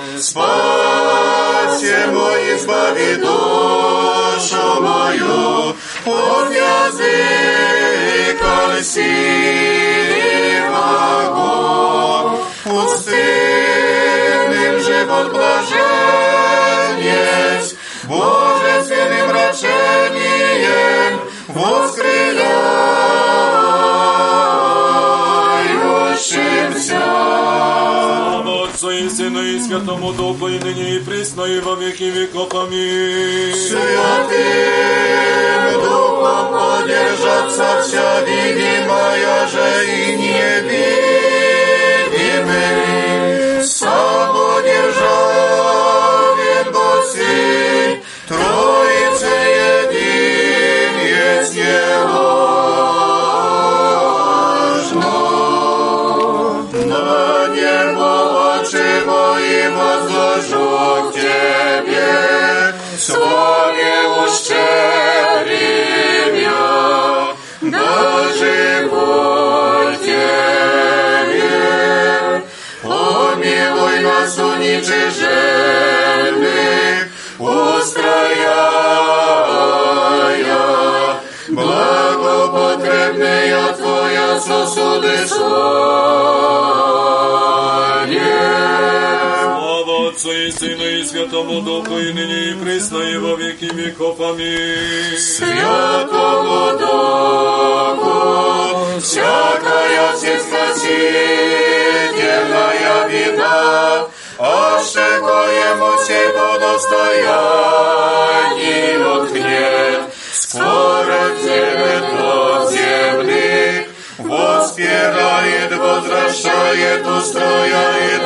спаси мой, избави душу мою от языка льстивого, пустынным живот блажен есть, божественным рачением воскрыляющимся. Отцу и Сыну и Святому Духу, и ныне и присно, и во веки веков. Аминь. Святым Духом подержаться вся видимая же и невидимый, сам удержавен Бог сей, Троице един есть не ложно. хлебная Твоя сосуды Слава Отцу и Сыну и Святому Духу, и ныне и присно, и во веки веков. Аминь. Святому Духу всякая всеспросительная вина, аще коему сей по достоянию ткнет, скоро вземет от земли, воспирает, возвращает, устрояет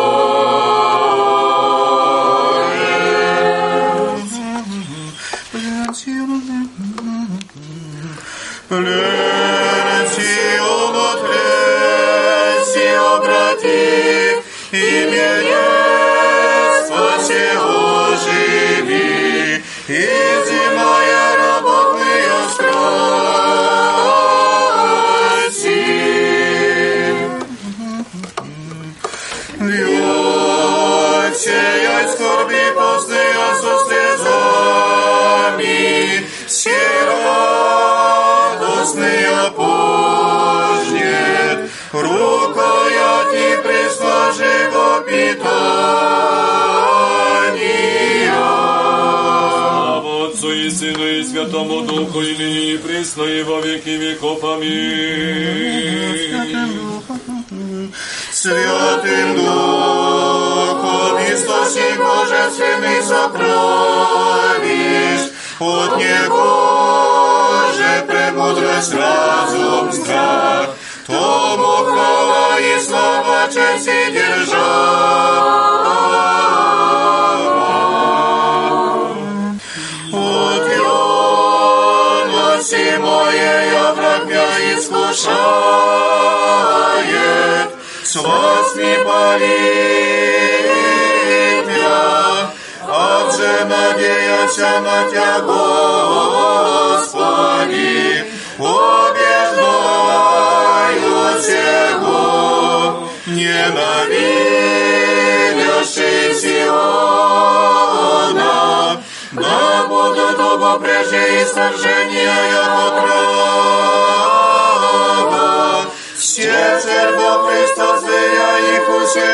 Плесион отрези, обрати, имение спаси, оживи, изымая работные страсти. Льет сеять скорби постные со слезами, сей радостный опожнет, рукояти пресложего питания. Слава Отцу и Сыну и Святому Духу, и ныне и присно, и во веки веков. Аминь. Святым Духом источник божественный сокровищ, от Него же премудрость, разум, страх, тому хвала и слава, честь и держава. От юности моей враг меня искушает, с вас не палит я, отже надеяся на Тя, Господи, побеждаю сего, ненавидящий Сиона, да будут оба прежде и сожжения его трава, все церковь Христос, я их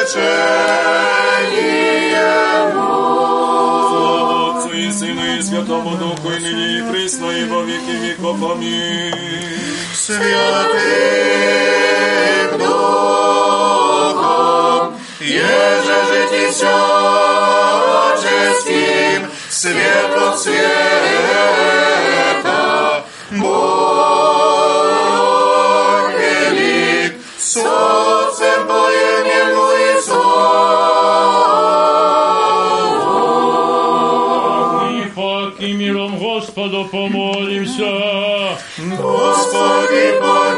усечением. И Сыну и Святому Духу, и ныне и присно, и во веки веков. Аминь. Святым Духом, еже житий всяческим, свет от света, Бог велик, с Отцем поемему и И миром Господу помолимся. Господи,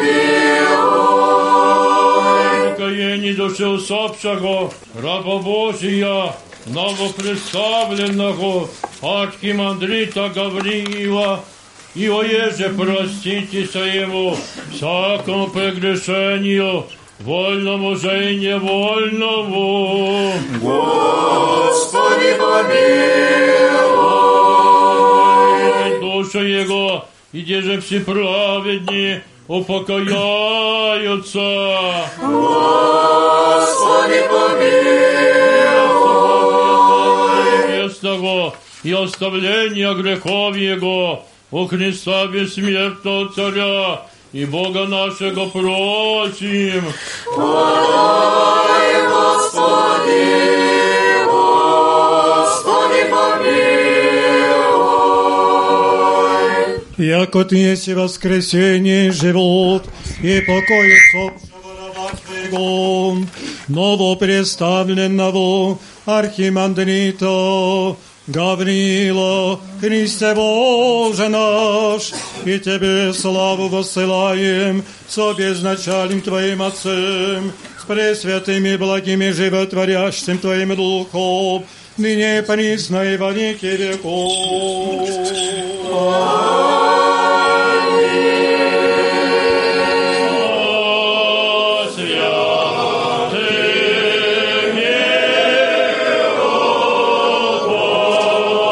помилуй. Покаяние души усопшего, раба Божия, новопредставленного архимандрита Гавриила, и оеже проститеся ему всякому прегрешению, вольному же и невольному. Господи, помилуй. Душа его, и где же все праведни упокояются. Господи, помилуй. Местного и оставления грехов его у Христа бессмертного Царя и Бога нашего просим. Подай, Господи, Господи, помилуй. Яко Ты есть воскресение, живот и покой собственного раба Твоего, новопредставленного архимандрита Гавриила, Христе Боже наш, и Тебе славу воссылаем со безначальным Твоим Отцем, с пресвятым и благим и животворящим Твоим Духом, ныне и присно и во веки веков.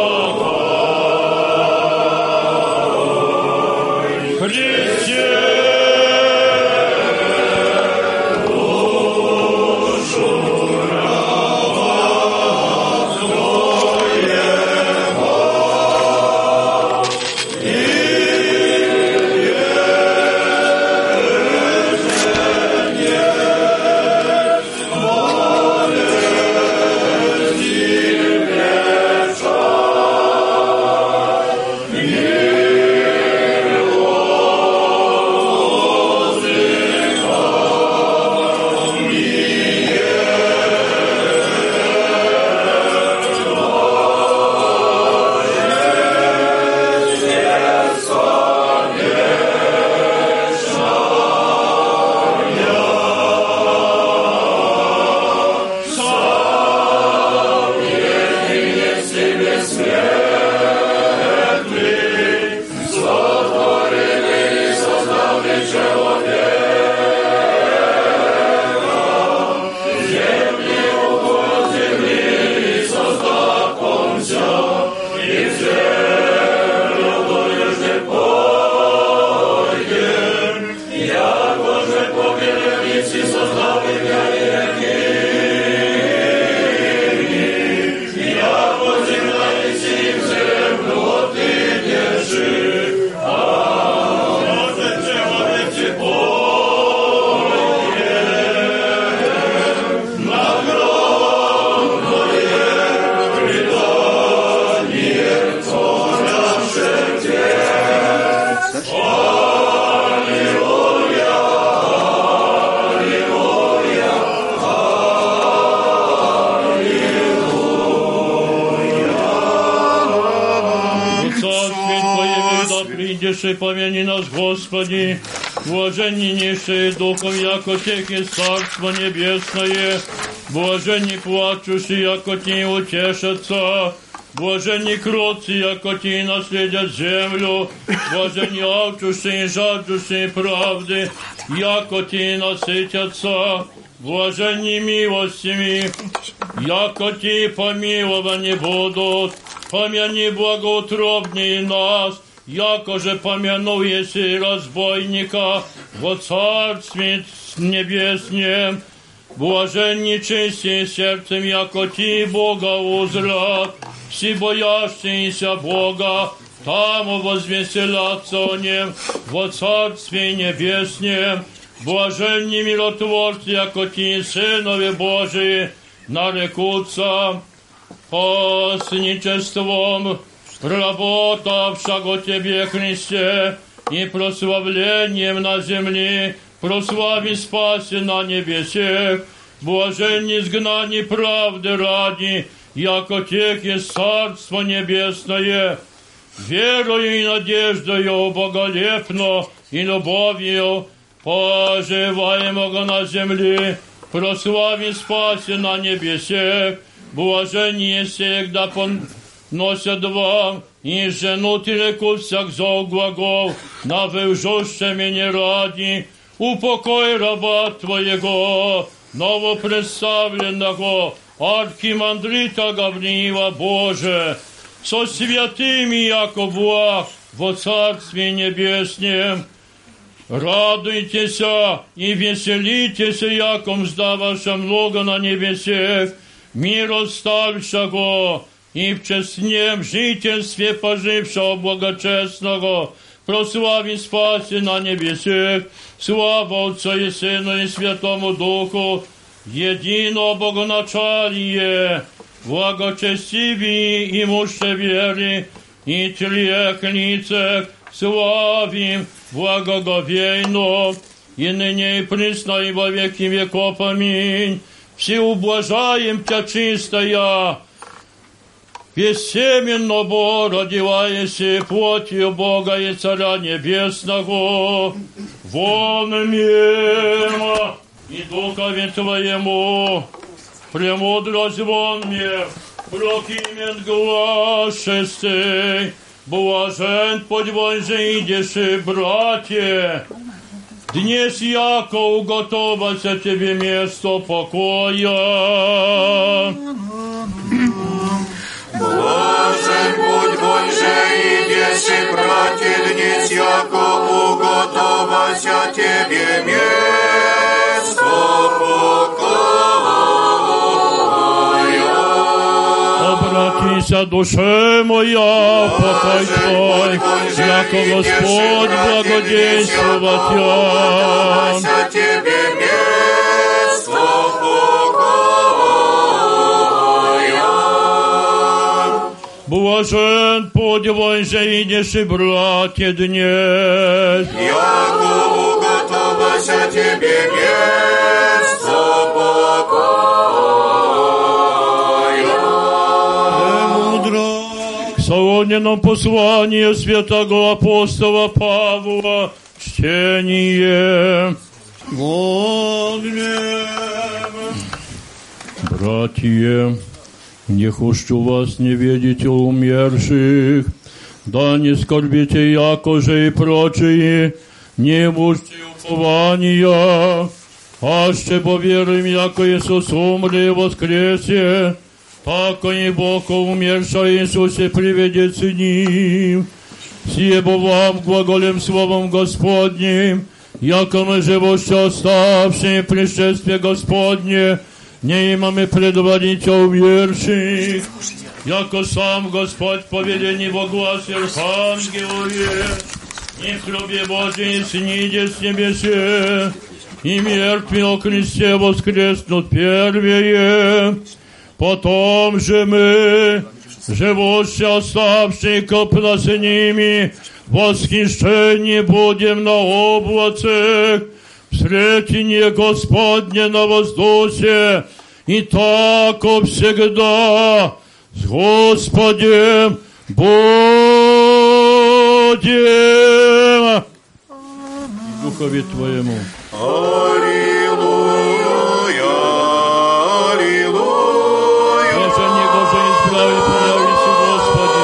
Христе души, помяни нас, Господи, блаженнейшие духом, яко тех есть Царство Небесное, блаженни плачущие, яко те утешатся, блаженни кротцы, яко те наследят землю, блаженни алчущие и жаждущие правды, яко те насытятся, блаженни милостями, яко те помилованы будут, помяни благоутробнее нас, яко же помянул еси разбойника во Царстве Небеснем, блаженни чистые сердцем, яко ти Бога узрят, все боящиеся Бога, там возвеселятся о Нем во Царстве Небеснем, блаженни миротворцы, яко ти Сынове Божии нарекутся постничеством, работавшего Тебе, Христе, и прославлением на земле, прослави спаси на небесех, блаженни изгнани правды ради, яко тех есть Царство Небесное, верою и надеждою боголепно и любовью поживаемого на земле, прослави спаси на небесех, блаженни всегда поносят вам, и женут и рекут всяк зол глагол, на вылжуще меня ради, упокой раба Твоего, новопредставленного архимандрита Гавриила Боже, со святыми, яко благ во Царстве Небеснем. Радуйтесь и веселитесь, яко мзда ваша много на небесех, мир оставшего, и в честнем жительстве пожившего благочестного, прослави спаси на небесех, слава Отцу и Сыну и Святому Духу, едино Богоначалие, благочестивее и муще веры, и трех лицах славим благоговейно, и ныне и присно и во веки веков. Аминь. Все ублажаем Тя чистая, бессеменно родиваешься плотью Бога и Царя Небесного, вон мимо и Духове Твоему, премудрость вон мне, прокимен глаз шестей, блажен подвой же идешь, братья, днес яко уготоваться тебе место покоя. Блажен путь Бой же идешь, братья, днес яко уготовася тебе место покоя. Обратися, душе моя, покой Твой, яко Господь благодействовать уготовася тебе место покоя. Блажен подвой же идешь, братья, днес, яко уготовася тебе место покоя. К Солонином посланию святого апостола Павла чтение. Братья, не хочу вас не видеть умерших, да не скорбите, яко же и прочие, не мужьте упования, аще поверуем, яко Иисус умре и воскресе, тако и Бог умерша Иисусе приведет с ним. Сие бо вам глаголем словом Господним, яко мы живоще оставшие пришествие Господне, не имаме предводителя умерших, яко сам Господь повелени во гласе архангелове, и в храбе Божией снидет с небесе, и мертвые о кресте воскреснут первые. Потом же мы, живущие оставшие копна с ними, восхищение будем на облацах, встретение Господне на воздухе, и так всегда с Господем будем. Духові Твоєму. Аллилуйя, аллилуйя. Блаженні, блаженні справи, появися, Господи.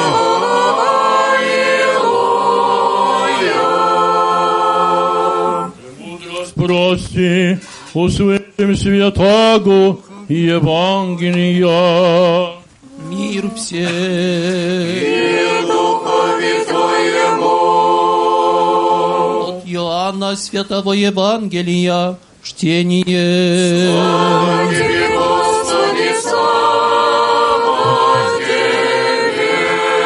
Аллилуйя. Мудрость прости, услышим святаго Евангелия. Мир всем. Мир Духові Твоєму. От Иоанна Святого Евангелия чтение. Слава Тебе, Господи, слава Тебе.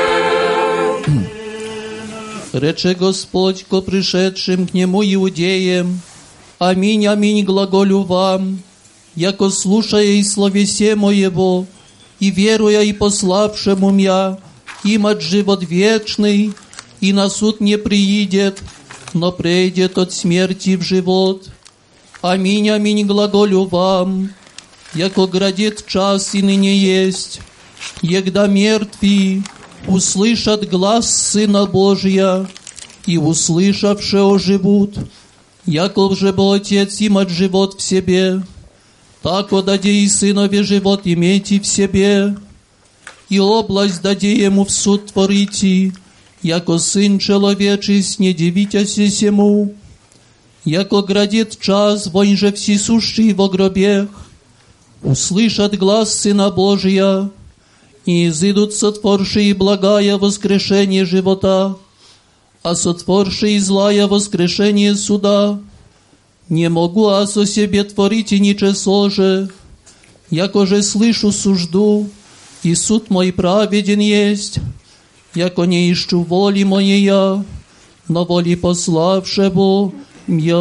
Рече Господь ко пришедшим к Нему иудеям: Аминь, аминь, глаголю вам, яко слушая и словесе моего, и веруя и пославшему мя, имат живот вечный, и на суд не приидет, но прейдет от смерти в живот. Аминь, аминь, глаголю вам, яко грядет час и ныне есть, егда мертвые услышат глас Сына Божия, и услышавши оживут, яков же бы Отец имат живот в себе, так даде и Сынове живот имейте в себе, и область даде ему в суд творите, яко Сын Человечий не дивитяся сему, яко грядет час, вонь же всесущий во гробех, услышат глас Сына Божия, и изыдут сотворшие благая воскрешение живота, а сотворшие злая воскрешение суда. Не могу аз о себе творить и ничего же, яко же слышу сужду, и суд мой праведен есть, яко не ищу воли моей, но воли пославшего мя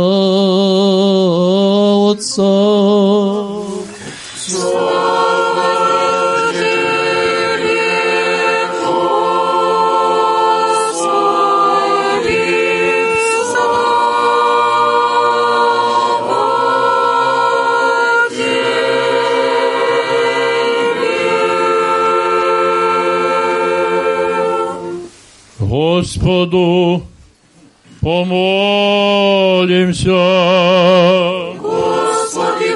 Отца. Господу помолимся. Господи,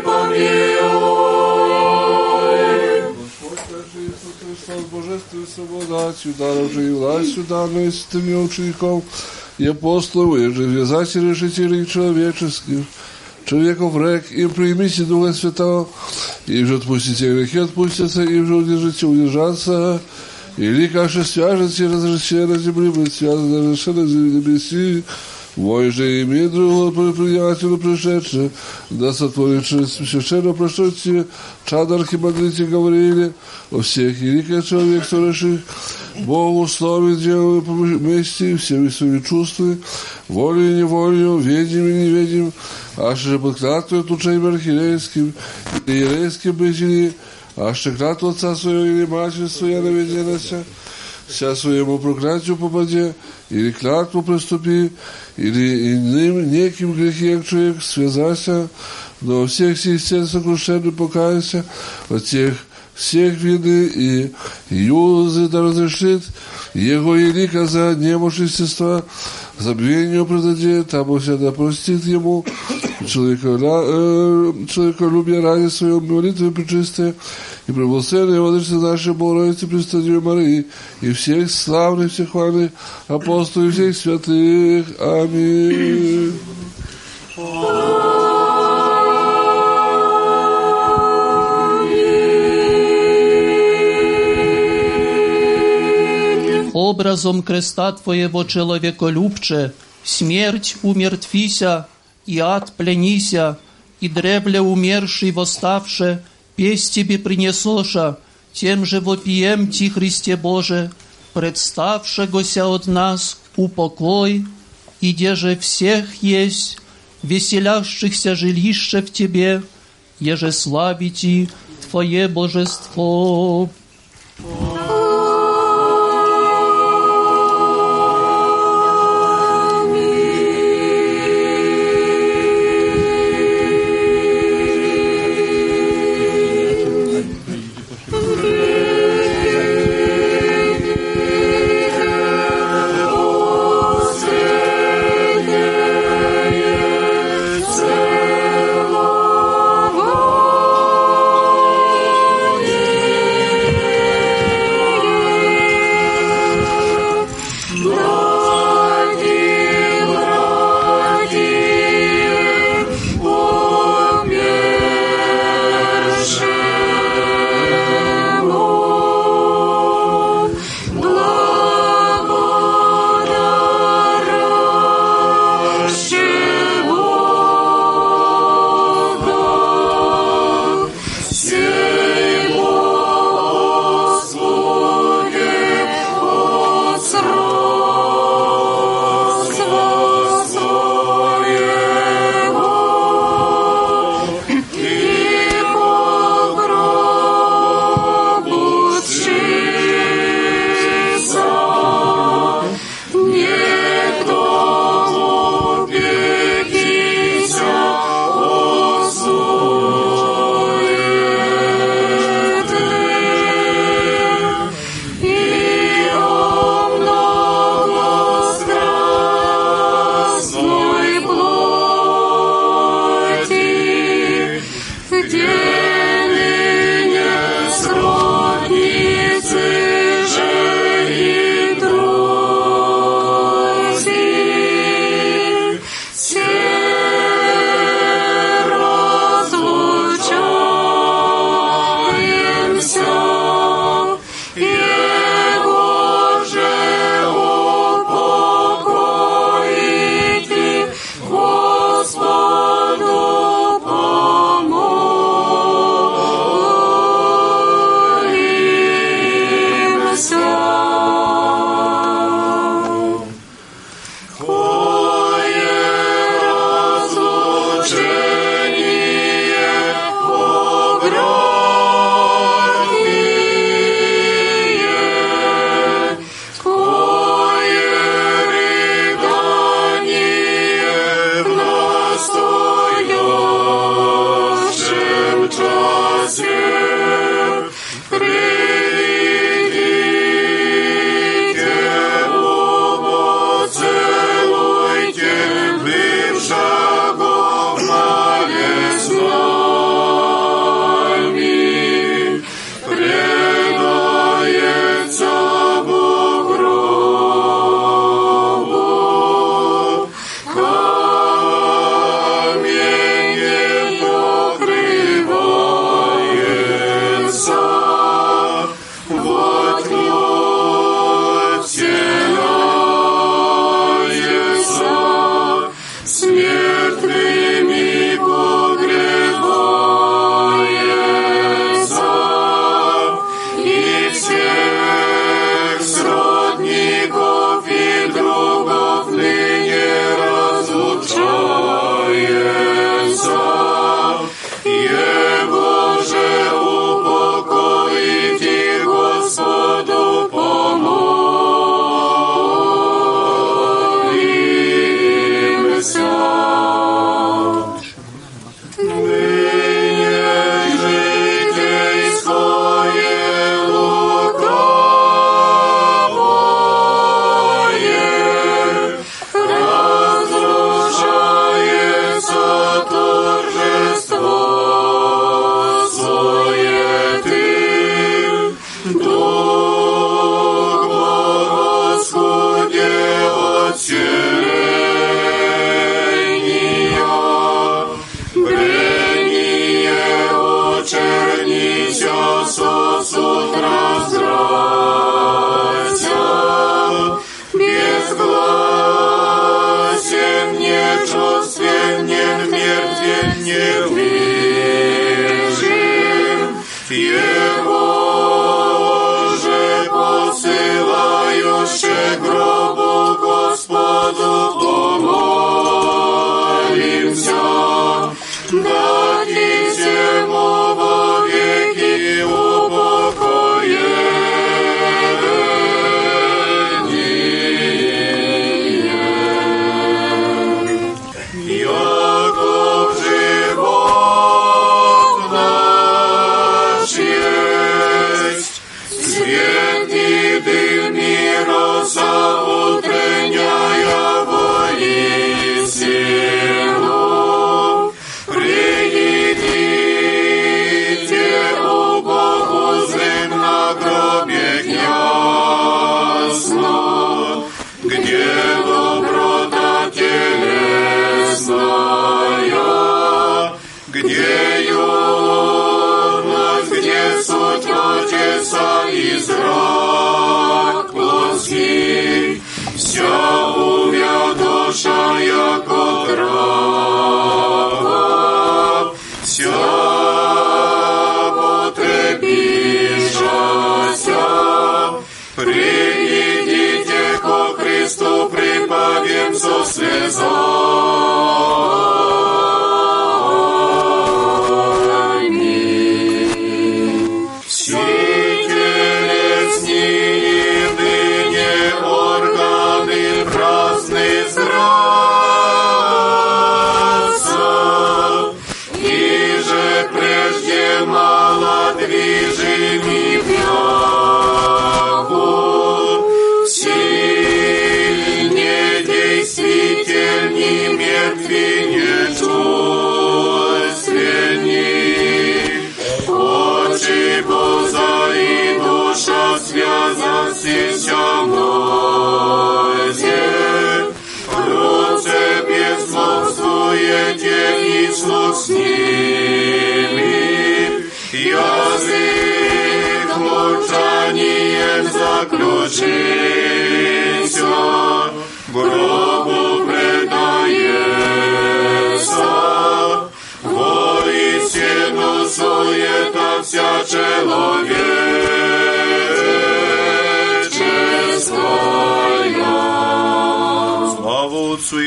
помилуй. Господь наш Иисус Христос, Божествуй свободачу, даровши и властью данную святыми учеников и апостолов, и же вязать и решителей человеческих, человеков рек, им примите Духа Святого, и же отпустите грехи, отпустятся, и же удержите, удержаться, или каше свяжете, разрешите на земле, быть связаны, разрешите на небеси, вой же имеет другого приятеля пришедшего, да сотворит священно прошлите, чада архимандрите говорили, о всех великий человек, соверших Богу славе делаю вместе, всеми своими чувствами, волей и неволею, ведим и неведим, аж же под клятвой отлучением архиерейским и иерейским бытии, аж же клятву отца своего или матери своя наведенася, вся своему проклятию попаде, или клятву приступи, или иным неким грехе, как человек, связался, но во всех сих стен сокрушенный покаяся, от тех всех вины и юзы да разрешит, его елика за немощь естества, забвению предадет, там всегда простит ему, человеколюбие ради своего молитвы пречистые, и преблагословенные владычицы нашей Богородицы Пресвятой Марии, и всех славных, всех хвальных апостолов, и всех святых. Аминь. Образом креста Твоего человеколюбче, смерть умертвися, и ад пленися, и древле умерший восставше, песнь Тебе принесоша, тем же вопием Ти, Христе Боже, представшегося от нас упокой, и деже всех есть, веселящихся жилище в Тебе, еже славите Твое божество.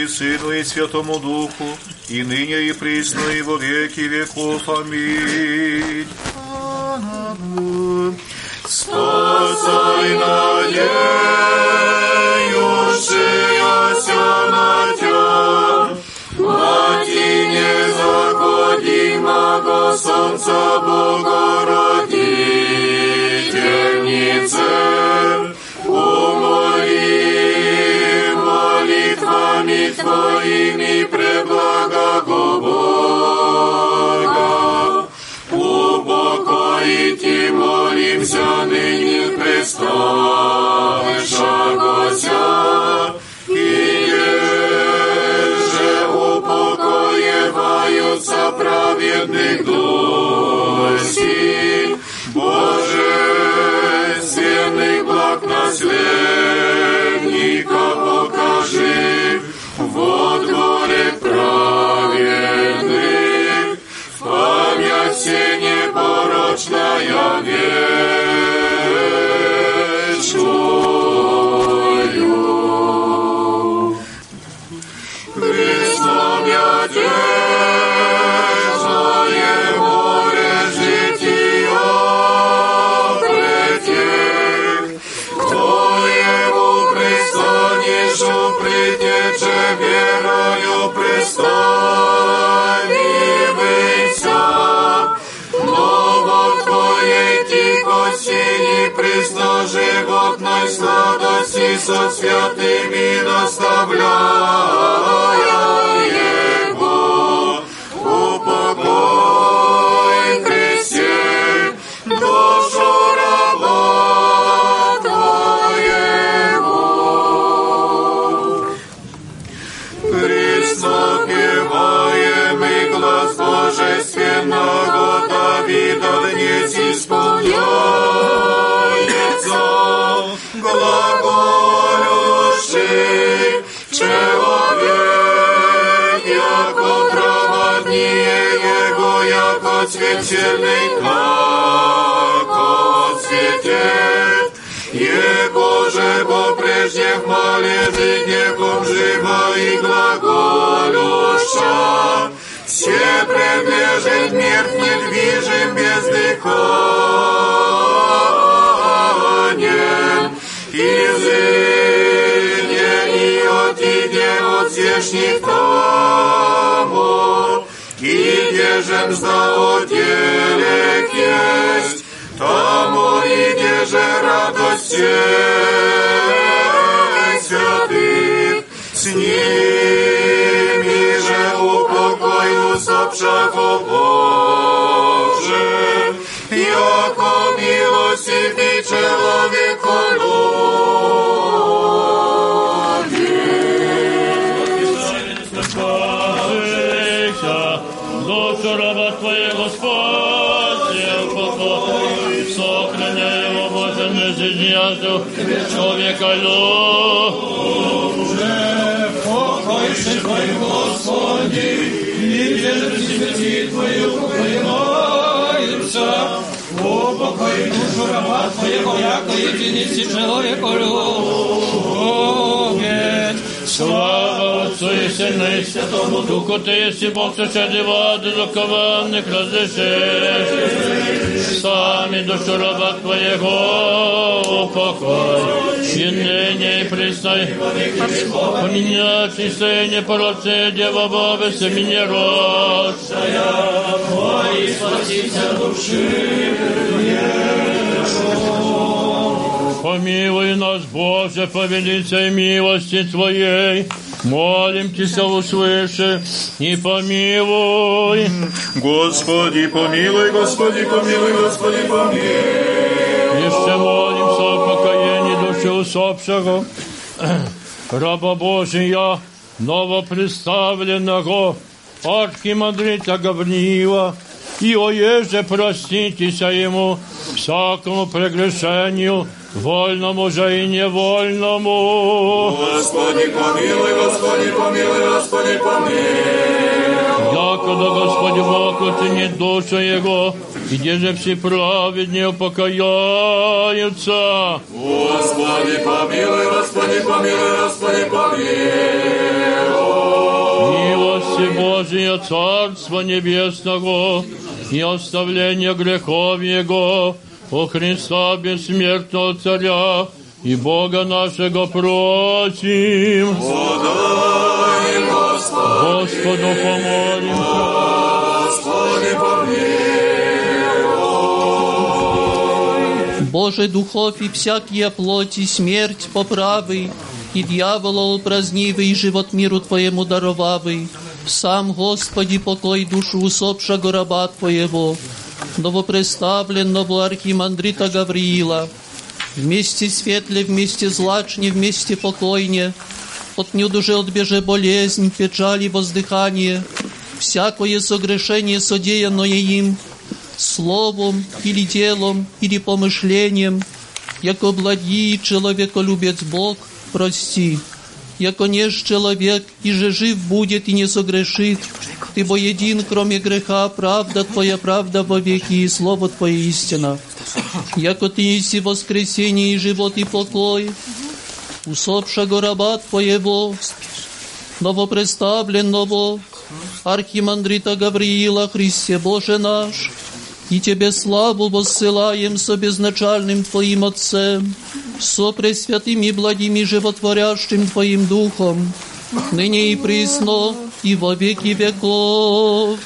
и Сыну, и Святому Духу, и ныне, и присно, и во веки веков. Аминь. Спасай надеющаяся на Тя, Мати незаходимого Солнца Богородительнице, умоли молитвами Твоими преблагого Бога. Упокоите, молимся ныне представшегося, и еже упокоеваются праведных дуси, божественных благ наследника покажи, вот горе праведных, память все непорочная вечную. Христом я держое море жития претек, кто ему пристанешь, притече верою представимся. Пресно животной сладости со святыми наставляя Его, упокой Христе душу раба Твоего. Пресно певаемый глаз божественного Давида вниз исполняется, глаголющий человек, яко праведнее его, яко цветельный, како цветет, его же бо прежде в мале житнеком жива и глаголюща, все предлежит мертв недвижим бездыханен, изыдя и отиде от здешних тому, и держем здаоделек есть, тому и держи радость святых, с ними же упокой усопшего Боже, яко милости человеку душу раба Твоего Господи, упокой, сохраняй его, Боже, не жизнью человека Уже покойся Твой, Господи, и держи святи Твою упокоимся. Упокой душу раба Твоего, яко единицы человеку любит. Слава Отцу и Сыну и Святому Духу, Ты есть Бог, сошедший в воду закованных разрешишь. Сами душу раба Твоего упокой, и ныне и присно, поменявшийся непорочная Дева Бога, семени родшая, Твои спасися души. Помилуй нас, Боже, по великой милости Твоей, молим Тебя, услыши и помилуй. Господи, помилуй, Господи, помилуй, Господи, помилуй. Еще молимся о покаянии души усопшего, раба Божия, новопредставленного архимандрита Гавриила, и оеже проститеся ему всякому прегрешению, вольному же и невольному. Господи, помилуй, Господи, помилуй, Господи, помилуй. Якогда Господи Бог оценит душу его, и где же все праведнее покаяются. Господи, помилуй, Господи, помилуй, Господи, помилуй. Божие Царства Небесного и оставление грехов Его, о Христа бессмертного Царя и Бога нашего просим. Подай, Господи, Господу помолимся. Господи, помилуй. Боже, духов и всякие плоти, смерть поправый, и дьявола упразднивый, живот миру Твоему даровавый. Сам, Господи, покой душу усопшего раба Твоего, новопреставленного архимандрита Гавриила, вместе светле, вместе злачне, вместе покойне, отнюдь уже отбеже болезнь, печаль и воздыхание, всякое согрешение, содеянное им, словом или делом, или помышлением, яко благий человеколюбец Бог, прости, яко неж человек, и же жив будет и не согрешит, Ты боедин, кроме греха, правда Твоя правда во веки, и слово Твое истина. Яко Ты еси воскресение и живот и покой, усопшего раба Твоего, новопреставленного архимандрита Гавриила, Христе Боже наш, и Тебе славу воссылаем со безначальным Твоим Отцем, со пресвятым и благим и животворящим Твоим Духом, ныне и присно, и во веки веков.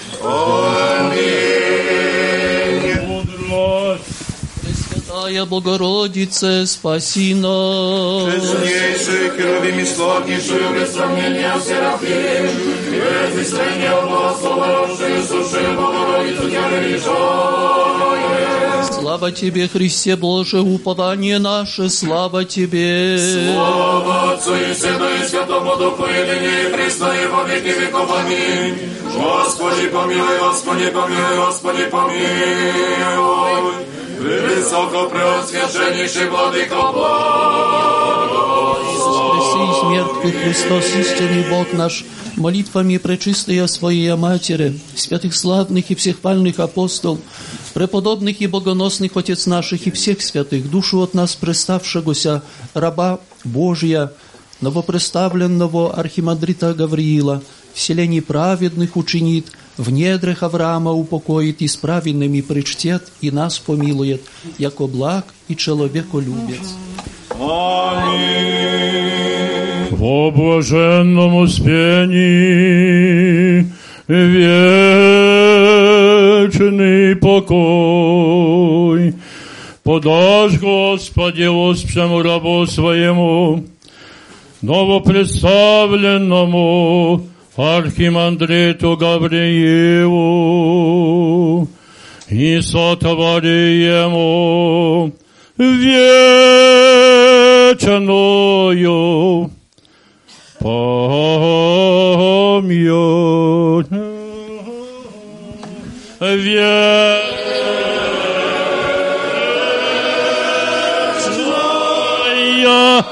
Пресвятая Богородице, спаси нас. Честнейший, херувим и славнейший, без сомнения Серафим, без истрения благословавший, суши Богородицу Тя величаем. Слава Тебе, Христе Боже, упование наше, слава Тебе. Слава Отцу и Сыну и Святому Духу, и ныне и присно, и во веки веков. Аминь. Господи помилуй, Господи помилуй, Господи помилуй. Превысокопреосвященнейший Владыка благослови. Воскреси из мертвых Христос, истинный Бог наш, молитвами пречистая Своей Матери, святых славных и всехвальных апостол, преподобных и богоносных Отец наших и всех святых, душу от нас преставшегося раба Божия, новопреставленного архимандрита Гавриила, вселений праведных учинит, в недрах Авраама упокоит, и с праведными причтет, и нас помилует, яко благ и человеколюбец. Аминь. Во блаженном успении вечный покой подашь, Господи, воспшему рабу Своему, новопредставленному архимандриту Гавриилу, и сотвори ему вечную память. Вечная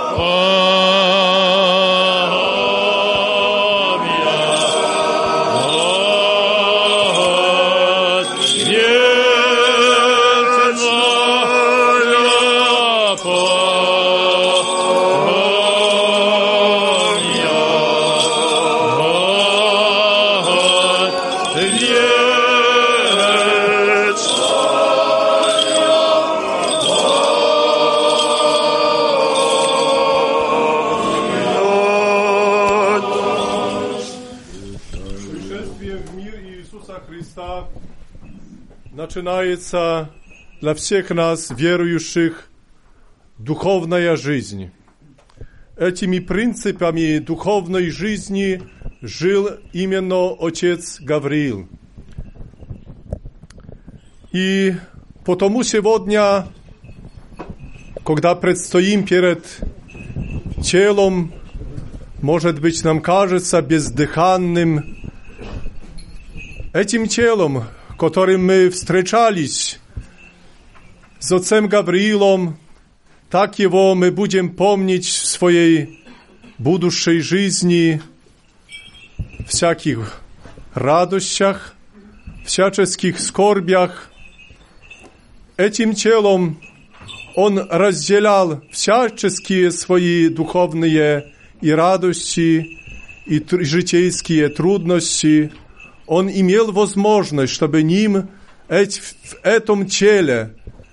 начинается для всех нас, верующих, духовная жизнь. Этими принципами духовной жизни жил именно отец Гавриил. И потому сегодня, когда предстоим перед телом, может быть, нам кажется бездыханным, этим телом, которым мы встречались с отцем Гавриилом, так его мы будем помнить в своей будущей жизни, всяких радостях, всяческих скорбях. Этим телом он разделял всяческие свои духовные и радости, и житейские трудности, Он имел возможность, чтобы в этом теле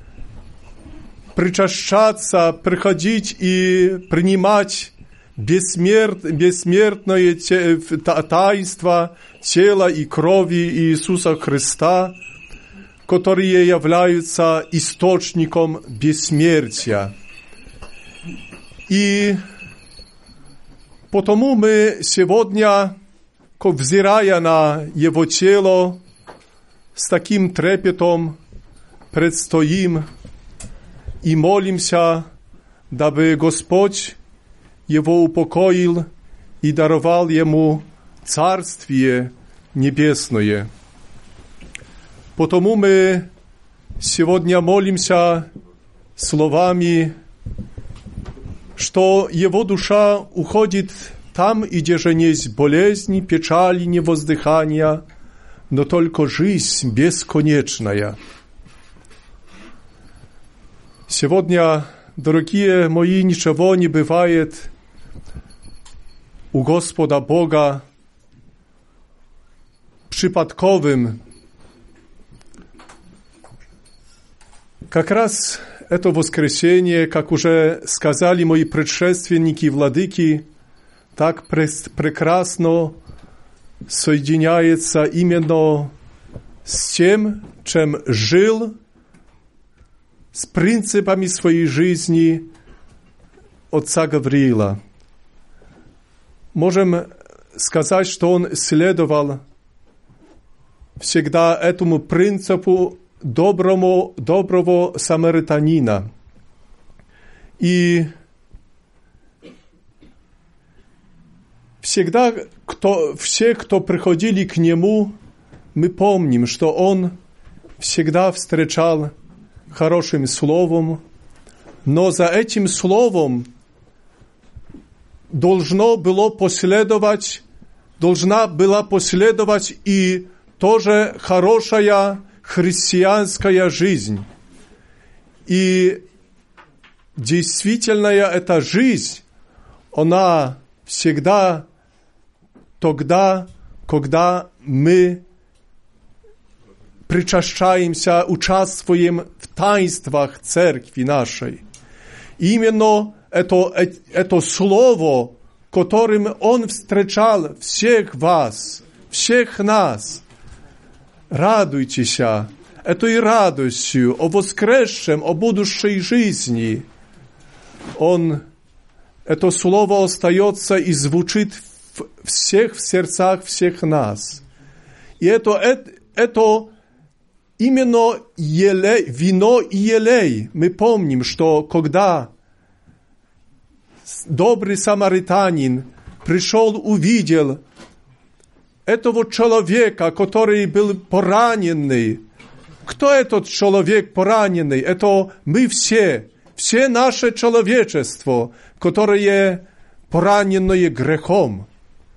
причащаться, приходить и принимать бессмертное таинство тела и крови Иисуса Христа, которые являются источником бессмертия. И потому мы сегодня, взирая на Его тело, с таким трепетом предстоим и молимся, дабы Господь его упокоил и даровал ему Царствие Небесное. Потому мы сегодня молимся словами, что его душа уходит там, где же есть болезни, печали, невоздыхания, но только жизнь бесконечная. Сегодня, дорогие мои, ничего не бывает у Господа Бога przypadkowym. Как раз это воскресенье, как уже сказали мои предшественники и владыки, так прекрасно соединяется именно с тем, чем жил, с принципами своей жизни отца Гавриила. Можем сказать, что он следовал всегда этому принципу доброго самаритянина. И всегда все, кто приходили к нему, мы помним, что он всегда встречал хорошим словом, но за этим словом должна была последовать и тоже хорошая христианская жизнь. И действительная эта жизнь, она всегда тогда, когда мы причащаемся, участвуем в таинствах церкви нашей. Именно это слово, которым Он встречал всех вас, всех нас. Радуйтесь этой радостью о воскресшем, о будущей жизни. Это слово остается и звучит в сердцах всех нас. И это именно вино и елей. Мы помним, что когда добрый самаритянин пришел, увидел этого человека, который был пораненный. Кто этот человек пораненный? Это мы все наше человечество, которое пораненное грехом.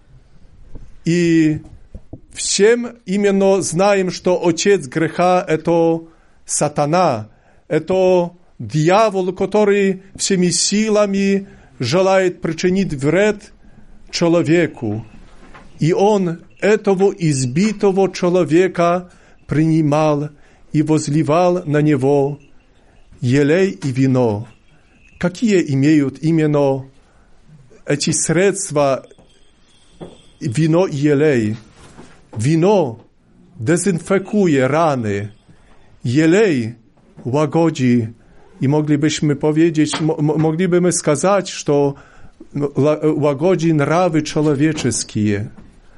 И всем именно знаем, что отец греха – это сатана, это дьявол, который всеми силами желает причинить вред человеку. И он этого избитого человека принимал и возливал на него елей и вино. Какие имеют именно эти средства вино и елей? Вино дезинфекuje раны, елей łagodzi i moglibyśmy сказать, что łagodzi nrawy человеческие.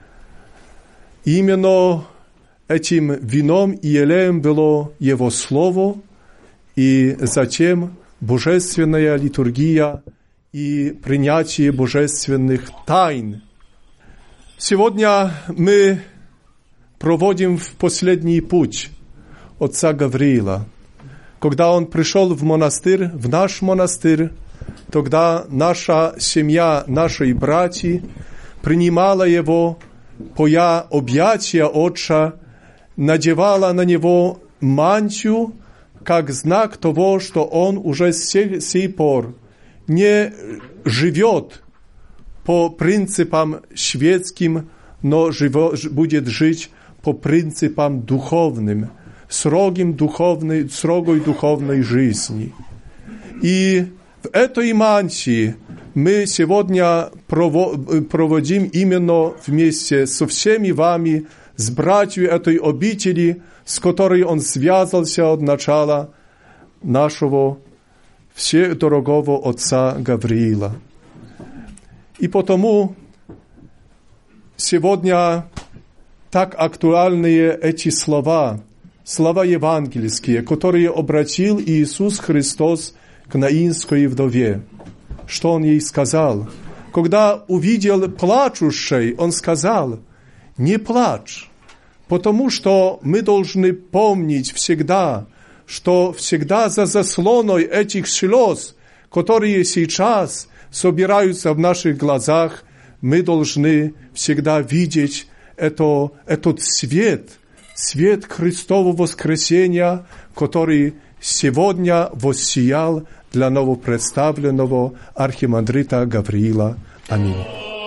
Именно этим вином и елеем было Его Слово, и затем божественная литургия и принятие божественных тайн. Сегодня мы проводим в последний путь отца Гавриила. Когда он пришел в монастырь, в наш монастырь, тогда наша семья, наши братья принимала его, поя объятия отца, надевала на него мантию, как знак того, что он уже с сих пор не живет po pryncypam świeckim, no będzie żyć po pryncypam duchownym, srogoj duchownej żyzni. I w этой манси мы сегодня проводим именно вместе со всеми вами, с братьями этой обители, с которой он связался от начала нашего вседорогого отца Гавриила. И потому сегодня так актуальные эти слова евангельские, которые обратил Иисус Христос к наинской вдове. Что он ей сказал? Когда увидел плачущей, он сказал: не плачь, потому что мы должны помнить всегда, что всегда за заслоной этих слез, которые сейчас собираются в наших глазах, мы должны всегда видеть этот свет Христового воскресения, который сегодня воссиял для новопредставленного архимандрита Гавриила. Аминь.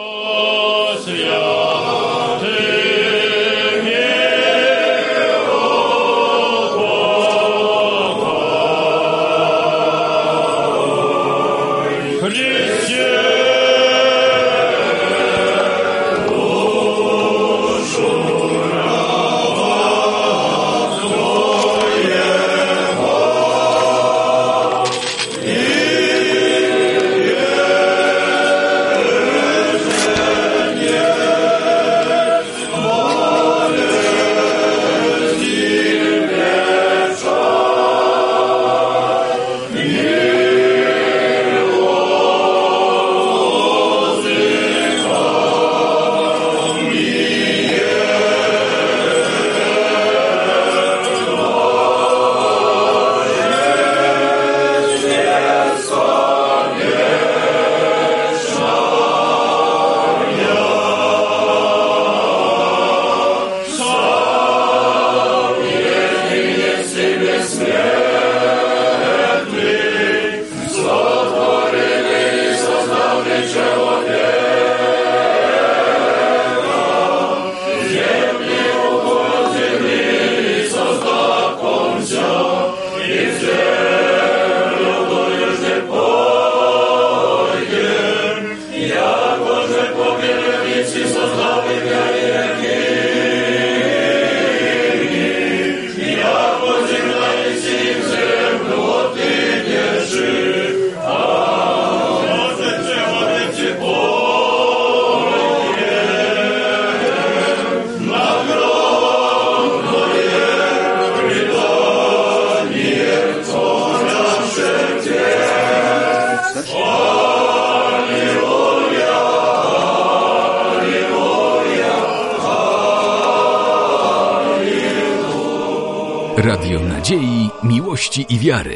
Radio Nadziei, Miłości i Wiary.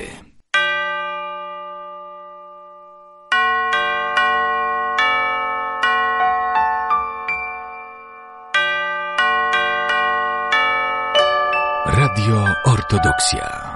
Radio Ortodoksja.